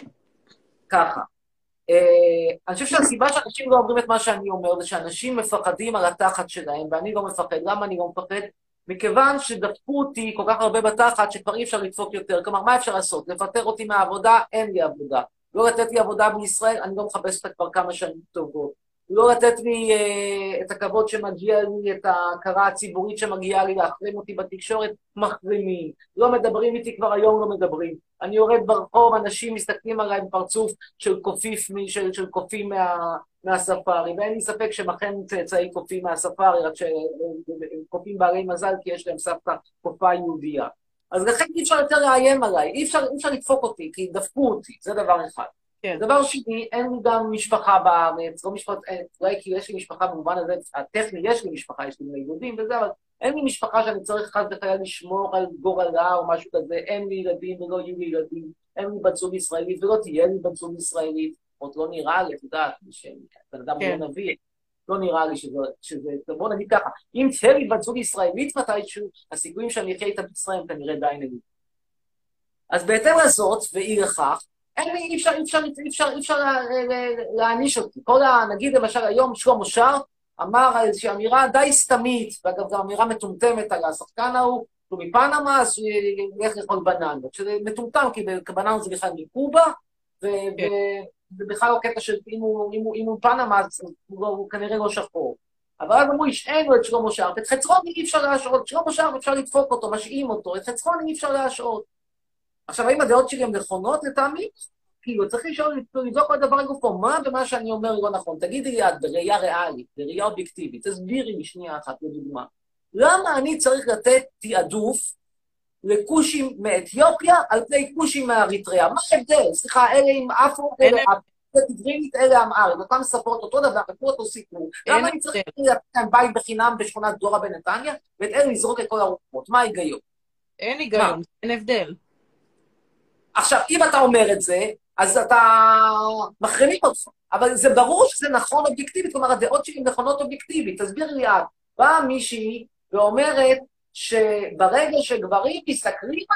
ככה. אני חושב שהסיבה שאנשים לא אומרים את מה שאני אומר, זה שאנשים מפחדים על התחת שלהם, ואני לא מפחד. למה אני לא מפחד? מכיוון שדפקו אותי כל כך הרבה בתחת, שכבר אי אפשר לדפוק יותר. כלומר, מה אפשר לעשות? לפטר אותי מהעבודה? אין לי עבודה. לא לתת לי עבודה בישראל? אני לא מחפש אותה כבר כמה שנים טובות. לא לתת לי uh, את הכבוד שמגיע לי, את ההכרה הציבורית שמגיעה לי, להחרים אותי בתקשורת, מחרימים. לא מדברים איתי כבר היום, לא מדברים. אני יורד ברחוב, אנשים מסתכלים עליי בפרצוף של קופיף, של, של קופים מה, מהספארי, ואין לי ספק שמכן צאצאי קופים מהספארי, רק שהם קופים בעלי מזל, כי יש להם סבתא קופה יהודייה. אז לכן אי אפשר יותר לאיים עליי, אי אפשר, אי אפשר לדפוק אותי, כי דפקו אותי, זה דבר אחד. כן. דבר שני, אין לי גם משפחה בארץ, לא משפחה, אולי כי יש לי משפחה במובן הזה, הטכני יש לי משפחה, יש לי בני יהודים וזה, אבל אין לי משפחה שאני צריך חס וחלילה לשמור על גורלה או משהו כזה, אין לי ילדים ולא יהיו לי ילדים, אין לי בת זוג ישראלית ולא תהיה לי בת זוג ישראלית, עוד לא נראה לי, אתה יודעת, שבן אדם לא נביא, לא נראה לי שזה, שזה, בוא נגיד ככה, אם תהיה לי בת זוג ישראלית מתישהו, הסיכויים שאני אחיה איתה בישראל כנראה די נגיד. אז בהתאם לזאת, ואי לכך, אין לי, אי אפשר, אי אפשר, אי אפשר, אי אפשר להעניש אותי. כל ה... נגיד למשל היום שלמה שר אמר איזושהי אמירה די סתמית, ואגב זו אמירה מטומטמת על השחקן ההוא, הוא מפנמה, אז הוא ילך לאכול בננות, שזה מטומטם, כי בננות זה בכלל מקובה, ובכלל לא קטע של אם הוא פנמה, אז הוא כנראה לא שחור. אבל אז אמרו, השענו את שלמה שר, את חצרוני אי אפשר להשעות, שלמה שר אפשר לדפוק אותו, משעים אותו, את חצרוני אי אפשר להשעות. עכשיו, האם הדעות שלי הן נכונות לטעמי? כאילו, צריך לשאול, לבדוק כל דבר לגופו, מה ומה שאני אומר לא נכון. תגידי לי את, בראייה ריאלית, בראייה אובייקטיבית, תסבירי לי שנייה אחת לדוגמה. למה אני צריך לתת תעדוף לקושים מאתיופיה על פני קושים מאריתריאה? מה ההבדל? סליחה, אלה עם אפרו, אלה תדרינית, אלה אמהרית, אותם ספרות אותו דבר, וכמו אותו סיפור. למה אני צריך לתת להם בית בחינם בשכונת דורה בנתניה, ואת אלה לזרוק את כל הרוחות? מה ההיגיון?
אין היגיון, אין הבדל.
עכשיו, אם אתה אומר את זה, אז אתה מחרימים אותך. אבל זה ברור שזה נכון אובייקטיבית, כלומר, הדעות שלי נכונות אובייקטיבית. תסביר לי את, באה מישהי ואומרת שברגע שגברים מסתכלים עליהם,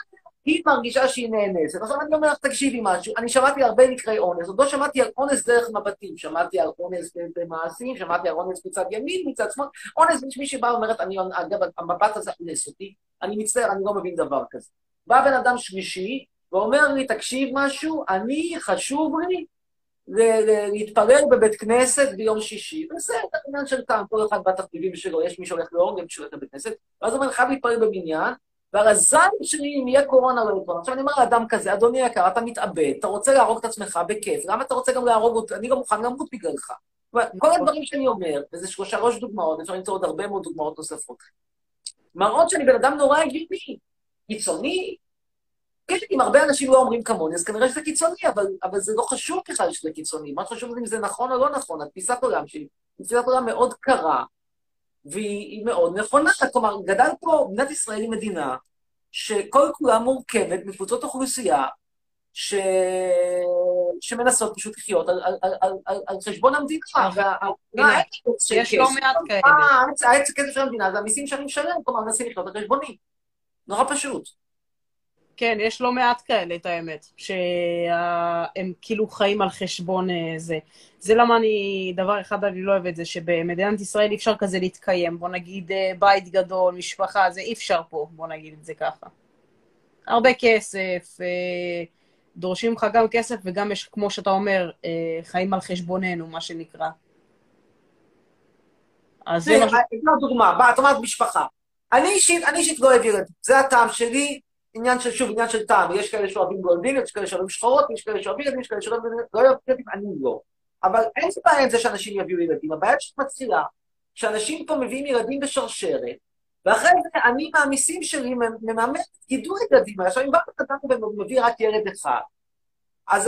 היא מרגישה שהיא נאנסת. עכשיו אני אומר לך, תקשיבי משהו, אני שמעתי הרבה מקרי אונס, עוד לא שמעתי על אונס דרך מבטים, שמעתי על אונס במעשים, שמעתי על אונס מצד ימין, מצד שמאל, אונס מי שבא ואומרת, אני, אגב, המבט הזה אונס אותי, אני מצטער, אני לא מבין דבר כזה. בא בן אדם שלישי, ואומר לי, תקשיב משהו, אני, חשוב לי, להתפלל בבית כנסת ביום שישי. בסדר, עניין של טעם, כל אחד בתחביבים שלו, יש מי שהולך לאורגן שהולך לבית כנסת, ואז הוא אומר, חייב להתפלל בבניין, והרזיים שלי, אם יהיה קורונה, לא יהיה קורונה. עכשיו אני אומר לאדם כזה, אדוני יקר, אתה מתאבד, אתה רוצה להרוג את עצמך בכיף, למה אתה רוצה גם להרוג אותי? אני לא מוכן למות בגללך. כל הדברים שאני אומר, וזה שלושה ראש דוגמאות, אפשר למצוא עוד הרבה מאוד דוגמאות נוספות. מראות שאני בן אדם נורא הגיוני, קיצוני, כן, אם הרבה אנשים לא אומרים כמוני, אז כנראה שזה קיצוני, אבל, אבל זה לא חשוב בכלל שזה קיצוני. מה חשוב אם זה נכון או לא נכון? התפיסת עולם שלי, תפיסת עולם מאוד קרה, והיא מאוד נכונה. כלומר, גדל פה, מדינת ישראל היא מדינה, שכל כולה מורכבת מקבוצות אוכלוסייה, ש... שמנסות פשוט לחיות על, על, על, על, על חשבון המדינה.
יש לא מעט כאלה.
העץ הכסף של המדינה, זה המיסים שאני משלם, כלומר, מנסים לחיות על חשבוני. נורא פשוט.
כן, יש לא מעט כאלה, את האמת, שהם כאילו חיים על חשבון זה. זה למה אני, דבר אחד אני לא אוהב את זה, שבמדינת ישראל אי אפשר כזה להתקיים. בוא נגיד בית גדול, משפחה, זה אי אפשר פה, בוא נגיד את זה ככה. הרבה כסף, דורשים לך גם כסף, וגם יש, כמו שאתה אומר, חיים על חשבוננו, מה שנקרא. אז זה משהו...
דוגמה, את אומרת משפחה. אני אישית, אני אישית לא אוהב ילדים. זה הטעם שלי, עניין של, שוב, עניין של טעם. יש כאלה שאוהבים גולדין, יש כאלה שאוהבים שחורות, יש כאלה שאוהבים ילדים, יש כאלה שאוהבים ילדים, אני לא. אבל אין בעיה עם זה שאנשים יביאו ילדים. הבעיה שמתחילה, שאנשים פה מביאים ילדים בשרשרת, ואחרי זה אני מהמיסים שלי מממן גידול ילדים. עכשיו, אם בא בן אדם ומביא רק ילד אחד, אז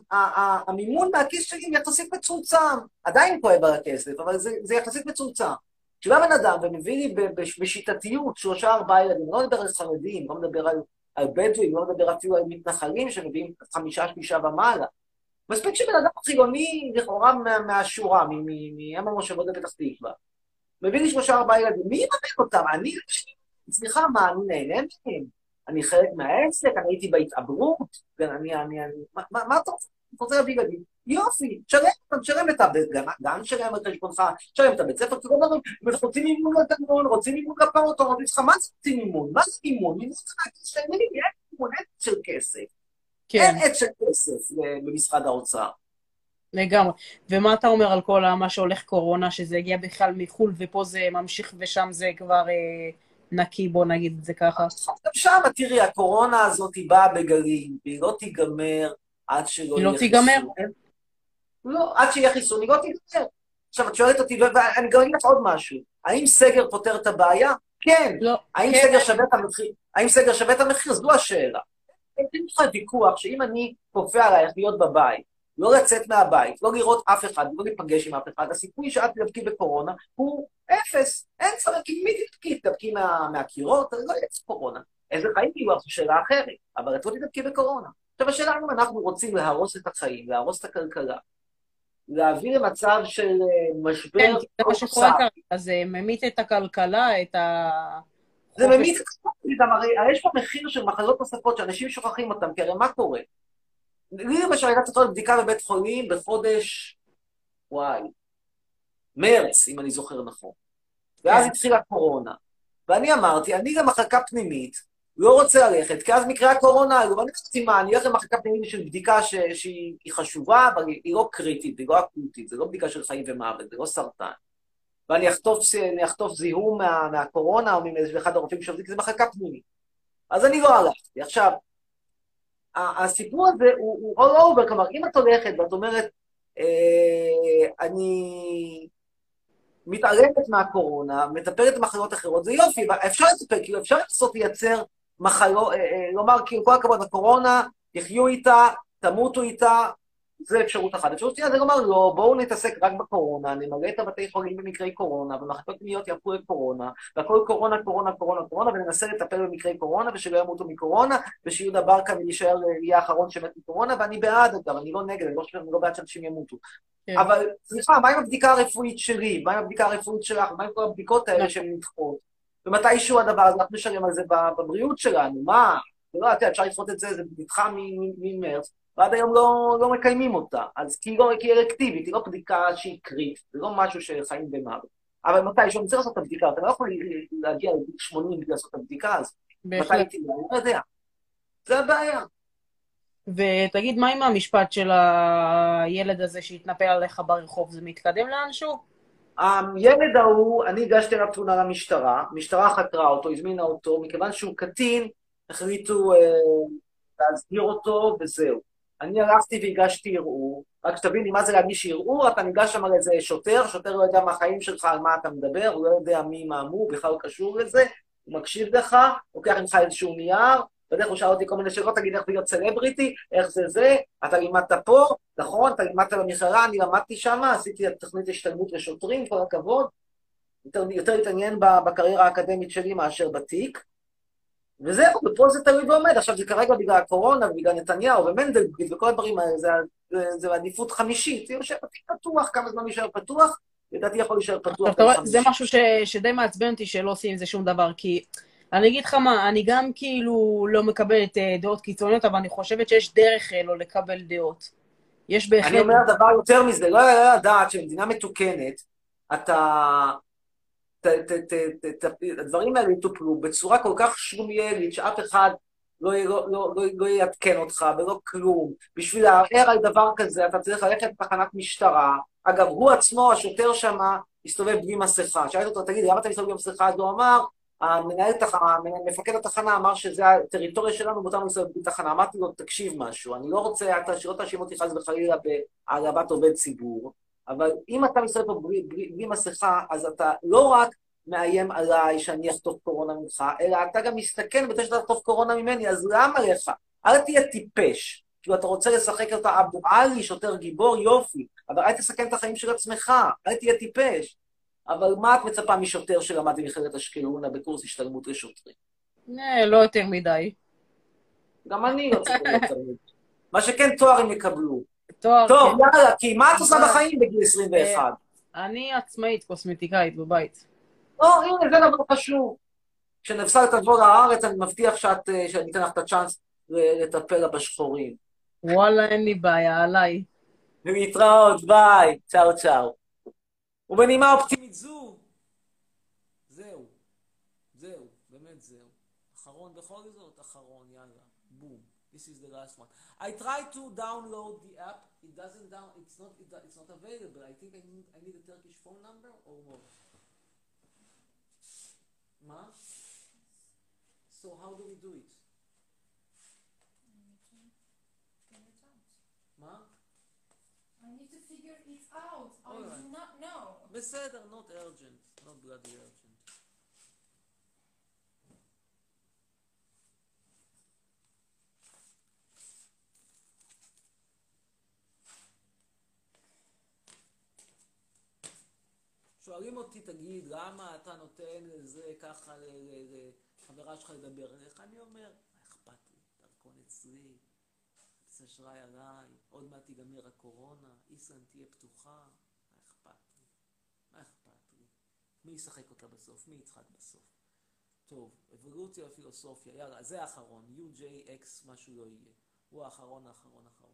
המימון מהכיס שלי יחסית מצומצם. עדיין כואב על הכסף, אבל זה יחסית מצומצם. כשבא בן אדם ומביא לי בשיטתיות שלושה ארבעה ילדים, לא מדבר על חרדים, לא מדבר על, על בדואים, לא מדבר אפילו על מתנחלים שמביאים חמישה שלישה ומעלה. מספיק שבן אדם חילוני לכאורה מה, מהשורה, מאם המושבות בפתח תקווה. מביא לי שלושה ארבעה ילדים, מי יממן אותם? אני, סליחה, מה, אני נהנה מהם? אני חלק מהעסק, אני הייתי בהתעברות, אני, אני, אני, מה, מה אתה רוצה? אתה רוצה להביא ילדים? יופי, שלם, שלם את הבית, גם שלם את חשבונך, שלם את הבית ספר, כלום דברים, רוצים מימון לתגמון, רוצים מימון לפעוטון, רוצים לך, מה זה רוצים מימון? מה זה מימון? מימון זה מהכיס שלי, אין מימון, אין עץ של כסף. אין עץ של כסף במשרד האוצר.
לגמרי. ומה אתה אומר על כל מה שהולך קורונה, שזה הגיע בכלל מחול, ופה זה ממשיך ושם זה כבר נקי, בוא נגיד את זה ככה?
שם, תראי, הקורונה הזאת היא באה בגלים, והיא לא תיגמר עד שלא יהיה חיסון.
היא לא תיגמר?
לא, עד שיהיה חיסון, היא לא תיגמר. עכשיו, את שואלת אותי, ואני גם אגיד לך עוד משהו. האם סגר פותר את הבעיה? כן.
לא.
האם סגר שווה את המחיר? האם סגר שווה את המחיר? זו השאלה. אין לך ויכוח שאם אני כופה עלייך להיות בבית, לא לצאת מהבית, לא לראות אף אחד, לא להיפגש עם אף אחד, הסיכוי שאת תדבקי בקורונה הוא אפס. אין צורך, כי מי תדבקי? תדבקי מהקירות? לא יהיה קורונה. איזה חיים יהיו? זו שאלה אחרת. אבל את לא תדבקי בקורונה. עכשיו, השאלה אם אנחנו רוצים להרוס את החיים, להרוס את הכלכלה, להביא למצב של משבר...
כן, זה מה שקורה כאן. אז זה ממית את הכלכלה, את ה...
זה ממית את הכלכלה, הרי יש פה מחיר של מחלות נוספות שאנשים שוכחים אותם, כי הרי מה קורה? לי למשל הייתה צריכה בדיקה בבית חולים בחודש, וואי, מרץ, אם אני זוכר נכון. ואז התחילה קורונה. ואני אמרתי, אני למחלקה פנימית, לא רוצה ללכת, כי אז מקרה הקורונה, אני לא יודעת מה, אני אלך למחלקה פנימית של בדיקה שהיא חשובה, אבל היא לא קריטית, היא לא אקוטית, זה לא בדיקה של חיים ומוות, זה לא סרטן. ואני אחטוף זיהום מהקורונה, או מאחד הרופאים שעובדים, כי זה מחלקה פנימית. אז אני לא הלכתי. עכשיו, הסיפור הזה הוא all over, כלומר, אם את הולכת ואת אומרת, אני מתערבת מהקורונה, מטפלת במחלות אחרות, זה יופי, אפשר לטפל, כאילו אפשר לעשות לייצר מחלות, לומר, כאילו כל הכבוד, הקורונה, תחיו איתה, תמותו איתה, זה אפשרות אחת. אפשרות שנייה זה לומר, לא, בואו נתעסק רק בקורונה, נמלא את הבתי חולים במקרי קורונה, ומחלקות פנימיות יהפכו לקורונה, והכל קורונה, קורונה, קורונה, קורונה, וננסה לטפל במקרי קורונה, ושלא ימותו מקורונה, ושיהודה ברקה ולהישאר, יהיה האחרון שמת מקורונה, ואני בעד, אגב, אני לא נגד, אני לא חושב, אני לא בעד שאנשים ימותו. אבל, סליחה, מה עם הבדיקה הרפואית שלי? מה עם הבדיקה הרפואית שלך? מה עם כל הבדיקות האלה שהן נדחות? ומתישהו הדבר הזה, אנחנו נשארים על זה בבריאות שלנו, מה? לא, אתה אפשר לפחות את זה, זה נדחה ממרץ, ועד היום לא, לא מקיימים אותה. אז כי היא לא היא אלקטיבית, היא לא בדיקה שהיא קריטית, זה לא משהו שחיים במוות. אבל מתי, שאני צריך לעשות את הבדיקה, אתה לא יכול להגיע לגיל שמונים בלי לעשות את הבדיקה הזאת. מתי הייתי, אני לא יודע. זה הבעיה.
ותגיד, מה עם המשפט של הילד הזה שהתנפל עליך ברחוב? זה מתקדם לאנשהו?
הילד ההוא, אני הגשתי עליו תלונה למשטרה, המשטרה חקרה אותו, הזמינה אותו, מכיוון שהוא קטין, החליטו אה, להסגיר אותו, וזהו. אני הלכתי והגשתי ערעור, רק שתבין לי מה זה להגיש ערעור, אתה ניגש שם על איזה שוטר, שוטר לא יודע מהחיים שלך, על מה אתה מדבר, הוא לא יודע מי מה הוא, בכלל הוא קשור לזה, הוא מקשיב לך, לוקח ממך איזשהו נייר, בדרך הוא שאל אותי כל מיני שאלות, תגיד איך להיות סלבריטי, איך זה זה, אתה לימדת פה, נכון, אתה לימדת במכללה, אני למדתי שם, עשיתי את תוכנית השתלמות לשוטרים, כל הכבוד, יותר, יותר התעניין בקריירה האקדמית שלי מאשר בתיק, וזהו, ופה זה תלוי ועומד, עכשיו זה כרגע בגלל הקורונה, בגלל נתניהו ומנדלבליט וכל הדברים האלה, זה, זה, זה עדיפות חמישית, זה יושב פתוח, כמה זמן יישאר פתוח, לדעתי יכול להישאר פתוח.
זה משהו ש, שדי מעצבן אותי שלא עושים עם זה שום דבר, כי אני אגיד לך מה, אני גם כאילו לא מקבלת דעות קיצוניות, אבל אני חושבת שיש דרך לא לקבל דעות. יש בהחלט...
אני אומר דבר יותר מזה, לא היה לדעת שבמדינה מתוקנת, אתה... הדברים האלה יטופלו בצורה כל כך שלומיאלית, שאף אחד לא יעדכן אותך ולא כלום. בשביל לערער על דבר כזה, אתה צריך ללכת לתחנת משטרה. אגב, הוא עצמו, השוטר שם, הסתובב בלי מסכה. שאלת אותו, תגיד, למה אתה מסתובב בלי מסכה? אז הוא אמר, מפקד התחנה אמר שזה הטריטוריה שלנו, ואותנו מסתובב בלי תחנה. אמרתי לו, תקשיב משהו, אני לא רוצה, אתה שלא תאשים אותי חס וחלילה בהעלבת עובד ציבור, אבל אם אתה מסתובב פה בלי, בלי, בלי מסכה, אז אתה לא רק מאיים עליי שאני אחטוף קורונה ממך, אלא אתה גם מסתכן בזה שאתה תחטוף קורונה ממני, אז למה לך? אל תהיה טיפש. כאילו אתה רוצה לשחק אותה אבו עלי, שוטר גיבור, יופי, אבל אל תסכן את החיים של עצמך, אל תהיה טיפש. אבל מה את מצפה משוטר שלמד במכללת אשקלונה בקורס השתלמות לשוטרים?
לא יותר מדי.
גם אני לא צריך יותר מדי. מה שכן תואר הם יקבלו.
תואר,
טוב,
כן.
יאללה, כי מה את עושה בחיים בגיל עשרים ואחת?
אני עצמאית, קוסמטיקאית בבית.
או, הנה, זה דבר חשוב. כשנפסל תבוא לארץ, אני מבטיח שאת, שאני אתן לך את הצ'אנס לטפל לה בשחורים.
וואלה, אין לי בעיה, עליי.
ולהתראות, ביי, צאו צאו. ובנימה אופטימית זו, זהו, זהו, באמת זהו. אחרון בכל זאת, אחרון, יאללה, בום. This is the last one. I tried to download the app. It doesn't down. It's not. It, it's not available. I think I need. I need a Turkish phone number or what? Ma? So how do we do it? Ma?
I need to figure it out. I do not know.
בסדר, not urgent. Not bloody urgent. שואלים אותי, תגיד, למה אתה נותן לזה ככה לחברה שלך לדבר עליך? אני אומר, מה אכפת לי? דרכון אצלי, כרטיס אשראי עליי, עוד מעט תיגמר הקורונה, איסלנד תהיה פתוחה, מה אכפת לי? מה אכפת לי? מי ישחק אותה בסוף? מי יצחק בסוף? טוב, אבולוציה ופילוסופיה, יאללה, זה האחרון, יו ג'יי אקס, משהו לא יהיה. הוא האחרון, האחרון, האחרון.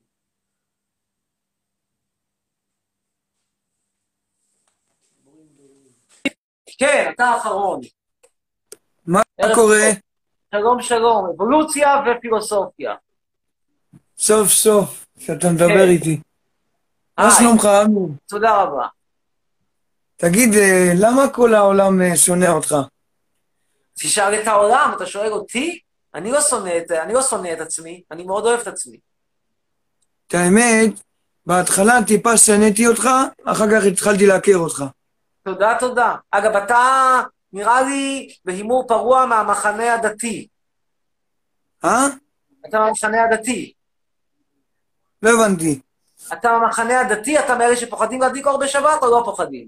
כן, אתה האחרון.
מה קורה?
שלום שלום, אבולוציה ופילוסופיה.
סוף סוף, שאתה מדבר איתי. מה שלומך, אמיר?
תודה רבה.
תגיד, למה כל העולם שונא אותך?
תשאל את העולם, אתה שואל אותי? אני לא שונא את, אני לא שונא את עצמי, אני מאוד אוהב את עצמי.
את האמת, בהתחלה טיפה שנאתי אותך, אחר כך התחלתי להכיר אותך.
תודה, תודה. אגב, אתה נראה לי בהימור פרוע מהמחנה הדתי.
אה?
אתה מהמחנה הדתי.
לא הבנתי.
אתה מהמחנה הדתי, אתה מאלה שפוחדים להדליק אור בשבת או לא פוחדים?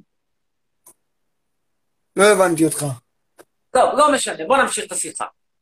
לא הבנתי אותך.
טוב, לא משנה, בוא נמשיך את השיחה.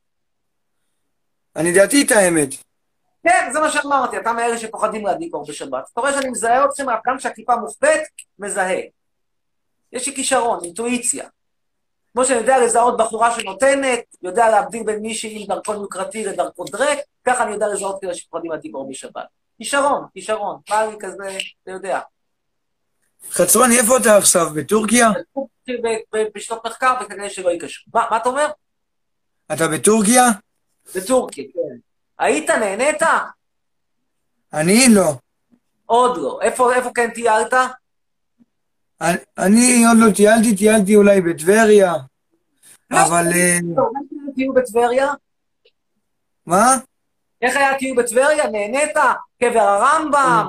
אני דעתי את האמת.
כן, זה מה שאמרתי, אתה מאלה שפוחדים להדליק אור בשבת. אתה רואה שאני מזהה אתכם, גם כשהכיפה מוחבאת, מזהה. יש לי כישרון, אינטואיציה. כמו שאני יודע לזהות בחורה שנותנת, יודע להבדיל בין מישהי עם דרכון יוקרתי לדרכון דרק, ככה אני יודע לזהות כאלה שפוחדים מהדיבור בשבת. כישרון, כישרון, בא לי כזה, אתה יודע.
חצרוני, איפה אתה עכשיו? בטורקיה?
בשנות מחקר וכנראה שלא יקשרו. מה, מה אתה אומר?
אתה בטורקיה?
בטורקיה, כן. היית, נהנית?
אני לא.
עוד לא. איפה, איפה כן טיילת?
אני, אני עוד לא טיילתי, טיילתי אולי בטבריה, אבל...
איך תהיו בטבריה?
מה?
איך היה תהיו בטבריה? נהנית? קבר הרמב"ם?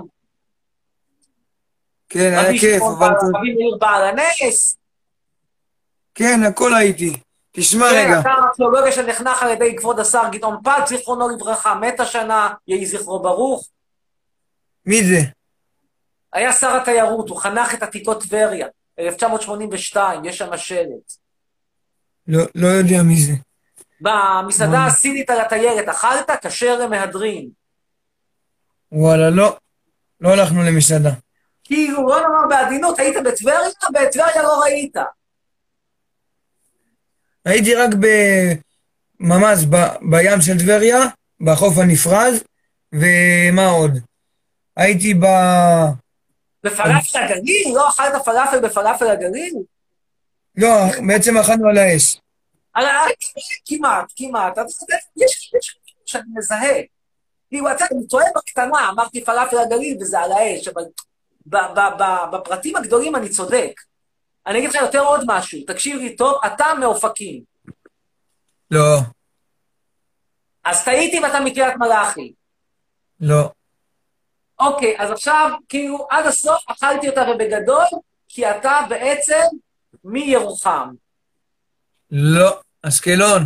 כן, היה כיף, אבל...
רבי מאיר בעל הנס?
כן, הכל הייתי. תשמע רגע.
כן, אתה ארכיאולוגיה שנחנך על ידי כבוד השר גדעון פת, זיכרונו לברכה, מת השנה, יהי זכרו ברוך.
מי זה?
היה שר התיירות, הוא חנך את עתיקות טבריה, אלף תשע מאות שמונים ושתיים, יש שם שלט.
לא, לא יודע מי זה.
במסעדה הסינית על התיירת, אכלת? כשר למהדרין.
וואלה, לא. לא הלכנו למסעדה.
כאילו, לא נאמר בעדינות, היית בטבריה? בטבריה לא ראית.
הייתי רק ב... ממש ב... בים של טבריה, בחוף הנפרז, ומה עוד? הייתי ב...
בפלאפל הגליל? לא אכלת פלאפל בפלאפל הגליל?
לא, בעצם אכלנו על האש.
על האש? כמעט, כמעט. יש משהו שאני מזהה. כאילו, אני טועה בקטנה, אמרתי פלאפל הגליל וזה על האש, אבל בפרטים הגדולים אני צודק. אני אגיד לך יותר עוד משהו, תקשיב לי טוב, אתה מאופקים.
לא.
אז טעיתי ואתה מקריית מלאכי.
לא.
אוקיי, אז עכשיו, כאילו, עד הסוף אכלתי אותה ובגדול, כי אתה בעצם מירוחם.
לא, אשקלון.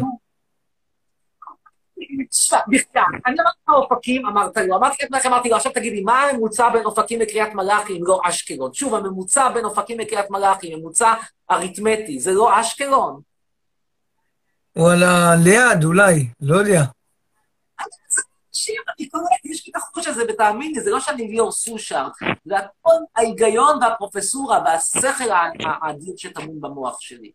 בכלל, אני אמרתי לך אופקים, אמרת לי, אמרתי לך, אמרתי לו, עכשיו תגידי, מה הממוצע בין אופקים לקריית מלאכי אם לא אשקלון? שוב, הממוצע בין אופקים לקריית מלאכי, ממוצע אריתמטי, זה לא אשקלון?
וואלה, ליד, אולי, לא יודע.
אני קורא, יש לי את החוש הזה, ותאמין לי, זה לא שאני ליאור סושר, זה הכל ההיגיון והפרופסורה והשכל האדיר שטמון במוח שלי.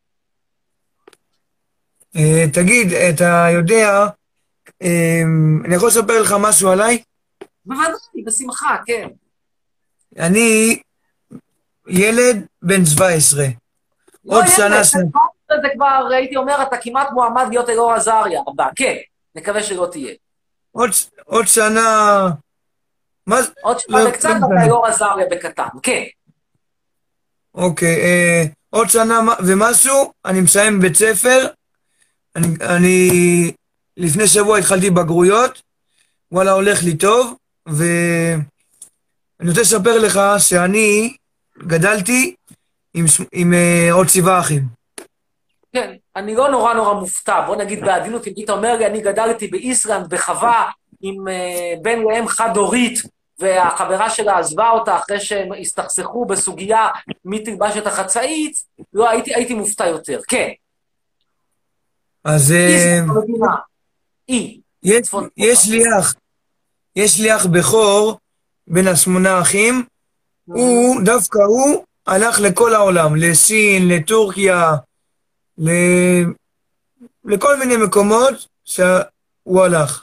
תגיד, אתה יודע, אני יכול לספר לך משהו עליי?
בוודאי, בשמחה, כן.
אני ילד בן שבע עשרה. עוד שנה שנה.
זה כבר, הייתי אומר, אתה כמעט מועמד להיות אלאור עזריה הבא, כן, נקווה שלא תהיה.
עוד שנה...
עוד שנה וקצת, אתה אלאור עזריה בקטן, כן.
אוקיי, עוד שנה ומשהו, אני מסיים בית ספר, אני... לפני שבוע התחלתי בגרויות, וואלה, הולך לי טוב, ואני רוצה לספר לך שאני גדלתי עם, עם uh, עוד שבעה אחים.
כן, אני לא נורא נורא מופתע, בוא נגיד בעדינות, אם היית אומר לי, אני גדלתי באיסלנד, בחווה, עם uh, בן לאם חד-הורית, והחברה שלה עזבה אותה אחרי שהם הסתכסכו בסוגיה מי תלבש את החצאית, לא, הייתי, הייתי מופתע יותר, כן.
אז...
איסלנד במדינה. אי.
יש, יש לי אח, יש לי אח בכור בין השמונה אחים, הוא, דווקא הוא, הלך לכל העולם, לסין, לטורקיה, ל... לכל מיני מקומות שהוא הלך.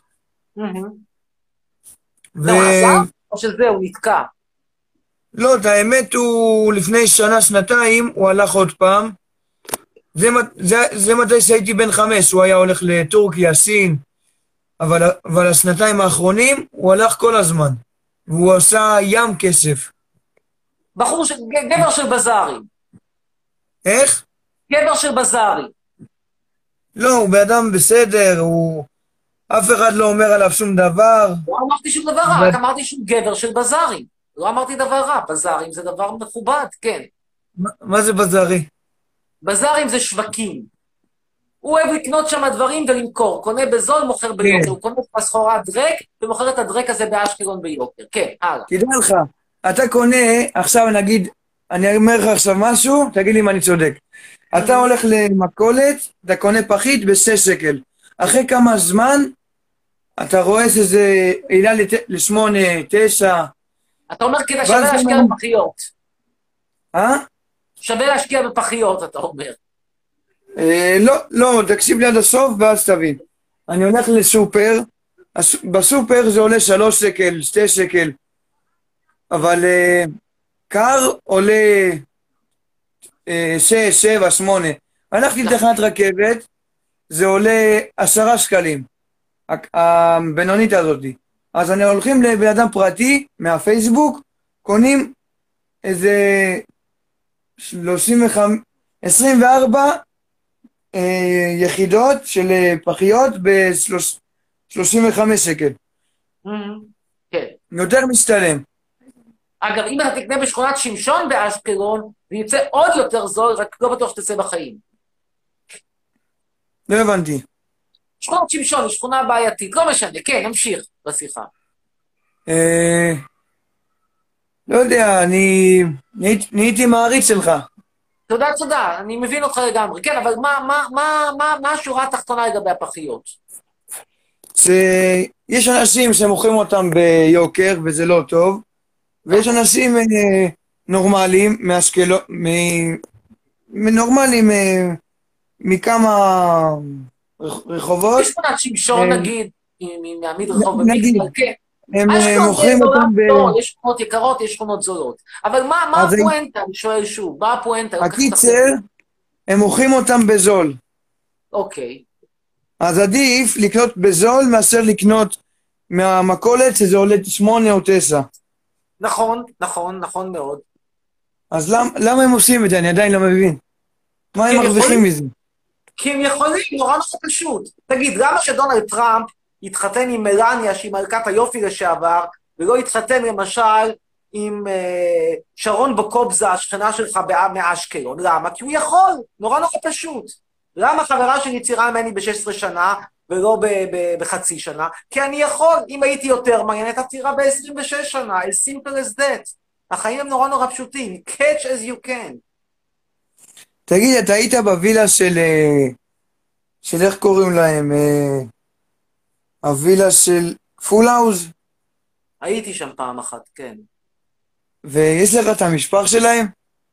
ו... לא עזב? או שזה, הוא נתקע?
לא, את האמת הוא לפני שנה, שנתיים, הוא הלך עוד פעם. זה, זה, זה מתי שהייתי בן חמש, הוא היה הולך לטורקיה, סין, אבל, אבל השנתיים האחרונים הוא הלך כל הזמן, והוא עשה ים כסף.
בחור, ש... גבר של בזארי.
איך?
גבר של בזארי.
לא, הוא באדם בסדר, הוא... אף אחד לא אומר עליו שום דבר.
לא אמרתי שום דבר רע, רק אמרתי שהוא גבר של בזארי. לא אמרתי דבר רע, בזארים זה דבר מכובד, כן.
מה, מה זה בזארי?
בזארים זה שווקים. הוא אוהב לקנות שם דברים ולמכור. קונה בזול, מוכר ביוקר. הוא קונה בסחורה דרק, ומוכר את הדרק הזה באשקלון ביוקר. כן, הלאה.
תדע לך, אתה קונה, עכשיו נגיד, אני אומר לך עכשיו משהו, תגיד לי אם אני צודק. אתה הולך למכולת, אתה קונה פחית בשש שקל. אחרי כמה זמן, אתה רואה שזה עילה לשמונה, תשע.
אתה אומר כדי שווה להשקיע בפחיות.
אה?
שווה להשקיע בפחיות, אתה אומר.
אה, לא, לא, תקשיב לי עד הסוף ואז תבין. אני הולך לסופר, הס- בסופר זה עולה שלוש שקל, שתי שקל, אבל אה, קר עולה אה, שש, שבע, שמונה. הלכתי לתחנת רכבת, זה עולה עשרה שקלים, הק- הבינונית הזאתי. אז אני הולכים לבן אדם פרטי מהפייסבוק, קונים איזה שלושים וחמש, עשרים וארבע אה, יחידות של אה, פחיות ב-שלושים וחמש שקל.
כן.
יותר משתלם.
אגב, אם אתה תקנה בשכונת שמשון באשקלון, זה יצא עוד יותר זול, רק לא בטוח שתצא בחיים.
לא הבנתי.
שכונת שמשון היא שכונה בעייתית, לא משנה, כן, נמשיך בשיחה.
אה, לא יודע, אני נהייתי- נהייתי מעריץ שלך.
תודה, תודה, אני מבין אותך לגמרי. כן, אבל מה, מה, מה, מה, מה השורה התחתונה לגבי הפחיות?
זה- יש אנשים שמוכרים אותם ביוקר וזה לא טוב, ויש אנשים אה, נורמליים מאשקלון, מ- מנורמליים אה, מכמה רח- רחובות.
בשכונת שמשון
אה,
נגיד, מ- מעמיד רחוב
נגיד,
במקווה, כן.
הם אה,
אשקלון זה
מוכרים
עולם
אותם ב...
טוב, יש שכונות יקרות, יש שכונות זולות. אבל מה, מה
אז
הפואנטה? אני שואל שוב, מה הפואנטה? לא כל כך
הקיצר,
ספר.
הם מוכרים אותם בזול.
אוקיי.
אז עדיף לקנות בזול מאשר לקנות מהמכולת שזה עולה שמונה או תשע.
נכון, נכון, נכון מאוד.
אז למ, למה הם עושים את זה? אני עדיין לא מבין. מה
כי
הם
הם
מרוויחים
יכולים,
מזה?
כי הם יכולים, נורא נורא פשוט. תגיד, למה שדונלד טראמפ יתחתן עם מלניה, שהיא מלכת היופי לשעבר, ולא יתחתן למשל עם אה, שרון בוקובזה, השכנה שלך בא- מאשקלון? למה? כי הוא יכול, נורא נורא פשוט. למה חברה שלי צעירה ממני ב-שש עשרה שנה, ולא ב- ב- בחצי שנה? כי אני יכול, אם הייתי יותר מעניין, הייתה צעירה ב-עשרים ושש שנה, as simple as that. החיים הם נורא נורא פשוטים, catch as you can.
תגיד, אתה היית בווילה של... אה, של איך קוראים להם? אה, הווילה של פול האוז?
הייתי שם פעם אחת, כן.
ויש לך את המשפח שלהם?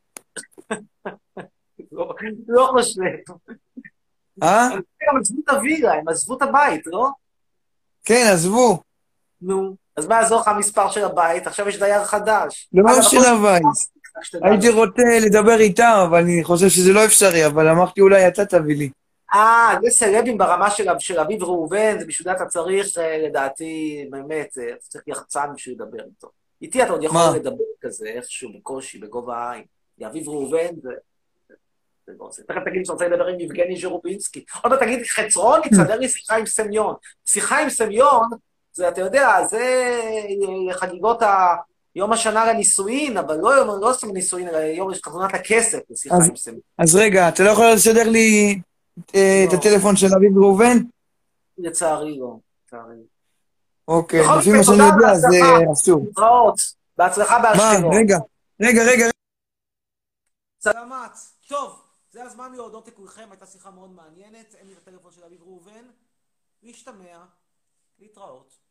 לא, לא חושב.
אה?
הם גם עזבו את הווילה, הם עזבו את הבית, לא?
כן, עזבו.
נו, אז מה יעזור לך המספר של הבית? עכשיו יש דייר חדש.
לא
אגב,
של
הכל-
הבית.
רק שתדע.
הייתי רוצה לדבר איתם, אבל אני חושב שזה לא אפשרי, אבל אמרתי אולי אתה תביא לי.
אה, זה סלבים ברמה של, של אביב ראובן, זה בשביל זה אתה צריך, אה, לדעתי, באמת, אה, אתה צריך יחצן בשביל לדבר איתו. איתי אתה עוד יכול
מה?
לדבר כזה, איכשהו, בקושי, בגובה העין. אביב ראובן, זה... זה לא עושה. תכף תגיד שאתה רוצה לדבר עם יבגני ז'רובינסקי. עוד מעט תגיד, חצרון, יצדר לי שיחה עם סמיון. שיחה עם סמיון, זה, אתה יודע, זה אה, חגיגות ה... יום השנה לנישואין, אבל לא יום, לא סתם נישואין, אלא יום חתונת הכסף, לשיחה
אז-
עם סמיון.
אז רגע, אתה לא יכול לסדר לי אה, את
לא.
הטלפון של אביב ראובן?
לצערי לא, לצערי.
אוקיי,
בכל
לפי
מקרה,
מה שאני
תודה,
יודע, זה
בהצלחה.
אסור.
להתראות. בהצלחה
מה?
באשקלון.
רגע, רגע, רגע.
סלמת. טוב, זה הזמן להודות לכולכם, הייתה שיחה מאוד מעניינת. אין לי את הטלפון של אביב ראובן. להשתמע, להתראות.